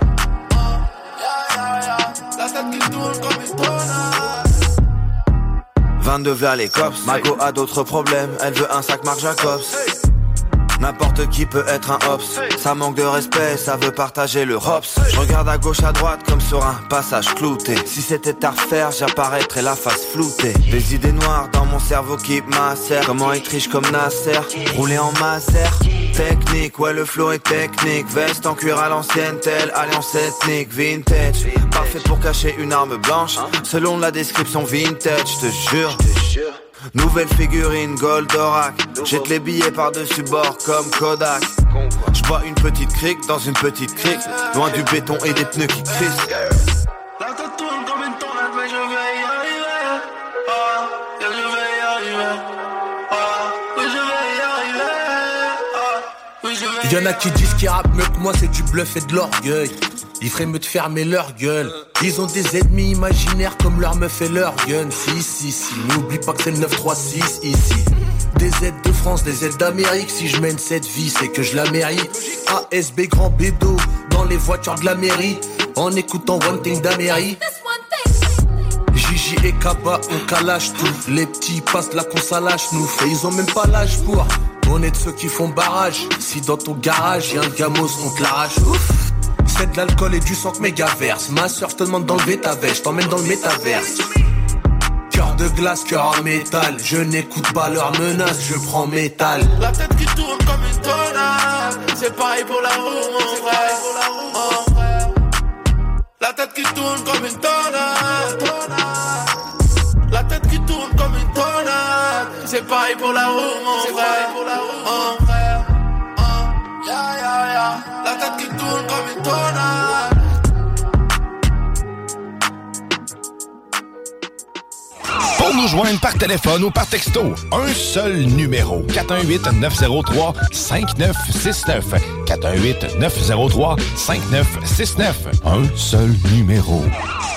La tête qui tourne comme une tornade. vingt-deux vers les cops, Mago a d'autres problèmes, elle veut un sac Marc Jacobs. N'importe qui peut être un hops, ça manque de respect, ça veut partager le hops. Je regarde à gauche à droite comme sur un passage clouté. Si c'était à refaire, j'apparaîtrais la face floutée. Des idées noires dans mon cerveau qui macèrent. Comment être riche comme Nasser, rouler en Maser. Technique, ouais le flow est technique. Veste en cuir à l'ancienne, telle alliance ethnique. Vintage, parfait pour cacher une arme blanche. Selon la description vintage, je te jure. Nouvelle figurine Goldorak. Jette les billets par-dessus bord comme Kodak. J'bois une petite crique dans une petite crique, loin du béton et des pneus qui crissent. La tête tourne comme une tornade, mais je vais y arriver. Oh, yeah, je vais y arriver. Oh, oui, je vais y arriver. Oh, oui, je vais. Y'en a qui disent qu'ils rappent mieux que moi, c'est du bluff et de l'orgueil. Ils feraient mieux de fermer leur gueule. Ils ont des ennemis imaginaires comme leur meuf et leur gun. Si, si, si, n'oublie pas que c'est le neuf trois six ici. Des aides de France, des aides d'Amérique. Si je mène cette vie, c'est que je la mérite. A S B grand bédo dans les voitures de la mairie, en écoutant One Thing d'Amérique. Gigi et Kaba, on calage tout. Les petits passent là qu'on s'allâche nous. Et ils ont même pas l'âge pour. On est de ceux qui font barrage. Si dans ton garage y'a un gamos, on te l'arrache. Ouf. C'est de l'alcool et du sang que mégaverse. Ma soeur, je te demande d'enlever ta veste, je t'emmène dans le métaverse. Cœur de glace, cœur en métal. Je n'écoute pas leurs menaces, je prends métal. La tête qui tourne comme une tornade. C'est pareil pour la roue, mon frère. Oh. La tête qui tourne comme une tornade. La tête qui tourne comme une tornade. C'est pareil pour la roue, mon frère. Oh. Yeah, yeah, yeah. La tête qui tourne comme une tornade. Pour nous joindre par téléphone ou par texto, un seul numéro. quatre un huit, neuf zéro trois, cinq neuf six neuf. quatre un huit, neuf zéro trois, cinq neuf six neuf. Un seul numéro.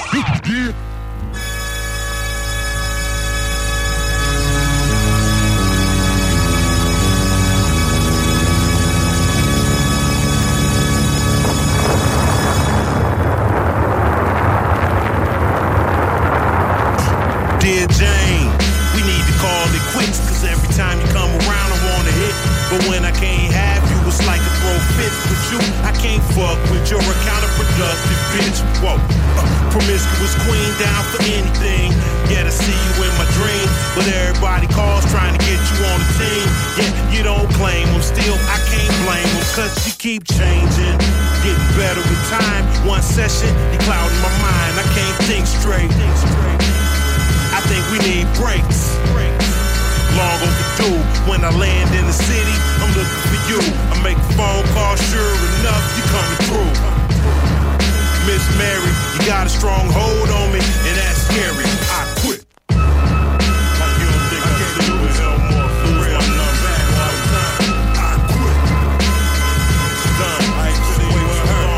Dear Jane, we need to call it quits, cause every time you come around I wanna hit. But when I can't have you, it's like a throw fits with you. I can't fuck with you're a counterproductive bitch. Whoa, uh, promiscuous queen down for anything. Yeah, I see you in my dreams, but everybody calls trying to get you on the team. Yeah, you don't claim them, still I can't blame them, cause you keep changing. Getting better with time, one session, you clouding my mind, I can't think straight. I think we need breaks. Long overdue. When I land in the city, I'm looking for you. I make a phone call, sure enough, you coming through. Miss Mary, you got a strong hold on me, and that's scary. I quit. Like you don't think I can do it no more. For real, I'm not back all the time. I quit. It's done. I ain't seen you in her.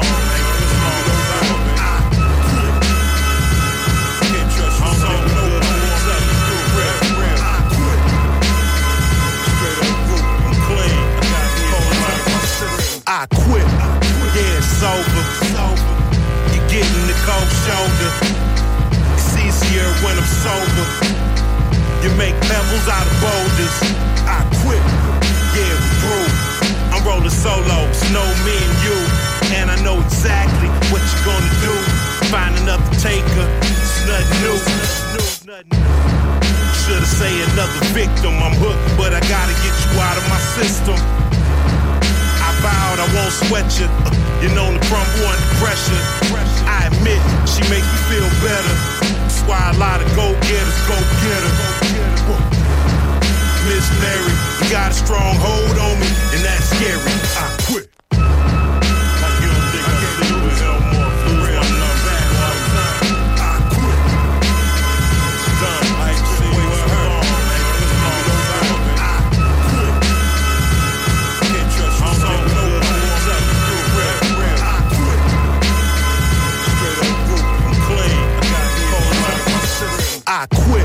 I quit, yeah, it's over. You're getting the cold shoulder. It's easier when I'm sober. You make pebbles out of boulders. I quit, yeah, we're through. I'm rolling solo, it's no me and you. And I know exactly what you're gonna do. Find another taker, it's nothing new. Should've say another victim, I'm hooked, but I gotta get you out of my system. Vowed I won't sweat you. You're known to crumble under pressure. I admit she makes me feel better. That's why a lot of go-getters go get her. Miss Mary, you got a strong hold on me, and that's scary. I quit. Like you don't think I can do it no more. For real, I'm not back all the time. I quit. It's done. I ain't seen you in her. I quit.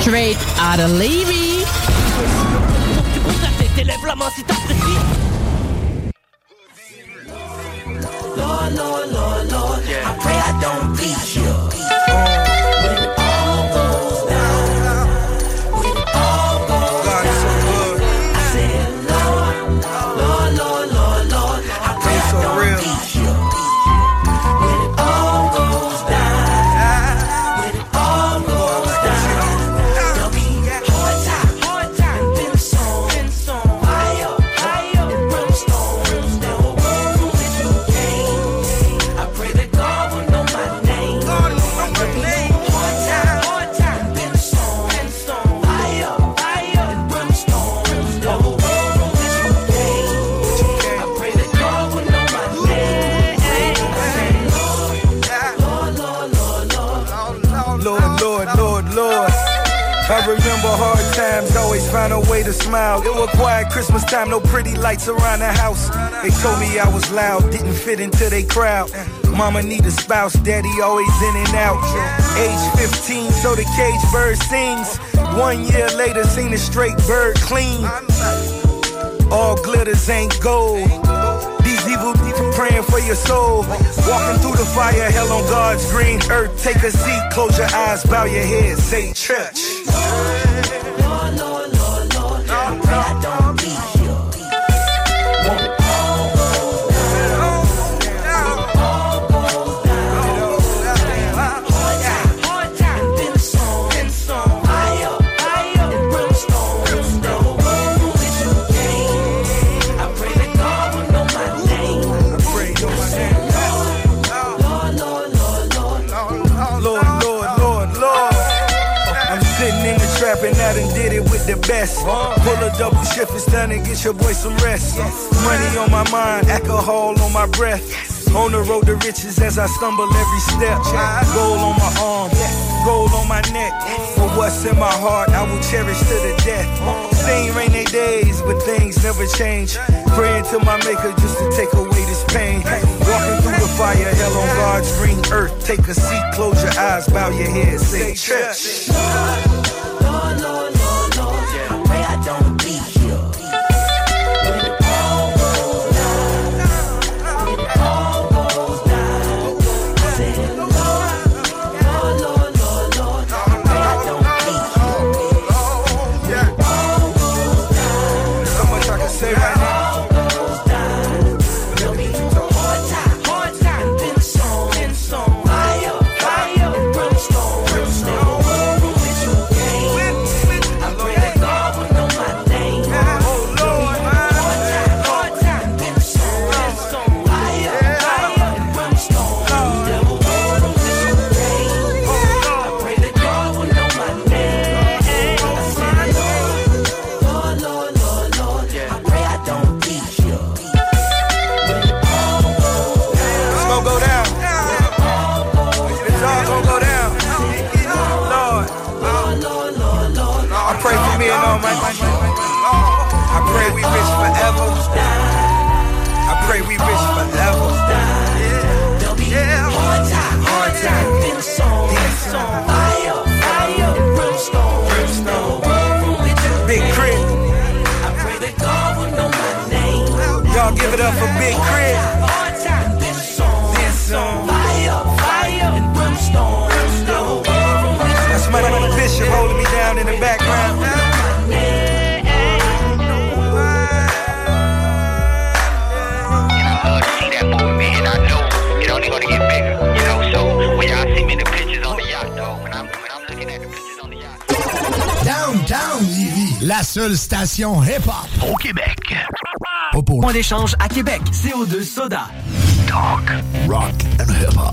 Straight out of Levy. T'élèves la main si t'apprécies. Lord, Lord, Lord, Lord, I pray I don't be here. When it all goes down, when it all goes down, I said, Lord, Lord, Lord, Lord, Lord, I pray I don't be here. When it all goes down, when it all goes down, there'll be hard time, hard time, and then some, then some, fire, fire, and brimstone, brimstone. I pray that God will know my name. God will know my name. Hard time, hard time, been song, been song, fire, fire, and brimstone, brimstone. The whole world knows that you came. I pray that God will know my name. I say, Lord, Lord, Lord, Lord, Lord, Lord, Lord, Lord. I remember hard times, always find a way to smile. It was quiet Christmas time, no pretty lights around the house. They told me I was loud, didn't fit into their crowd. Mama need a spouse, daddy always in and out. Age fifteen, so the cage bird sings. One year later, seen a straight bird clean. All glitters ain't gold. These evil people praying for your soul. Walking through the fire, hell on God's green earth. Take a seat, close your eyes, bow your head, say church. Lord, Lord, Lord, Lord, I pray I don't be here. When it all goes down, when it all goes down, hard time, hard time, and then some, then some, fire, fire, and brimstone, brimstone. The whole world knows that you came. I pray that God will know my name. I pray know my name. Lord, Lord, Lord, Lord, Lord, Lord, Lord, Lord. I'm sitting in the trap and I done did it with the best. Pull a double shift, it's done and get your boy some rest. Money on my mind, alcohol on my breath. On the road to riches as I stumble every step. Gold on my arm, gold on my neck. For what's in my heart, I will cherish to the death. Seen rainy days, but things never change. Praying to my maker just to take away this pain. Walking through the fire, hell on God's green earth. Take a seat, close your eyes, bow your head, say church. Lord, Lord, Lord, Lord, I pray I don't be here. When it all goes down, when it all goes down, I said, Lord, Lord, Lord, Lord, Lord, I pray I don't be here. When it all goes down, so much I can say right now. goes down, there'll be hard time, hard time, and then some, then some, fire, fire, and brimstone, brimstone. Pray for me and all my I pray we rich forever. I pray we rich forever. There'll be hard time, hard time, then song, then song, fire, fire, and brimstone, brimstone. Big Crit. I pray that God will know my name. Y'all give it up for Big Crit. Hard time, then song, then song, fire, fire, and brimstone, brimstone. That's my Bishop holding me down in the background. Downtown Lévis, la seule station hip-hop au Québec. Point d'échange à Québec, C O deux Soda. Talk, rock and hip-hop.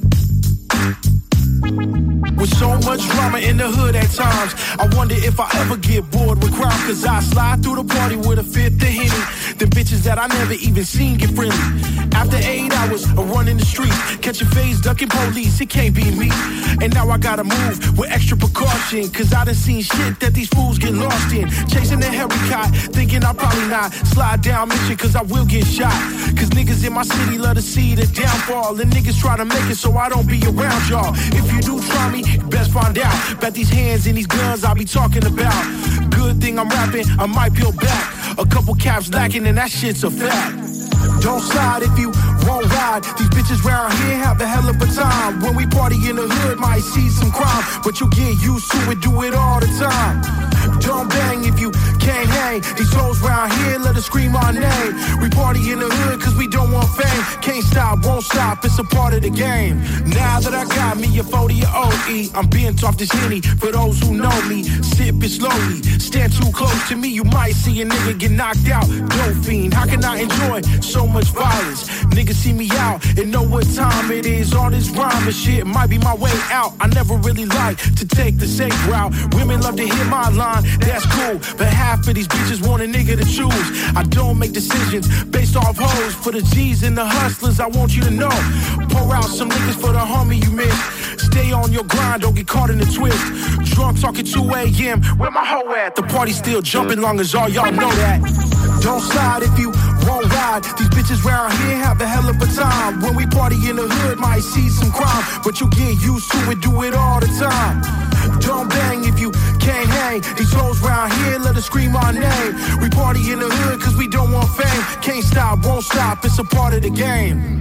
With so much drama in the hood at times, I wonder if I ever never get bored with crowd, cause I slide through the party with a fifth of Henny. The bitches that I never even seen get friendly. After eight hours of running the streets, catching phase, ducking police, it can't be me. And now I gotta move with extra precaution, cause I done seen shit that these fools get lost in. Chasing the Harry thinking I'll probably not slide down mission, cause I will get shot. Cause niggas in my city love to see the downfall, and niggas try to make it so I don't be around y'all. If you do try me, you best find out about these hands and these guns I be talking about. Good thing I'm rapping, I might peel back. A couple caps lacking and that shit's a fact. Don't slide if you won't ride. These bitches round here have a hell of a time. When we party in the hood, might see some crime, but you get used to it, do it all the time. Don't bang if you can't hang. These hoes round here, let us scream our name. We party in the hood cause we don't want fame. Can't stop, won't stop, it's a part of the game. Now that I got me a forty or O E, I'm being off this Henny for those who know me. Sip it slowly, stand too close to me, you might see a nigga get knocked out. Dope fiend, how can I enjoy so much violence? Niggas see me out and know what time it is. All this rhyme and shit might be my way out. I never really like to take the safe route. Women love to hear my line, that's cool, but half of these bitches want a nigga to choose. I don't make decisions based off hoes. For the G's and the hustlers, I want you to know. Pour out some niggas for the homie you missed. Stay on your grind, don't get caught in the twist. Drunk talking two a.m., where my hoe at? The party still jumping long as all y'all know that. Don't slide if you won't ride. These bitches round here have a hell of a time. When we party in the hood, might see some crime, but you get used to it, do it all the time. Don't bang if you can't hang. These hoes round here, let us scream our name. We party in the hood cause we don't want fame. Can't stop, won't stop, it's a part of the game.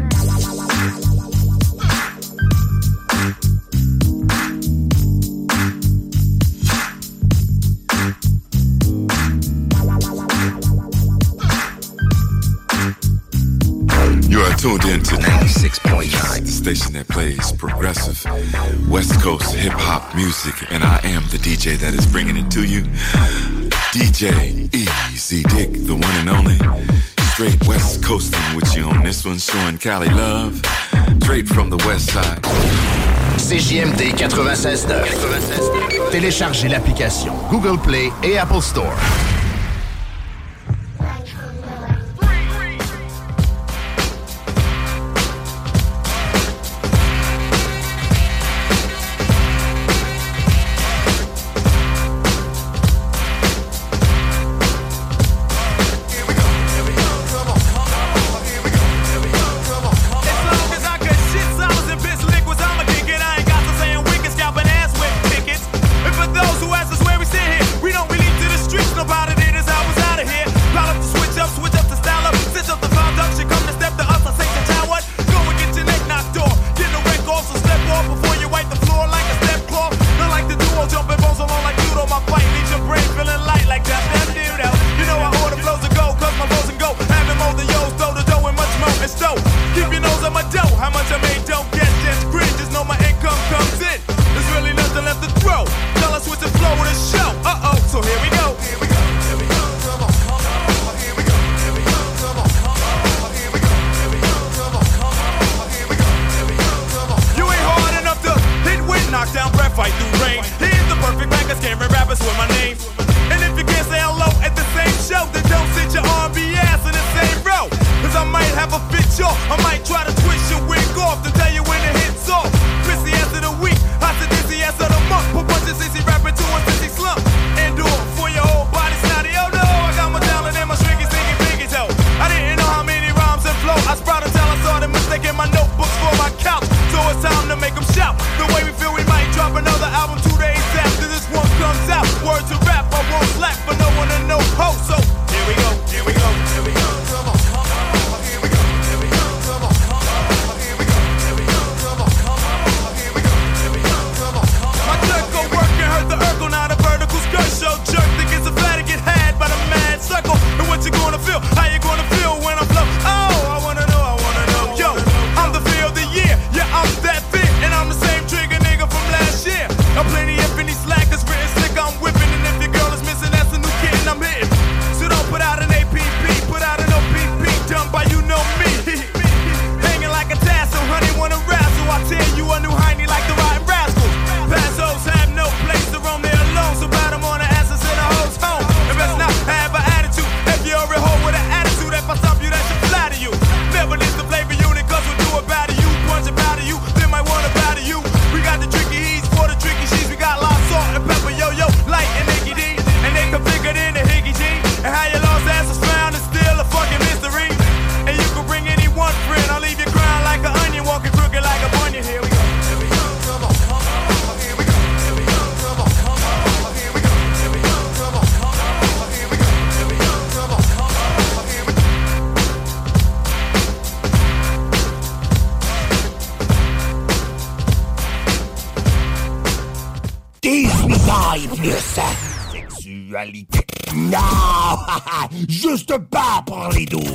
You are tuned in to ninety-six point nine, the station that plays progressive West Coast hip-hop music, and I am the D J that is bringing it to you. D J Easy Dick, the one and only. Straight West Coasting with you on this one, showing Cali love, straight from the West Side. C J M D quatre-vingt-seize neuf. Téléchargez l'application Google Play et Apple Store. Nobody sa sexualité. Non, juste pas pour les doux.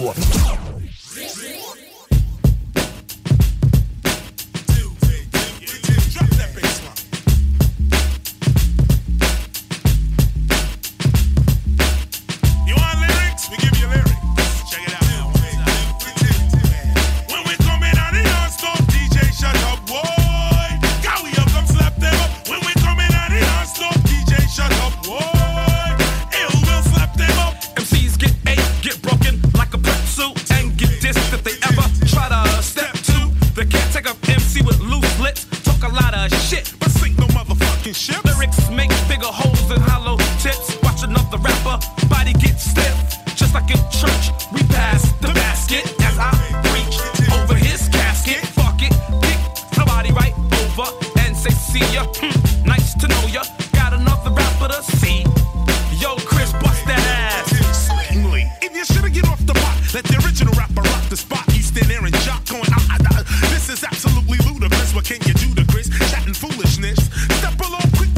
Ship. Lyrics make bigger holes than hollow tips. Watch another rapper, body get stiff. Just like in church, we pass the basket as I reach over his casket. Fuck it, pick somebody right over and say, see ya. Hmm, nice to know ya. Got another rapper to see. Yo, Chris, bust that ass. Swingly. If you shoulda get off the pot, let the original rapper rock the spot. You stand there and jock going, ah, ah, ah. This is absolutely ludicrous. What can you do to Chris? Chatting foolishness. Step below.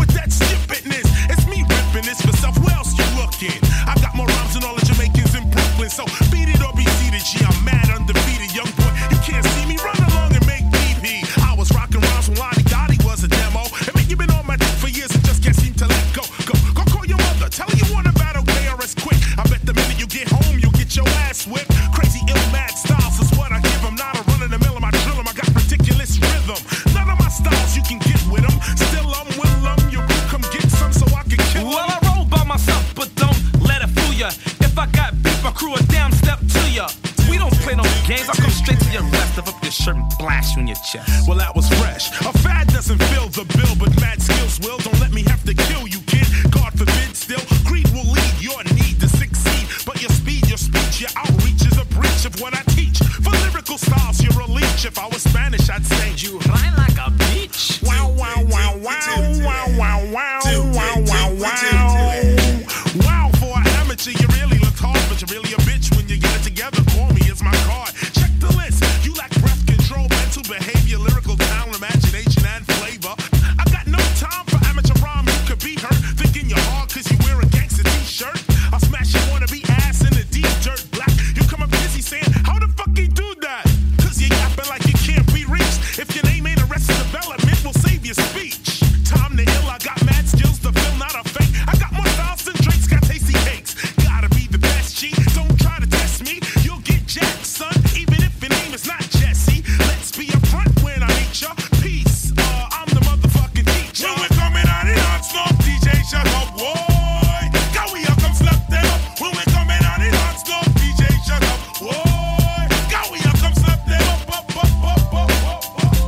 I got more rhymes than all the Jamaicans in Brooklyn. So beat it or be seated. G, I'm mad undefeated. Young boy, you can't see me. Run along and make me pee. I was rocking rhymes when Lonnie Gotti was a demo. I mean, you've been on my dick for years and just can't seem to let go. Go, go call your mother. Tell her you want to battle K R S quick. I bet the minute you get home, you'll get your ass whipped. Crazy, ill, mad styles is what I give them. Not a run in the mill of my drill 'em. I got ridiculous rhythm. None of my styles you can get with them. Still, I'm will 'em. You come get some so I can kill 'em. Well, I roll by myself, but don't let it fool ya. If I got beef, I crew a down step to ya. We don't play no games. I come straight to your rest, lift up your shirt and blast you in your chest. Well, that was fresh. A fad doesn't fill the bill, but mad skills will. Don't let me have to kill you, kid. God forbid, still. Greed will lead your need to succeed. But your speed, your speech, your outreach is a breach of what I teach. For lyrical styles, you're a leech. If I was Spanish, I'd say you rhyme like a beach. Wow, wow, wow, wow, wow, wow, wow, wow, wow, wow. Wow, for an amateur, you really look hard, but you're really a bitch when you get it together. Call me, it's my card. Check the list. You lack breath control, mental behavior, lyrical talent, imagination, and flavor. I got no time for amateur rhyme. You could be hurt thinking you're hard cause you wear a gangster t-shirt. I'll smash your wannabe ass in the deep dirt black. You come up busy saying, how the fuck he do that? Cause you yapping like you can't be reached. If your name ain't Arrested Development, we'll save your speech. Time to ill, I got mad skills to fill, not a fake. I got more styles than Drake's got tasty cakes. Gotta be the best, G. Don't try to test me. You'll get jacked, son, even if your name is not Jesse. Let's be upfront when I meet ya. Peace, uh, I'm the motherfucking teacher. When we're coming out in hot smoke, D J, shut up, boy. Go, we up, come slap them up. When we're coming out in hot smoke, D J, shut up, boy. Go, we up, come slap them up, up, up, up, up, up, up.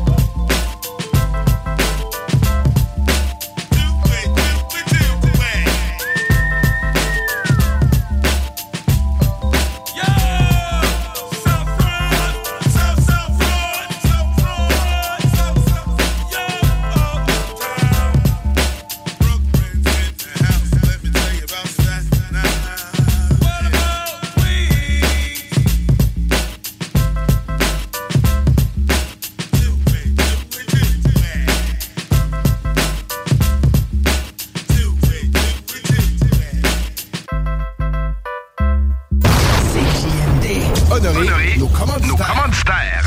Honoré nos commanditaires.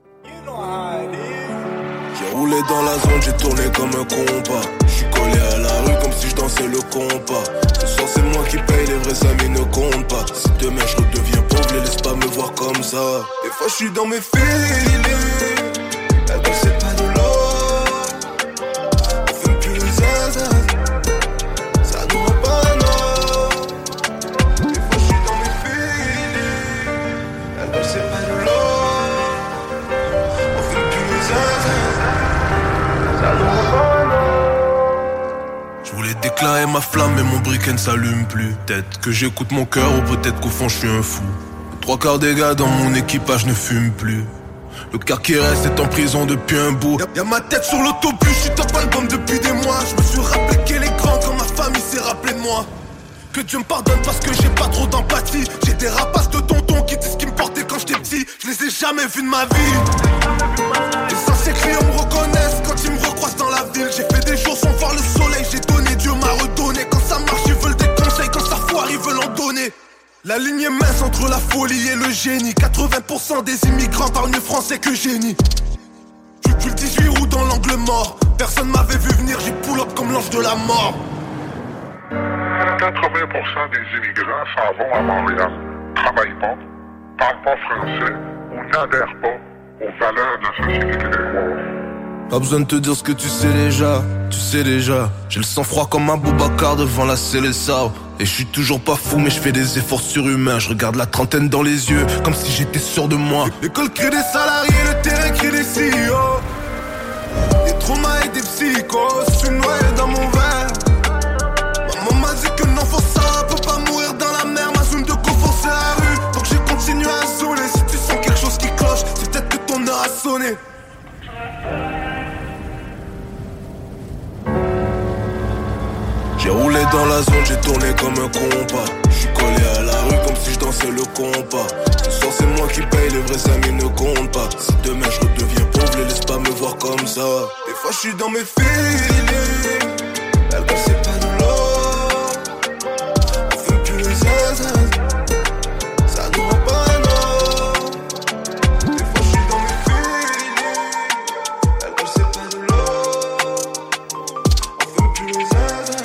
J'ai roulé dans la zone, j'ai tourné comme un compas. J'suis collé à la rue comme si je dansais le compas. Ce soir c'est moi qui paye, les vrais amis ne comptent pas. Si demain je redeviens pauvre, les laisse pas me voir comme ça. Des fois j'suis dans mes feelings. Elle veut c'est pas de l'or. On fume plus le zazaz. Ça nous rend pas non. Des fois j'suis dans mes feelings. Elle veut c'est pas de l'or. On fume plus le zazaz. Ça nous rend pas non. J'voulais déclarer ma flamme mais mon briquet ne s'allume plus. Peut-être que j'écoute mon cœur ou peut-être qu'au fond je suis un fou. Trois quarts des gars dans mon équipage ne fument plus. Le quart qui reste est en prison depuis un bout. Y'a, y'a ma tête sur l'autobus, je suis top album depuis des mois. Je me suis rappelé qu'elle est grande quand ma famille s'est rappelée de moi. Que Dieu me pardonne parce que j'ai pas trop d'empathie. J'ai des rapaces de tonton qui disent qu'ils me portaient quand j'étais petit. Je les ai jamais vus de ma vie. Les anciens clients me reconnaissent quand ils me recroisent dans la ville. J'ai fait des jours sans voir le soleil, j'ai donné, Dieu m'a redonné. La ligne est mince entre la folie et le génie. quatre-vingts pour cent des immigrants parlent mieux français que génie. Je suis le dix-huit roues dans l'angle mort. Personne m'avait vu venir, j'ai pull up comme l'ange de la mort. quatre-vingts pour cent des immigrants s'en vont à Montréal, travaillent pas, parlent pas français ou n'adhèrent pas aux valeurs de la société québécoise. Pas besoin de te dire ce que tu sais déjà, tu sais déjà. J'ai le sang froid comme un Boubacar devant la Célessa. Et je suis toujours pas fou mais je fais des efforts surhumains. Je regarde la trentaine dans les yeux comme si j'étais sûr de moi. L'école crée des salariés, le terrain crée des C E O. Des traumas et des psychos, je suis noyé dans mon verre. Maman m'a dit que non faut ça, peut pas mourir dans la mer. Ma zone de confort c'est la rue, donc j'ai continué à zouler. Si tu sens quelque chose qui cloche, c'est peut-être que ton heure a sonné. J'ai roulé dans la zone, j'ai tourné comme un compas. J'suis collé à la rue comme si je dansais le compas. Ce soir c'est moi qui paye, les vrais amis ne comptent pas. Si demain je redeviens pauvre, les laisse pas me voir comme ça. Des fois j'suis dans mes feelings. Elle ne sait pas de l'or. On fait plus les zazas. Ça nous rend pas non. Des fois j'suis dans mes feelings. Elle ne sait pas de l'or. On fait plus les zazas.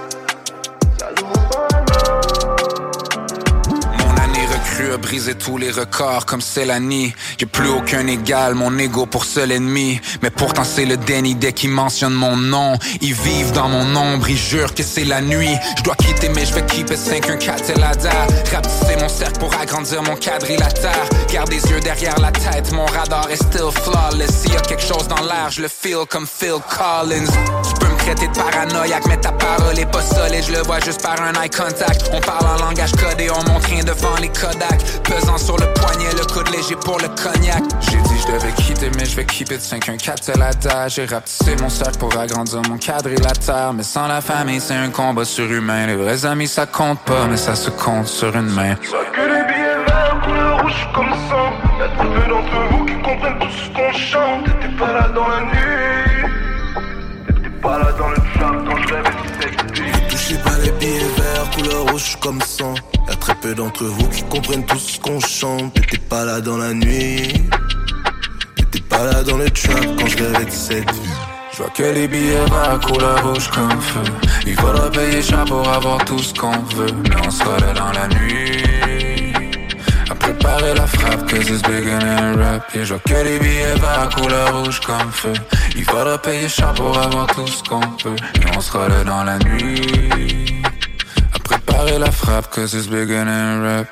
A brisé tous les records comme Célanie. J'ai plus aucun égal, mon ego pour seul ennemi. Mais pourtant c'est le déni dès qu'ils mentionnent mon nom. Ils vivent dans mon ombre, ils jurent que c'est la nuit. Je dois quitter mais je vais keep it cinq un quatre et la dare. Rapetisser mon cercle pour agrandir mon quadrilatère. Garde les yeux derrière la tête, mon radar est still flawless. S'il y a quelque chose dans l'air, je le feel comme Phil Collins. Tu peux me traiter de paranoïaque mais ta parole est pas solide. Je le vois juste par un eye contact. On parle en langage codé, on montre rien devant les Kodak. Pesant sur le poignet, le coude léger pour le cognac. J'ai dit je devais quitter mais je vais keep it cinq un quatre c'est la date. J'ai rapetissé mon cercle pour agrandir mon quadrilatère. Mais sans la famille c'est un combat surhumain. Les vrais amis ça compte pas mais ça se compte sur une main. Je vois que les billets verts couleur rouge comme sang. Y'a très peu d'entre vous qui comprennent tout ce qu'on chante. T'étais pas là dans la nuit. T'étais pas là dans le trap quand je rêvais de cette vie. Ne touchez pas les billets verts couleur rouge comme sang. Y'a très peu d'entre vous qui comprennent tout ce qu'on chante. T'étais pas là dans la nuit. T'étais pas là dans le trap quand je rêvais de cette vie. Je vois que les billets verts couleur rouge comme feu. Il faudra payer cher pour avoir tout ce qu'on veut. Mais on sera là dans la nuit à préparer la frappe, cause it's bigger than rap. Yeah, je vois que les billets verts couleur rouge comme feu. Il faudra payer cher pour avoir tout ce qu'on peut. Mais on sera là dans la nuit à préparer la frappe, cause it's bigger than rap.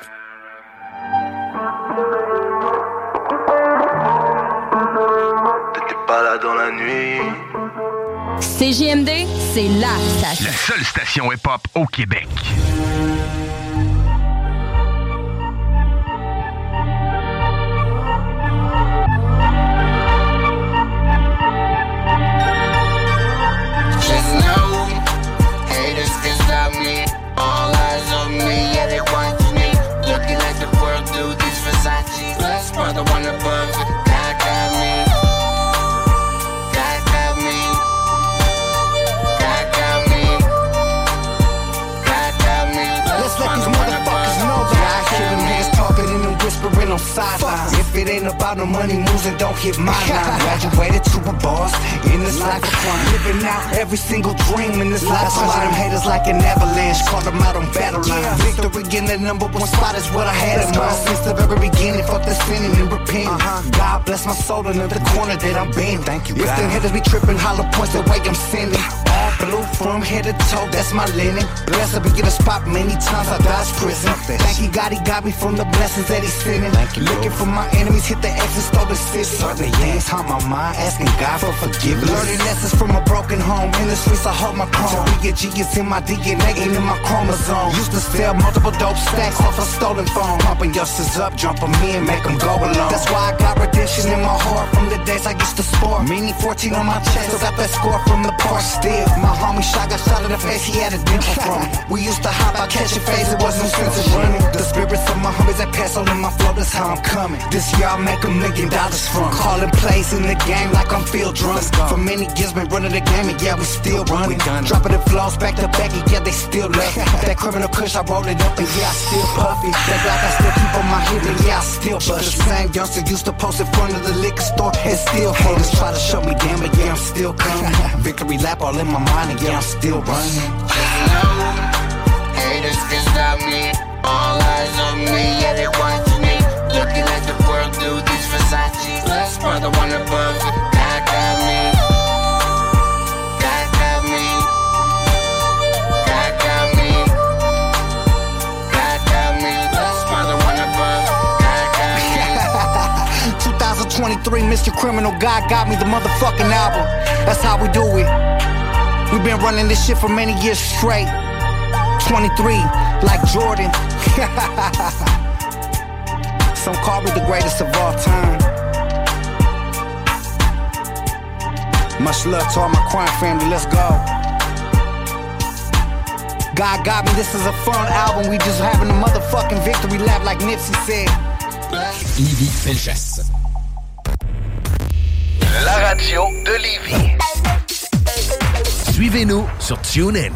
T'étais pas là dans la nuit. C J M D, c'est la station. La seule station hip-hop au Québec. Just know, haters can stop me. All eyes on me, yeah, they watch me. Looking like the world do these Versace. Plus, brother, one above it. God got me. God got me. God got me. God got me. Let's let these motherfuckers know that I hear them hands talking and them whispering on sidelines. If it ain't about no money moves, and don't hit my line. Graduated to a boss in this life of crime. Living out every single dream in this life. Some of them haters like an avalanche, caught them out on battle line. Victory in the number one spot is what I had in mind since the very beginning. Fuck the sinning and repenting. God bless my soul in the corner that I'm bending. Thank you, God. If the haters be tripping, hollow points the way I'm sending. All blue from head to toe, that's my linen. Blessed be get a spot many times I dodged prison. Thank you, God, he got me from the blessings that he's sending. Looking for my enemies, hit the exit, stole the city. Certain things haunt my mind, asking God for forgiveness. Learning lessons from a broken home. In the streets, I hold my crown. To be a G is in my D N A and in my chromosome. Used to sell multiple dope stacks off a stolen phone. Pumping youngsters up, jump them in, make them go along. That's why I got redemption in my heart from the days I used to sport. Meaning fourteen on my chest, still got that score from the park still. My homie shot got shot in the face, he had a dimple from it. We used to hop out, catch a phase, it wasn't sense of running. The spirits of my homies that pass on in my flow, that's how I'm coming. This year I'll make a million dollars from. Calling plays in the game like I'm field drunk. For many years been running the game and yeah, we still running. Dropping the flows back to back and yeah, they still left. That criminal kush, I roll it up and yeah, I still puff it. That black I still keep on my hip and yeah, I still bust it. The same youngster used to post in front of the liquor store and still haters try to show me damn, but yeah, I'm still coming. Victory lap all in my mind and yeah, I'm still running. Just know, haters can stop me. All eyes on me, yeah, they watch me. Looking at the world through these Versace. Plus, brother, one above, God got me. God got me. God got me. God got me. Plus, brother, one above, God got me. twenty twenty-three, Mister Criminal, God got me, the motherfucking album. That's how we do it. We've been running this shit for many years straight. twenty-three, like Jordan. Some call me the greatest of all time. Much love to all my crime family, let's go. God got me, this is a fun album. We just having a motherfucking victory lap like Nipsey said. Lévis Felchasse. La radio de Lévis. Suivez-nous sur TuneIn.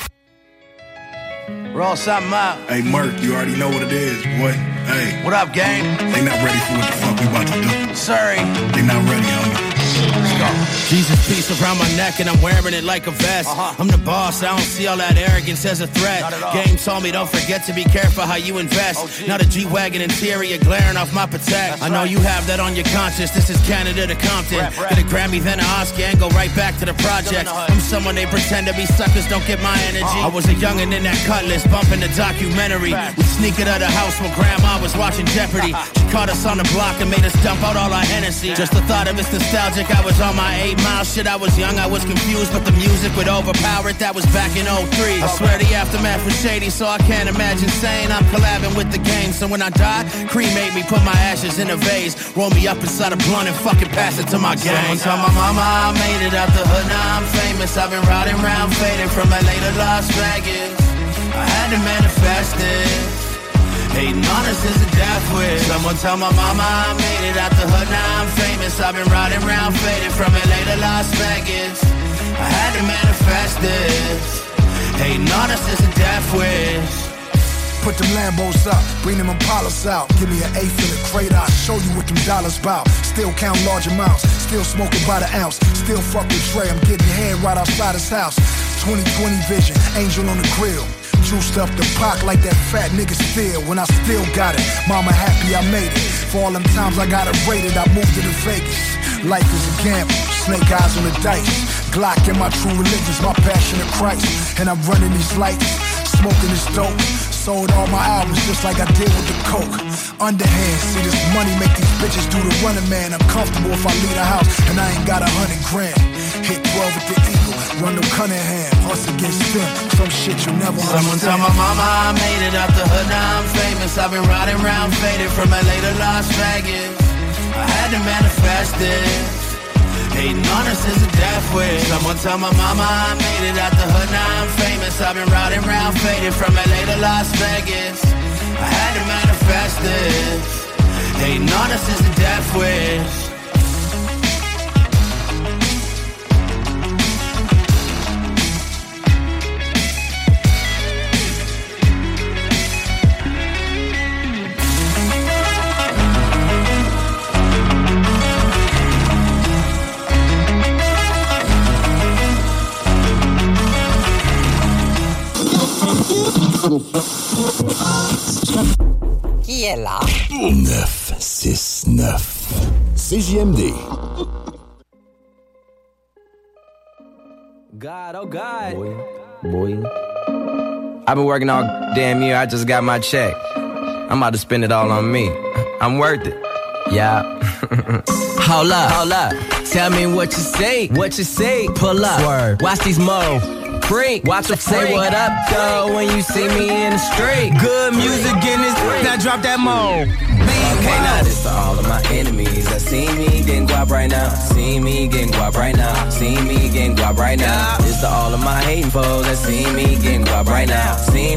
Roll something out. Hey, Merc, you already know what it is, boy. Hey. What up, gang? They not ready for what the fuck we about to do. Sorry. They not ready, homie. Let's go. Jesus piece around my neck and I'm wearing it like a vest. Uh-huh. I'm the boss, I don't see all that arrogance as a threat. Game told me don't forget to be careful how you invest. Oh, not a G-Wagon interior glaring off my Patek. That's I know right. You have that on your conscience. This is Canada to Compton. Rap, rap. Get a Grammy, then an Oscar and go right back to the project. I'm someone they pretend to be suckers, don't get my energy. Uh-huh. I was a youngin' in that cutlass, bumping the documentary. Fact. We sneak it out of the house when grandma was watching Jeopardy. She caught us on the block and made us dump out all our Hennessy. Just the thought of it's nostalgic, I was on my eight mile shit. I was young, I was confused, but the music would overpower it. That was back in oh three. I swear the aftermath was shady, so I can't imagine saying I'm collabing with the game. So when I die, cremate me, put my ashes in a vase, roll me up inside a blunt and fucking pass it to my gang. Tell my mama I made it out the hood, now I'm famous. I've been riding around faded from L A to Las Vegas. I had to manifest it. Hating on us is a death wish. Someone tell my mama I made it out the hood, now I'm famous. I've been riding around faded from L A to Las Vegas. I had to manifest this. Hating on us is a death wish. Put them Lambos up, bring them Impalas out. Give me an eighth in the crate, I'll show you what them dollars bout. Still count large amounts, still smoking by the ounce. Still fuck with Trey, I'm getting head right outside his house. twenty twenty vision, angel on the grill. Juiced up the Pac like that fat nigga still. When I still got it, mama happy I made it. For all them times I got it rated, I moved it to Vegas. Life is a gamble, snake eyes on the dice. Glock in my true religion's my passion of Christ. And I'm running these lights, smoking this dope. Sold all my albums just like I did with the coke. Underhand, see this money make these bitches do the running man. I'm comfortable if I leave the house and I ain't got a hundred grand. Hit twelve with the Eagle, run them Cunningham. Hustle against them, some shit you never Someone understand. tell my mama I made it out the hood, now I'm famous. I've been riding around faded from L A to Las Vegas. I had to manifest it. Hating on us is a death wish. Someone tell my mama I made it out the hood, now I'm famous. I've been riding around faded from L A to Las Vegas. I had to manifest this. Hating on us is a death wish. Qui est là? neuf six neuf C J M D. God, oh God. Boy, boy. I've been working all damn year. I just got my check. I'm about to spend it all on me. I'm worth it. Yeah. Hold up, hold up. Tell me what you say, what you say. Pull up, Swerve. Watch these mo. Freak. Watch them say what up, though, when you see me in the street. Good music in this, now drop that mo. Okay, now this to all of my enemies that see me getting guap right now. See me getting guap right now. See me getting guap right now. This to all of my hating foes that see me getting guap right now. See me getting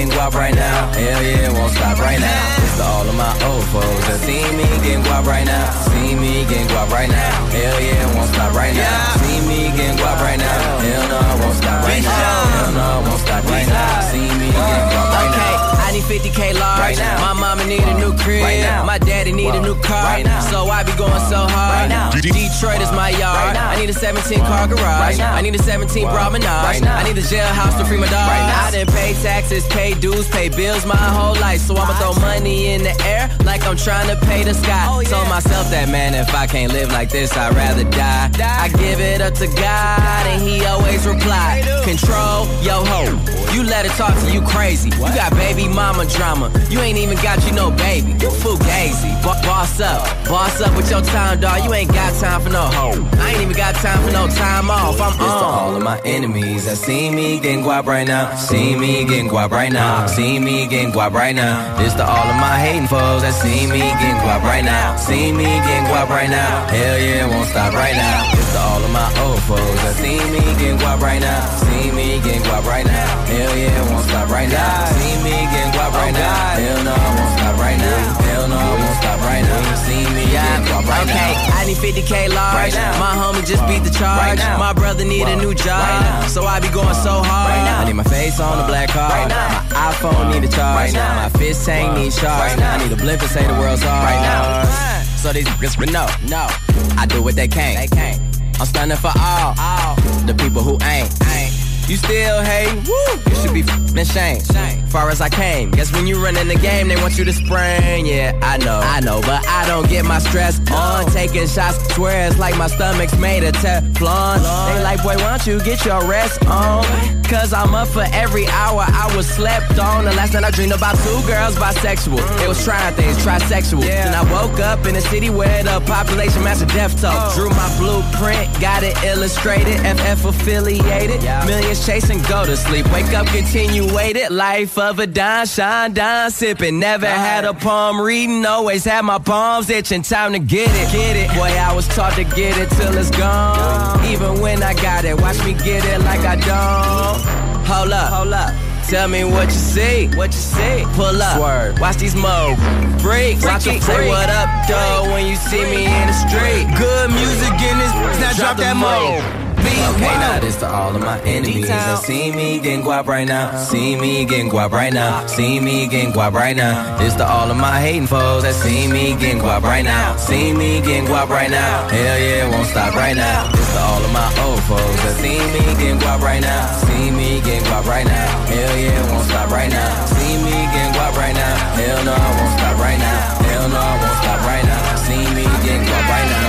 getting guap right now. Hell yeah, won't stop right now. It's to all of my old foes that see me getting guap right now. See me getting guap right now. Hell yeah, won't stop right now. See me getting guap right now. Hell no, won't stop right now. Hell no, won't stop right now. See me getting guap right now. I need fifty K large. Right now. My mama need a new crib. Right now. My daddy need Whoa. a new car. Right now. So I be going so hard. Right now. Detroit is my yard. Right now. I need a seventeen car garage. Right now. I need a seventeen bra menage. Right now. I need a jailhouse to free my dog. Right now. I done pay taxes, pay dues, pay bills my whole life. So I'ma throw money in the air like I'm trying to pay the sky. Oh, yeah. Told myself that, man, if I can't live like this, I'd rather die. die. I give it up to God and he always reply. Control yo ho. You let it talk to you crazy. What? You got baby mama drama. You ain't even got you no baby. You fugazi. B- boss up. Boss up with your time, dog. You ain't got time for no hoe. I ain't even got time for no time off. I'm on. It's to all of my enemies that see me getting guap right now. See me getting guap right now. See me getting guap right now. It's to all of my hating foes that see me getting guap right now. See me getting guap right now. Hell yeah, won't stop right now. It's to all of my old foes that see me getting guap right now. See me getting guap right now. Hell yeah, won't stop right now. See me getting guap right now. Hell no, won't stop right now. Hell no, won't stop right now. See me getting guap right now. Okay, I need fifty K large. Right now. My homie just beat the charge. Right now. My brother need Whoa. a new job. Right now. So I be going so hard. Right now. I need my face on the black card. Right now. My iPhone need a charge. Right now. My fish tank need charge. Right now. I need a blimp to say the world's hard. Right now. So these bitches no, no. I do what they can't. They can't. I'm standing for all, all the people who ain't. ain't. You still hate? Woo! You should be f***ing ashamed. Far as I came, guess when you run in the game, they want you to spring. Yeah, I know, I know, but I don't get my stress on. Taking shots, swear it's like my stomach's made of Teflon. They like, boy, why don't you get your rest on? Cause I'm up for every hour I was slept on. The last night I dreamed about two girls bisexual. They was trying things, trisexual. Then I woke up in a city where the population matched a death toll. Drew my blueprint, got it illustrated, F F affiliated. Millions chasing, go to sleep. Wake up, continue, waited. Life of a dime, shine, dime, sipping. Never had a palm reading, always had my palms itching. Time to get it, get it. Boy, I was taught to get it till it's gone. Even when I got it, watch me get it like I don't. Hold up, hold up. Tell me what you see, what you see. Pull up, Swerve. Watch these mo freaks. Watch them say what up, though, when you see me in the street. Good music in this, now drop that mo. Okay, now this to all of my enemies that see me getting guap right now. See me getting guap right now. See me getting guap right now. This to all of my hating foes that see me getting guap right now. See me getting guap right now. Hell yeah, won't stop right now. This to all of my old foes that see me getting guap right now. See me getting guap right now. Hell yeah, won't stop right now. See me getting guap right now. Hell no, I won't stop right now. Hell no, I won't stop right now. See me getting guap right now.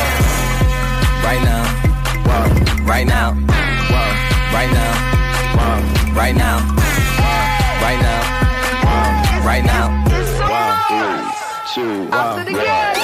Right now. Whoa. Right now, whoa, right now, whoa, right now, whoa, right now, whoa, right now, whoa, three, two, one, yeah.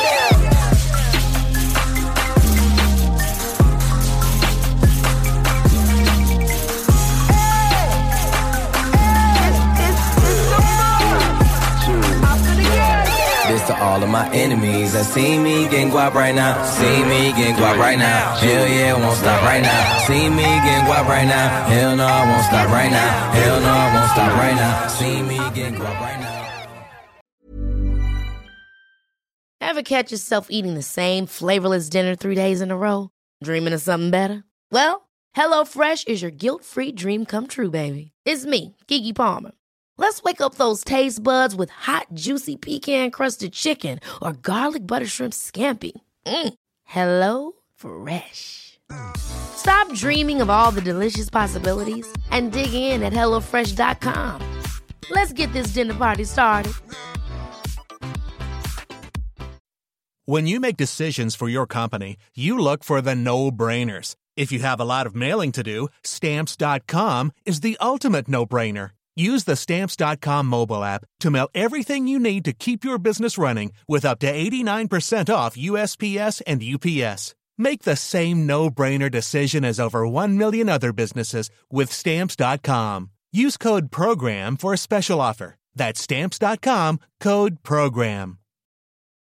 This to all of my enemies that see me getting guap right now. See me getting guap right now. Hell yeah, won't stop right now. See me getting guap right now. Hell no, I won't stop right now. Hell no, I won't stop right now. See me getting guap right now. Ever catch yourself eating the same flavorless dinner three days in a row? Dreaming of something better? Well, HelloFresh is your guilt-free dream come true, baby. It's me, Keke Palmer. Let's wake up those taste buds with hot, juicy pecan-crusted chicken or garlic butter shrimp scampi. Mm. Hello Fresh. Stop dreaming of all the delicious possibilities and dig in at hello fresh dot com. Let's get this dinner party started. When you make decisions for your company, you look for the no-brainers. If you have a lot of mailing to do, Stamps dot com is the ultimate no-brainer. Use the Stamps dot com mobile app to mail everything you need to keep your business running with up to eighty-nine percent off U S P S and U P S. Make the same no-brainer decision as over one million other businesses with Stamps dot com. Use code PROGRAM for a special offer. That's Stamps dot com, code PROGRAM.